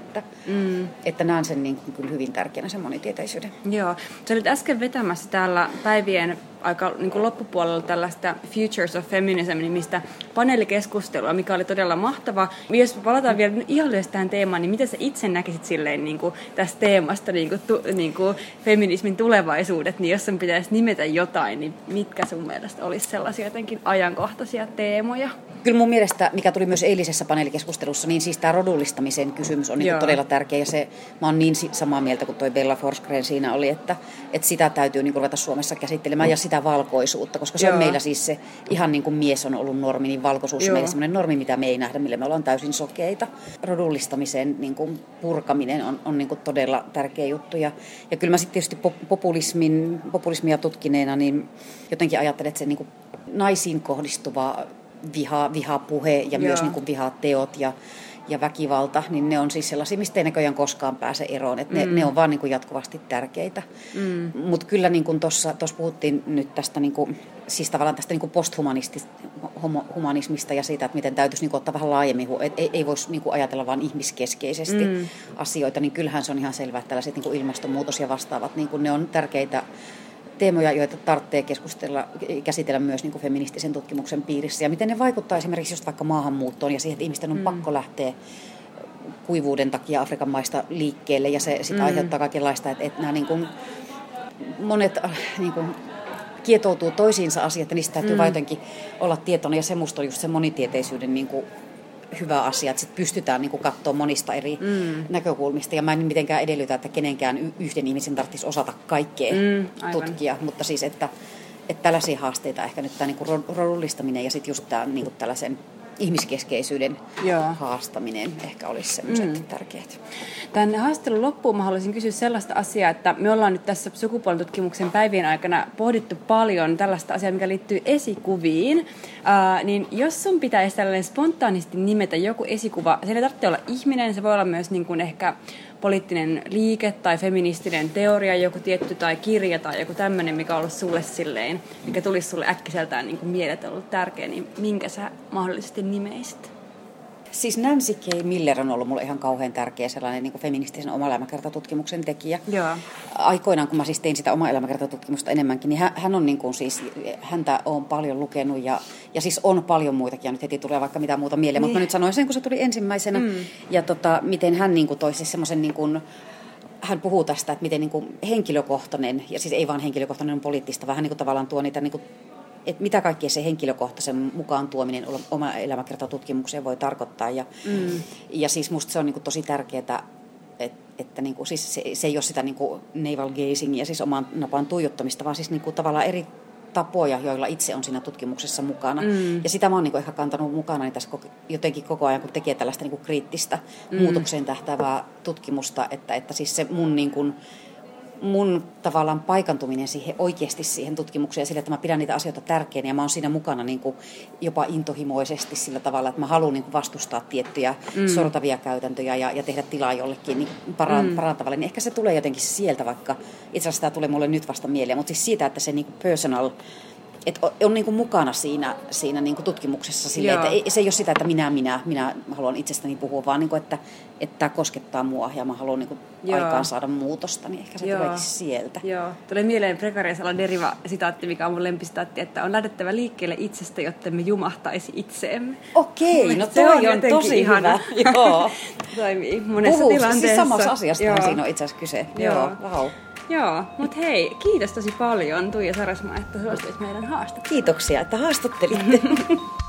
Että näen sen niin kuin kyllä hyvin tärkeänä sen monitieteisyyden. Joo. Sä olit äsken vetämässä täällä päivien aika niin kuin loppupuolella tällaista Futures of Feminism-nimistä paneelikeskustelua, mikä oli todella mahtava. Jos palataan vielä ihan lyhyesti tähän teemaan, niin miten sä itse näkisit silleen niin kuin tästä teemasta niin kuin feminismin tulevaisuudet, niin jos sun pitäisi nimetä jotain, niin mitkä sun mielestä olisi sellaisia jotenkin ajankohtaisia teemoja? Kyllä mun mielestä, mikä tuli myös eilisessä paneelikeskustelussa, niin siis tämä rodullistamisen kysymys on niin todella tärkeä. Ja mä oon niin samaa mieltä kuin toi Bella Forsgren siinä oli, että sitä täytyy niin kuin ruveta Suomessa käsittelemään ja sitä valkoisuutta, koska se on meillä siis se ihan niin kuin mies on ollut normi, niin valkoisuus on meillä semmoinen normi, mitä me ei nähdä, millä me ollaan täysin sokeita. Rodullistamisen niin kuin purkaminen on niin kuin todella tärkeä juttu. Ja kyllä mä sitten tietysti populismia tutkineena, niin jotenkin ajattelen, että se niin kuin naisiin kohdistuva vihapuhe ja myös niin kuin vihateot ja väkivalta, niin ne on siis sellaisia, mistä ei näköjään koskaan pääse eroon. Että ne on vaan niin kuin jatkuvasti tärkeitä. Mutta kyllä niin kuin tuossa puhuttiin nyt tästä, niin kuin, siis tavallaan tästä niin kuin posthumanismista ja siitä, että miten täytyisi niin kuin ottaa vähän laajemmin, että ei voisi niin kuin ajatella vain ihmiskeskeisesti asioita, niin kyllähän se on ihan selvää, että tällaiset niin kuin ilmastonmuutos ja vastaavat, niin kuin ne on tärkeitä teemoja, joita tarvitsee käsitellä myös niin kuin feministisen tutkimuksen piirissä. Ja miten ne vaikuttaa esimerkiksi just vaikka maahanmuuttoon ja siihen, että ihmisten on pakko lähteä kuivuuden takia Afrikan maista liikkeelle. Ja se sitä aiheuttaa kaikenlaista, että nämä niin kuin, monet niin kuin, kietoutuu toisiinsa asiat ja niistä täytyy vain jotenkin olla tietoinen. Ja se musta on just se monitieteisyyden niin kuin, hyvä asia, että sit pystytään niin kuin katsoa monista eri näkökulmista. Ja mä en mitenkään edellytä, että kenenkään yhden ihmisen tarvitsisi osata kaikkea tutkia, mutta siis, että tällaisia haasteita ehkä nyt tämä niin kuin rodullistaminen ja sitten just tämä niin kuin tällaisen ihmiskeskeisyyden haastaminen ehkä olisi sellaiset tärkeät. Tämän haastattelun loppuun mä haluaisin kysyä sellaista asiaa, että me ollaan nyt tässä sukupuolen tutkimuksen päivien aikana pohdittu paljon tällaista asiaa, mikä liittyy esikuviin. Niin jos sun pitäisi tällainen spontaanisti nimetä joku esikuva, se ei tarvitse olla ihminen, se voi olla myös niin kuin ehkä poliittinen liike tai feministinen teoria, joku tietty tai kirja tai joku tämmöinen, mikä on ollut sulle silleen, mikä tulisi sulle äkkiseltään niin kuin mieleen, ollut tärkeä, niin minkä sä mahdollisesti nimeisit? Siis Nancy K. Miller on ollut mulle ihan kauhean tärkeä sellainen niin kuin feministisen oma-elämäkertatutkimuksen tekijä. Joo. Aikoinaan, kun mä siis tein sitä oma-elämäkertatutkimusta enemmänkin, niin hän on niin kuin siis, häntä on paljon lukenut ja siis on paljon muitakin, ja nyt heti tulee vaikka mitä muuta mieleen, mutta mä nyt sanoin sen, kun se tuli ensimmäisenä. Ja miten hän niin kuin toi siis semmoisen niin kuin, hän puhuu tästä, että miten niin kuin henkilökohtainen, ja siis ei vaan henkilökohtainen on poliittista, vaan hän niin kuin tavallaan tuo niitä, niin kuin, että mitä kaikkea se henkilökohtaisen mukaan tuominen oma elämäkertatutkimukseen voi tarkoittaa. Ja siis musta se on niin kuin tosi tärkeää, että niin kuin, siis se ei ole sitä niin kuin navel gazingia, siis oman napaan tuijottamista, vaan siis niin kuin tavallaan eri tapoja, joilla itse on siinä tutkimuksessa mukana. Ja sitä mä oon niin ehkä kantanut mukana tässä jotenkin koko ajan, kun tekee tällaista niin kuin kriittistä muutokseen tähtäävää tutkimusta, että siis se mun tavallaan paikantuminen oikeasti siihen tutkimukseen ja sille, että mä pidän niitä asioita tärkeinä ja mä oon siinä mukana niin kuin jopa intohimoisesti sillä tavalla, että mä haluan niin kuin vastustaa tiettyjä sortavia käytäntöjä ja tehdä tilaa jollekin niin parantavalle, niin ehkä se tulee jotenkin sieltä, vaikka itse asiassa tämä tulee mulle nyt vasta mieleen, mutta siis siitä, että se niin kuin personal, että on niin kuin mukana siinä niin kuin tutkimuksessa silleen, että se ei ole sitä, että minä haluan itsestäni puhua, vaan niin kuin, että tämä koskettaa mua ja mä haluan niin kuin aikaan saada muutosta, niin ehkä se tuleekin sieltä. Joo, tulee mieleen Prekariasala deriva-sitaatti, mikä on mun lempisitaatti, että on lähdettävä liikkeelle itsestä, jotta me jumahtaisi itseemme. Okei, no toi on tosi ihana. Hyvä. Joo. Toimii monessa tilanteessa. Siis samassa asiasta siinä on itse asiassa kyse. Joo, wow. Joo, mutta hei, kiitos tosi paljon Tuija Sarasmaa, että suostuit meidän haastatteluun. Kiitoksia, että haastattelitte.